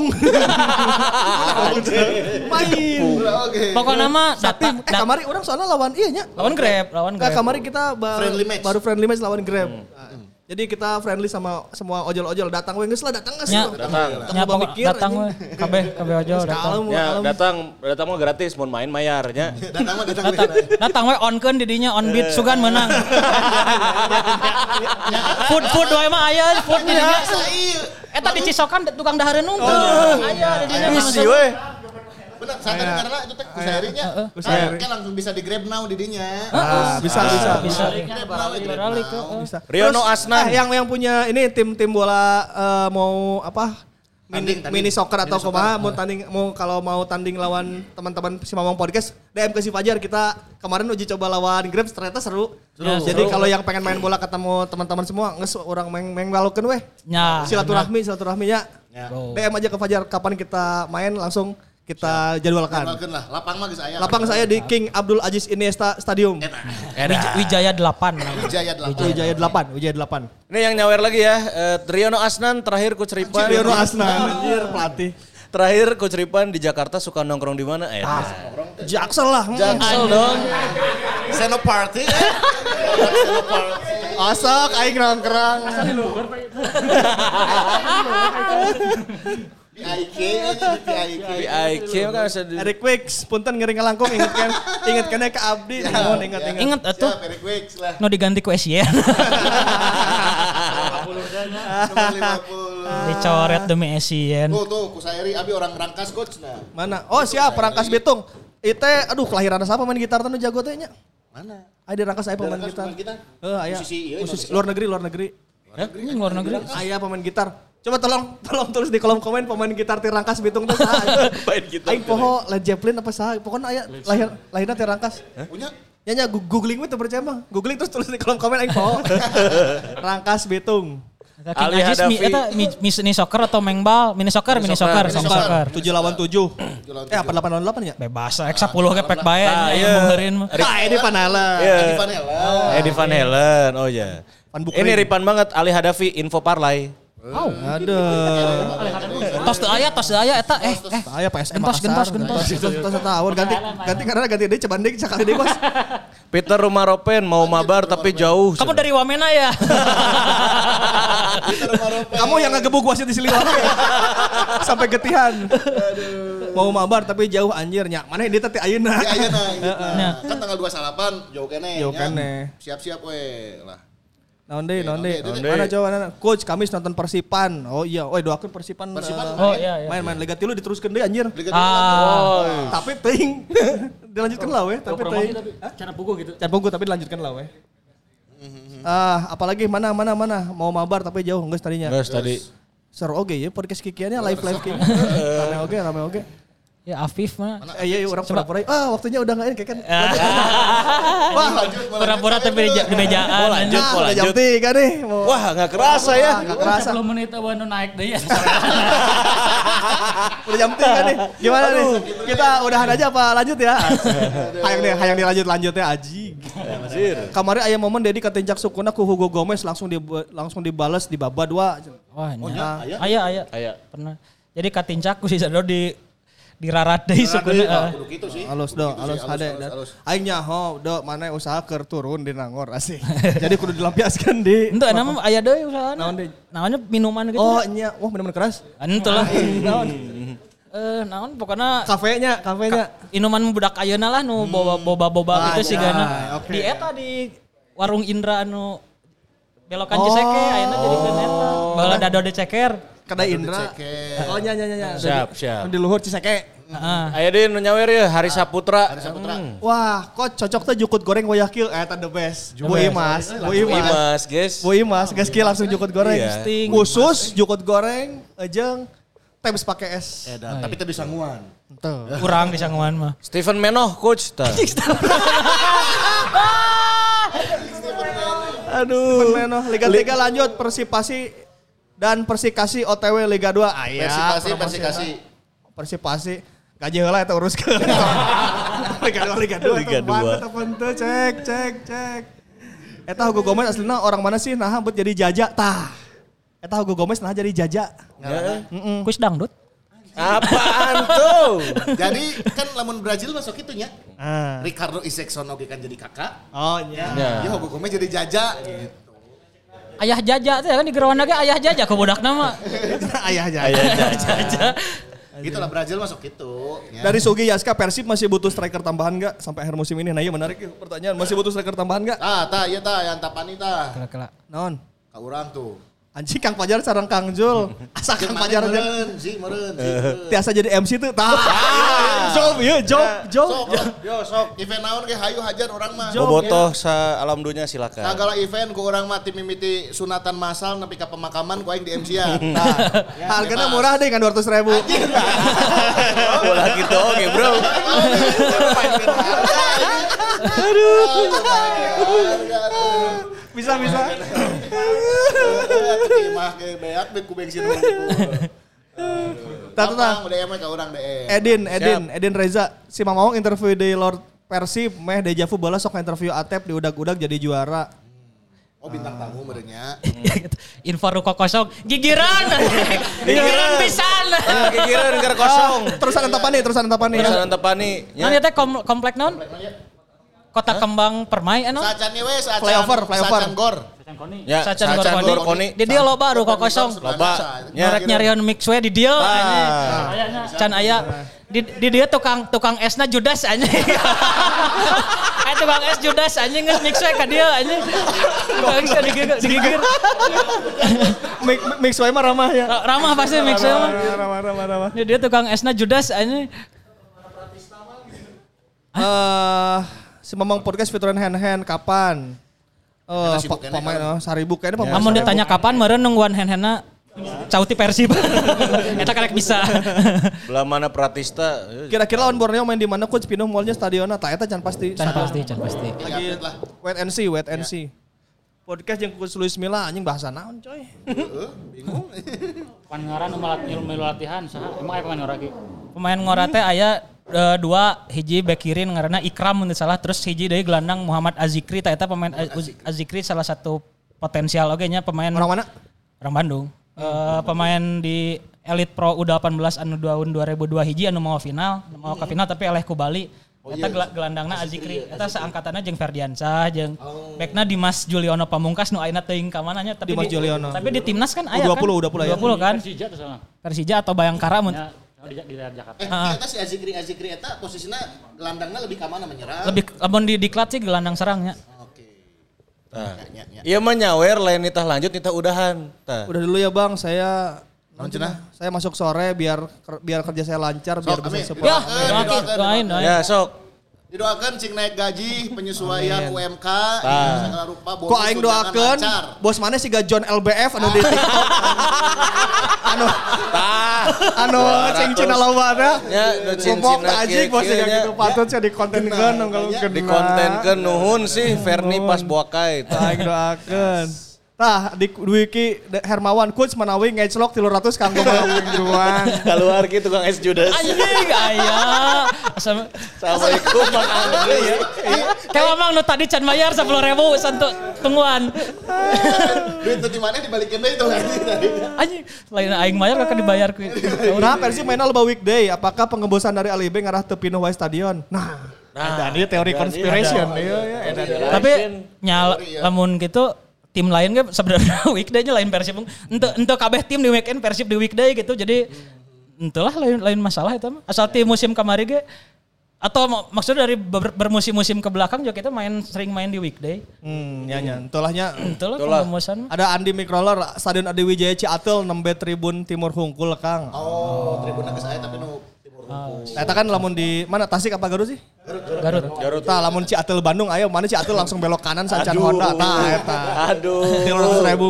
Main. Oke. Pokoknya mah datang. Eh kamari orang soalnya lawan iya nya. Lawan Grab, lawan Grab. Nah, kamari kita baru friendly match. baru friendly match lawan Grab. Hmm. Jadi kita friendly sama semua ojol-ojol. Datang we geus lah, datang geus. Ya, datang. Ya, pokok datang we. Kabeh kabeh ojol datang. Ya, datang datang mah gratis, mun main mayarnya. Datang mah datang. Datang we onkeun di dinya on beat sugan menang. Food food wae mah aya food di dinya. Eta di Cisokan tukang dahareun nunggu. Aya di dinya. Misi we. Benar, saat tadi karena itu teh kusairinya. Kan langsung bisa di Grab now di dinya. Bisa bisa Bisa. Beralik bisa. Riono Asnan. Eh, yang yang punya ini tim-tim bola uh, mau apa? Mini, Tanding, tanding. mini soccer atau Mini kumaha soccer. mau tanding mau kalau mau tanding lawan teman-teman si Mamang Podcast D M ke si Fajar kita kemarin uji coba lawan Grab ternyata seru. Ya, Jadi seru. kalau yang pengen main bola ketemu teman-teman semua nges orang main main balokeun weh. Ya. Silaturahmi silaturahmi ya. Ya. D M aja ke Fajar kapan kita main langsung kita jadwalkan. Jadwalkeun lah. Lapang mah geus aya. Lapang saya di King Abdul Aziz Iniesta Stadium. Wij- Wijaya delapan. Wijaya delapan. Wijaya delapan, Wijaya delapan. Ini yang nyawer lagi ya. Uh, Riono Asnan terakhir ku ceripan. Riono Asnan anjir pelatih. Terakhir ku ceripan di Jakarta suka nongkrong di mana? Eh, Jaksel lah. Jaksel dong. Seno party. Seno party. Asok aing nongkrong. Di I K aja di I K. Di I K kan bisa di... Eric Wicks, punten ngering ngalangkung ingetkan ingetkan ke abdi. Mohon ingat ingat. Ingat atuh. Siap, Eric Wicks lah. No diganti ku Esien. Nomor lima puluh. Dicoret demi Esien. Tuh tuh kusairi abi orang Rangkas coach nah. Mana? Oh siap, Rangkas Bitung. Ite aduh kelahiran siapa main gitar teh nu jago teh nya? Mana? Aya di Rangkas aya pemain Rangkas gitar. pemain gitar? Heeh, aya. Musisi ieu Musisi Indonesia. luar negeri, luar negeri. Ini luar negeri. Aya pemain gitar. Coba tolong tolong tulis di kolom komen pemain gitar ti Rangkas Bitung teh saha. Main gitar. Aing poho Led Zeppelin apa saha? Pokoknya aya lahir lahirna ti Rangkas. Punya? Nya nya googling we teu percaya mah. Googling terus tulis di kolom komen aing poho. Rangkas Bitung. King Ali Ajis mi, Hadafi. eta mi- mini soccer atau mengbal? Mini soccer, mini soccer, mini soccer. tujuh lawan tujuh. Eh apa delapan lawan delapan ya? Bebas, X sepuluh ke pek bae Ah, nya iya. yang beureun mah. Nah, ini Panala. Iya. Di Vanilla. Eddie Van Halen. Oh ya. Van Bukering. Ini ripan banget Ali Hadafi info parlay. Oh. Aduh. Tos teu aya, tos teu aya eta eh eh. Aya P S M Gentos, gentos, gentos. Gentos tahun ganti ganti karena ganti deui coba deui sakali deui Bos. Peter Rumaropen mau mabar tapi jauh. Kamu dari Wamena ya? Kamu yang ngegebuk wasit di Siliwangi ya? Sampai getihan. Mau mabar tapi jauh anjir nya. Mana dia teh ayeuna. Ya ayeuna nah. Kan tanggal dua puluh delapan jauh kene. Jauh nya. kene. Siap-siap we lah. Naon deui, naon deui. naon deui. Mana coba mana? Coach Kamis nonton Persipan. Oh iya, oi doakeun Persipan. Persipan eh, Oh iya iya. Main-main Liga tilu diteruskeun deui anjir. Liga Ah. Tapi teuing. Dilanjutkan lah weh, tapi teuing. Cara pugu gitu. Can pugu tapi dilanjutkan lah weh. Ah, apalagi mana mana mana mau mabar tapi jauh geus tadinya. Guys tadi. Seru oge ya podcast kikiannya live live kikian. Rame oge, rame oge. Ya Afif mah. Eh iya, iya orang pura-pura. Ah, waktunya udah enggak ini kayak kan. Wah, lanjut. Pura-pura tapi di di mejaan. Oh, lanjut, Nah, oh, udah jam lanjut. tiga nih. Mau- Wah nggak kerasa ya. Nggak kerasa. sepuluh menit awan naik deh ya. Udah jam tiga nih. Gimana nih? Kita udahan aja apa lanjut ya? Hayang deh, hayang dilanjut lanjutnya aji. Kemarin aya momen Dedi katinjak sukuna ku Hugo Gomez langsung di langsung dibales di baba dua. Wah, Oh, nya. nya, aya? Aya aya. Aya. Pernah. Jadi katincak ku si Sado di dirarat deui sukuna. Ah, kudu kitu sih. Halus do, Kudu halus sih, hade. halus, halus. Aing nyaho do mana usaha keur turun di Nangor asik. Jadi kudu dilampiaskan di. Henteu nama aya deui usahaana. Naon deui? Namanya minuman gitu. Oh nya, wah bener-bener keras. Henteu lah. Naon? Eh naon pokokna Kafenya, kafenya. inuman budak ayeuna lah nu boba boba boba Ah, gitu sih ya, gana. oke. Di eta di warung Indra anu belokan Ciseke ayeuna jadi keun eta. Bala dado de ceker. Kedai Indra. Ceker. Oh nya nya nya nya. Siap, siap. Di luhur Ciseke. Heeh. Ayo deh nu nyawer ya Hari Saputra. Hari Saputra. Wah, kok cocok tuh jukut goreng wayah kieu. Eh, the best. Bu Imas, Bu Imas. Imas guys. Bu Imas, geus kieu langsung jukut goreng. Iya. Sting. Khusus jukut goreng, ejeng, teh geus pake es. Edan, tapi teu disangguan. Tuh. Kurang di sangguan mah. Steven Menoh coach. Tah. Aduh. Menoh, Liga tiga lanjut Persipasi dan Persikasi O T W Liga dua. Ah, iya, Persikasi, promosi. persikasi. Persipasi gaji heula eta uruskeun. Liga dua Liga dua Liga dua. teman teh cek cek cek. Eta Hugo Gomez aslina orang mana sih nah buat jadi jaja tah. Eta Hugo Gomez nah jadi jaja. Heeh. Kus dangdut. Apaan tuh? Jadi kan lamun Brazil masuk itunya. Ah. Ricardo Isaacson oge kan jadi kakak. Oh iya. Ya Hugo Gomez jadi jaja gitu. Ayah jaja teh kan di Gerawana ge ayah jaja ke budak nama. Ayah jaja. Ayah Jaja. Gitulah Brazil masuk itu. Ya. Dari Sugi Yaska Persib masih butuh striker tambahan enggak sampai akhir musim ini? Nah iya menarik yuk pertanyaan. Masih butuh striker tambahan enggak? Ah, tah ieu tah yang tapani tah. Kela-kela. Naon? Ka urang tuh. Anjing Kang Pajar sareng Kang Jul. Asa Kang Pajar teh meureun, si meureun, si meureun. tiasa jadi M C tuh. Tah. Job ieu, job, job. Sok, yo sok. Event naon ge hayu hajar urang mah. Bobotoh sa alam dunia silakan. Segala event ku urang mah tim mimiti sunatan masal nepi ka pemakaman ku aing di M C-an. Nah, harganya murah deh kan dua ratus ribu. Bola gitu oke bro. Bisa, bisa. Timah ke beak be ku bensin hungkul. Tatu tah. Udah emang ka urang D M. Edin, Edin, Edin Reza. Si Mamawang interview di Lord Persib, meh dejavu bola sok interview Atep di udag-udag jadi juara. Oh bintang tamu merenya. Info ruko kosong gigiran. Gigiran pisan. Gigiran keur kosong. Terusan Antapani, terusan Antapani. Terusan Antapani. Naon ieu teh kom- komplek naon? Kota Kembang Permai anu? Sacan we sacan. Flyover, flyover. Sacan gor. Ya, Sacan Sacan Gorkoni. Gorkoni. Di dia loba ruko kosong. Loba. Norek nyarion mix we di dia anjing. Can aya di, di dia tukang tukang esna Judas anjing. Aya tukang es Judas anjing geus mix we ka dia anjing. Tukang es digigir. digigir. Mix mix wae mah ramah ya. Ramah pasti mix we mah. Ramah, ramah, ramah. Di dia tukang esna Judas anjing. Eh, si Mamang podcast fituran hand-hand kapan? Eh, sibuk pa- kene, pemain kan? oh, saribuk kayaknya pemain. Namun saribuk. ditanya kapan meureun nungguan hand-handna cauti Persib. Eta karek bisa. Belah mana Pratista. Kira-kira lawan Borneo main di mana coach Pino mallnya stadionna tah eta can pasti. Can pasti, can pasti. Lagi wait and see, wait and see. Podcast yang coach Luis Milla anjing bahasa naon coy. Heeh, bingung. Pan ngaran nu malat ilmu latihan saha? Emang aya pemain ngora ge? Pemain ngora teh aya uh, dua, hiji bek kiri ngaranna Ikram mun teu salah, terus hiji deui gelandang Muhammad Azikri, tah eta pemain Az- Azikri salah satu potensial oge nya pemain Orang mana? orang Bandung. Uh, pemain di Elite Pro U delapan belas anu tahun dua ribu dua hiji anu mau final, anu mau ke final tapi eleh ku Bali. Eta gel- gelandangna Azikri, eta seangkatanna jeung Ferdiansyah jeung bekna Dimas Juliono Pamungkas nu ayeuna teuing ka mananya tapi Dimas di, Juliono. tapi di timnas kan aya U dua kan puluh, U dua puluh ya. U dua puluh kan Persija tuh sana. Persija atau Bayangkara mun Ya, di, di daerah Jakarta. Eh, Ah. eta si Azikri Azikri eta posisinya gelandangnya lebih ka mana menyerang? lebih lamun di diklat sih gelandang serangnya. Oke. Tah. Ya, ya. Iya mah nyawer lain nitah lanjut nitah udahan. Tah. Udah dulu ya Bang, saya Naon cenah? saya masuk sore biar ker- biar kerja saya lancar, biar Sok, bisa amin. support. Ya, Doakan, doain, doakan, doain, doain. Ya sok. Didoakan cing naik gaji, penyesuaian U M K, Tah. segala rupa bonus Kok aing tunjangan doakeun lancar. bos mana sih John L B F anu di TikTok. anu Tah. anu cing cina loba teh. Ya, nu cin-cina Ngomong teh anjing bos kieu-kieu yang nya. gitu patut saya di konten kan kalau kena. Di konten ke nuhun sih Ferni pas buakai. Tah. Aing doakeun. Tah di Wiki Hermawan coach menawi ngeclok tiga ratus kanggo mingguan. Keluar gitu Kang Es Judas. Anjing aya. Asal- Assalamualaikum Bang Andre ya. Kayak Mang nu tadi can bayar sepuluh ribu santu tungguan. Duit itu di mana dibalikin deh itu anjing tadi. Anjing, lain aing bayar kakak dibayar ku. Nah, Persib mainnya loba weekday. Apakah pengembosan dari Ali B ngarah teu pinuh wae stadion? Nah, Nah, ini teori conspiration. Iya, iya, ada. Tapi nyal lamun gitu tim lain kan sebenarnya weekday-nya lain Persib. Ente ente kabeh tim di weekend Persib di weekday gitu. Jadi entahlah lain lain masalah itu mah. Asal tim musim kamari ge atau mak- maksudnya dari ber- bermusim-musim ke belakang juga kita main sering main di weekday. Hmm, ya nya. Entulahnya Entahlah Itulah. pengumusan. ada Andi Microller Stadion Adi Wijaya Ciatel enam B Tribun Timur Hungkul Kang. Oh, tribunnya ke saya tapi nu timur hungkul. Nah, eta kan lamun di mana Tasik apa Garut sih? Garut. Garut. Tah lamun Ciatel Bandung ayo mana Ciatel langsung belok kanan sancan Honda. Tah eta. Aduh. tiga ratus ribu.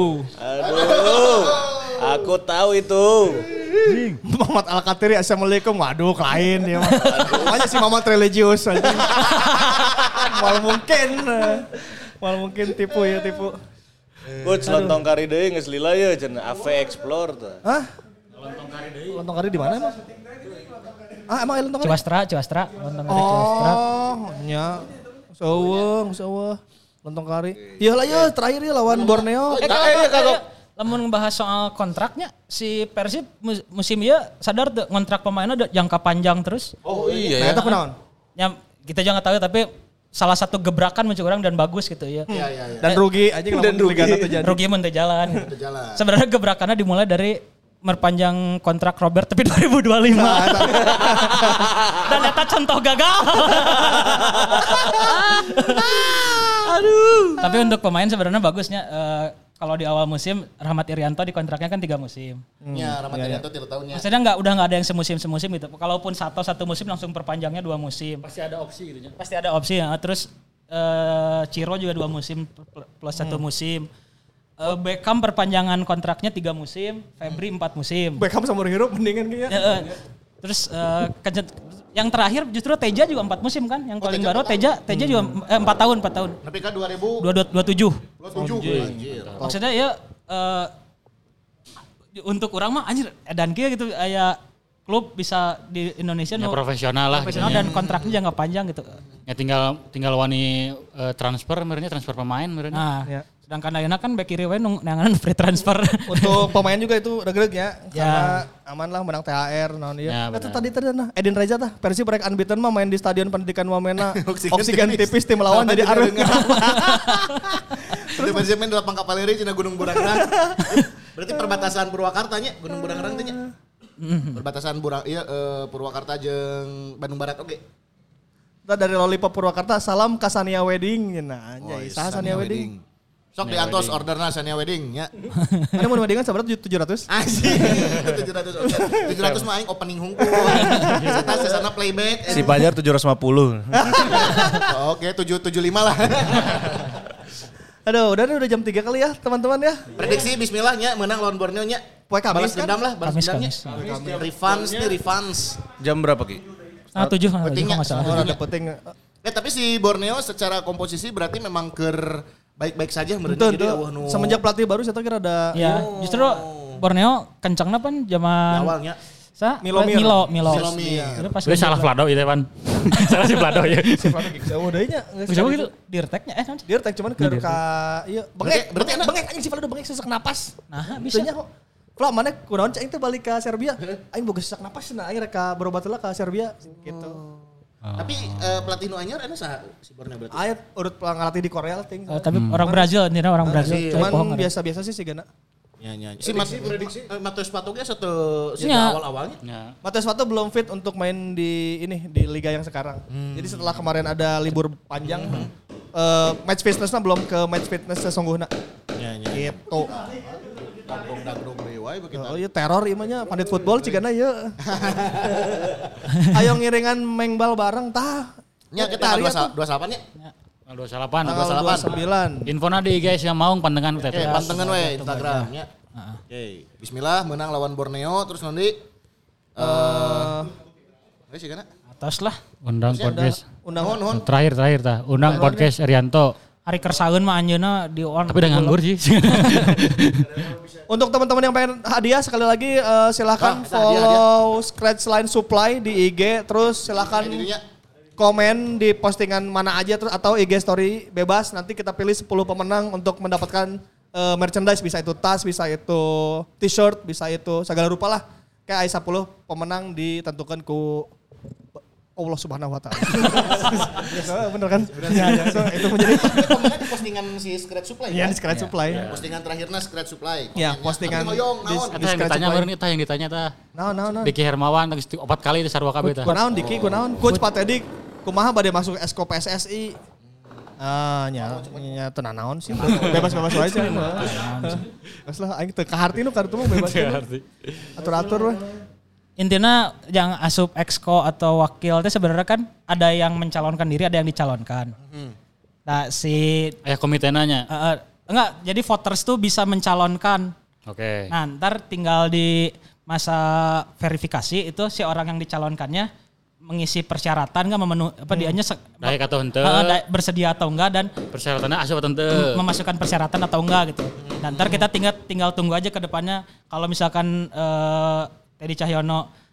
Aduh. Aku tahu itu. Muhammad Al-Katiri Assalamualaikum. Waduh lain ya. Makanya si Muhammad religius aja. Mal mungkin. Mal mungkin tipu ya tipu. Coach lontong kari deui geus lila ye cenah A V Explore tah. Hah? Lontong kari di mana emang? Ah emang Lontong Kari? Ciwastra, Ciwastra, Lontong Kari Ciwastra. Oh, nya. Seuweung, seueuh. Lontong Kari. Iya lah ya, terakhir ya lawan Borneo. Eh, eh, kagok. Lamun ngebahas soal kontraknya, si Persib mus- musim ieu sadar tuh kontrak pemainnya udah jangka panjang terus. Oh iya Nah, ya. eta kunaon? Ya kita juga nggak tahu tapi salah satu gebrakan menurut orang dan bagus gitu ya. Iya iya iya. Dan rugi aja lamun Liga teh jadi. Rugi mun teu jalan. Jalan. Sebenarnya gebrakannya dimulai dari merpanjang kontrak Robert tapi dua ribu dua puluh lima. Dan eta contoh gagal. Aduh. Tapi untuk pemain sebenarnya bagusnya eh, kalau di awal musim Rahmat Irianto di kontraknya kan tiga musim. Ya, Rahmat Irianto tiga tahunnya. Maksudnya nggak udah nggak ada yang semusim semusim gitu. Kalaupun satu satu musim langsung perpanjangnya dua musim. Pasti ada opsi gitu ya. Pasti ada opsi ya. Terus eh, Ciro juga dua musim plus satu musim. Eh, Beckham perpanjangan kontraknya tiga musim, Febri empat musim. Beckham sama Hirup mendingan kayaknya. Ya, eh, terus eh, kencet- yang terakhir justru Teja juga empat musim kan. Yang paling baru Teja Teja juga eh, empat tahun empat tahun. Tapi kan dua ribu Dua dua tujuh. dua puluh tujuh. Anjir. Maksudnya ya eh, untuk orang mah anjir edan kieu gitu aya klub bisa di Indonesia Ya, nu profesional lah profesional gitu ya. dan kontraknya jangka panjang gitu. Ya tinggal tinggal wani eh, transfer merenya transfer pemain merenya. Nah, Ya. sedangkan ayeuna kan bek kiri we nu nanganan free transfer. Untuk pemain juga itu regeg ya. Ya. Karena aman lah menang T H R naon Ya, ieu. benar. Eta tadi tadi nah Edin Reza tah Persib rek unbeaten mah main di Stadion Pendidikan Wamena. Oksigen Oksigen tipis. tipis tim lawan jadi areuh. Terus masih main di lapang Kapaleri cina Gunung Burangrang. Berarti perbatasan Purwakarta nya, Gunung Burangrang teh nya. Perbatasan Burang iya eh, Purwakarta jeung Bandung Barat oke. Kita dari Lollipop Purwakarta salam ka Sania Wedding. Nah, anjay, saha Sania Wedding? Sok diantos orderna Sania Wedding nya. Ada mau weddingan seberapa tujuh ratus? Asik. tujuh ratus order. tujuh ratus mah aing opening hungkul. Sesana sesana playback. Si Pajar tujuh ratus lima puluh. Oke, tujuh tujuh lima lah. Aduh, udah nih, udah jam tiga kali ya teman-teman ya. Prediksi bismillah nya menang lawan Borneo nya. Poe Kamis Balas kan? dendam lah, balas Kamis, dendamnya. Kamis. Refunds nih, refunds. Jam berapa Ki? Setengah tujuh kan Pentingnya. nggak salah. Oh, ada penting. Eh tapi si Borneo secara komposisi berarti memang ker baik-baik saja menurut Betul, jadi betul. eueuh nu Semenjak pelatih baru saya kira ada Ya, justru Borneo kencangnya pan zaman awalnya. sa Milo Mir. Milo Milo. Milomir. Jadi pas Udah salah Vlado itu Pan. Salah si Vlado ya. jauh deh nya. Siapa gitu? Dirteknya eh non? Dia tek cuman ke ka iya bengek, Berarti- berarti bengek, enak. bengek anjing si Valdo bengek sesak napas. Nah, bisa. Bisa nya kok. Vla mana kunaon cai teh balik ka Serbia. Aing boga sesak napas nah aing rek ka berobat heula ka Serbia gitu. Tapi eh, pelatih nu anyar anu saha si Borneo berarti? Aya urut ngelatih di Korea ting. Eh, tapi orang Brazil, ini orang Brazil. sih. Coba pohon Cuman ada. biasa-biasa sih sih gana. Ya ya. Si Mat prediksi Matius Patoga satu si Iya. awal-awalnya. Ya. Matias Vato belum fit untuk main di ini di liga yang sekarang. Jadi setelah kemarin ada libur panjang, eh, match fitnessnya belum ke match fitness sesungguhnya. Ya ya. Gitu. Dagdog deui wae begitu. Oh iya teror ieu mah nya pandit football cigana ieu. Ayo ngiringan mengbal bareng tah. Nya kita Tari dua atuh. dua salapan nya. Tanggal dua puluh delapan. Tanggal dua puluh sembilan. Infona di guys yang mau pandangan Oke, kita. pantengan we Instagram nya. Oke, bismillah menang lawan Borneo terus nanti eh Wes sih kana? Atas lah. Undang podcast. Undang Nuhun nuhun. Terakhir terakhir tah. Undang podcast Arianto. Hari kersaun mah anjeuna di on. Tapi udah nganggur sih. Untuk teman-teman yang pengen hadiah sekali lagi eh, silahkan Ah, ada hadiah, follow Scratch Line Supply di I G terus silahkan Jadinya komen di postingan mana aja terus atau I G story bebas nanti kita pilih sepuluh pemenang untuk mendapatkan eh, merchandise bisa itu tas bisa itu t-shirt bisa itu segala rupa lah kayak ai sepuluh pemenang ditentukan ku Allah Subhanahu wa taala. Ya, bener kan? Ya, ya. So, itu menjadi pemenang di postingan si Scratch Supply. ya kan? di Scratch Supply. Postingan terakhirnya Scratch Supply. Ya, Komennya. postingan Tapi hoyong, di- naon? Eta yang Scratch ditanya Supply. meureun tah yang ditanya tah. Naon naon naon. Diki Hermawan geus opat kali di Sarwa kabeh tah. Kunaon Diki, kunaon? Coach Pak Teddy, kumaha bade masuk Esko P S S I? Ah, nya, nya teu naon sih. Bebas-bebas wae sih. Geus lah aing teu kaharti nu kartu mah bebas. Atur-atur we. Intinya yang asup exco atau wakil teh sebenarnya kan ada yang mencalonkan diri, ada yang dicalonkan. Nah, si Aya komitena nya. eh, eh, enggak, jadi voters tuh bisa mencalonkan. Oke. Nah, ntar tinggal di masa verifikasi itu si orang yang dicalonkannya mengisi persyaratan nggak memenuhi apa dianya se- Daek atau henteu. eh, da- bersedia atau enggak dan Persyaratannya asup atau henteu. memasukkan persyaratan atau enggak gitu. Dan ntar kita tinggal tinggal tunggu aja ke depannya kalau misalkan eh, Teddy Cahyono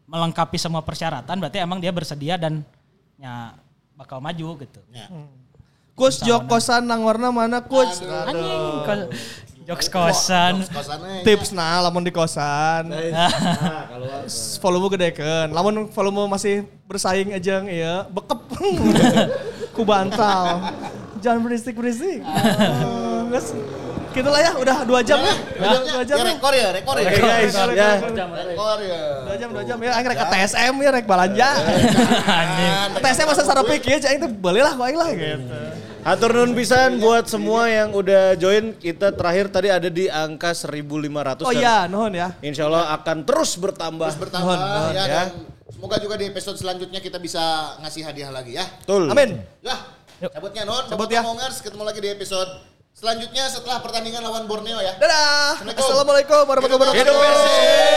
melengkapi semua persyaratan berarti emang dia bersedia dan ya bakal maju gitu. Ya. Coach jok kosan nang warna mana coach? Anjing ko- jokes kosan. Kosannya. Tips nah lamun di kosan. Volume gedekeun. Lamun volume masih bersaing aja iya bekep. Ku bantal. Jangan berisik-berisik. Geus. Gitulah ya, udah dua jam ya. Udah dua jam. Ya rekor ya, rekor ya. Oke guys, ya. Rekor ya. Dua jam, dua jam ya. Aing rek ke T S M ya, rek balanja. T S M masa sarepik ya, aing teh belilah ku aing lah gitu. Hatur nuhun pisan buat semua yang udah join. Kita terakhir tadi ada di angka seribu lima ratus. Oh iya, nuhun ya. Insya Allah akan terus bertambah. Terus bertambah ya, dan semoga juga di episode selanjutnya kita bisa ngasih hadiah lagi ya. Betul. Amin. Ya, cabutnya non. Cabut ya. Ngomongers, ketemu lagi di episode selanjutnya setelah pertandingan lawan Borneo ya. Dadah. Assalamualaikum warahmatullahi wabarakatuh. Hidup Persib.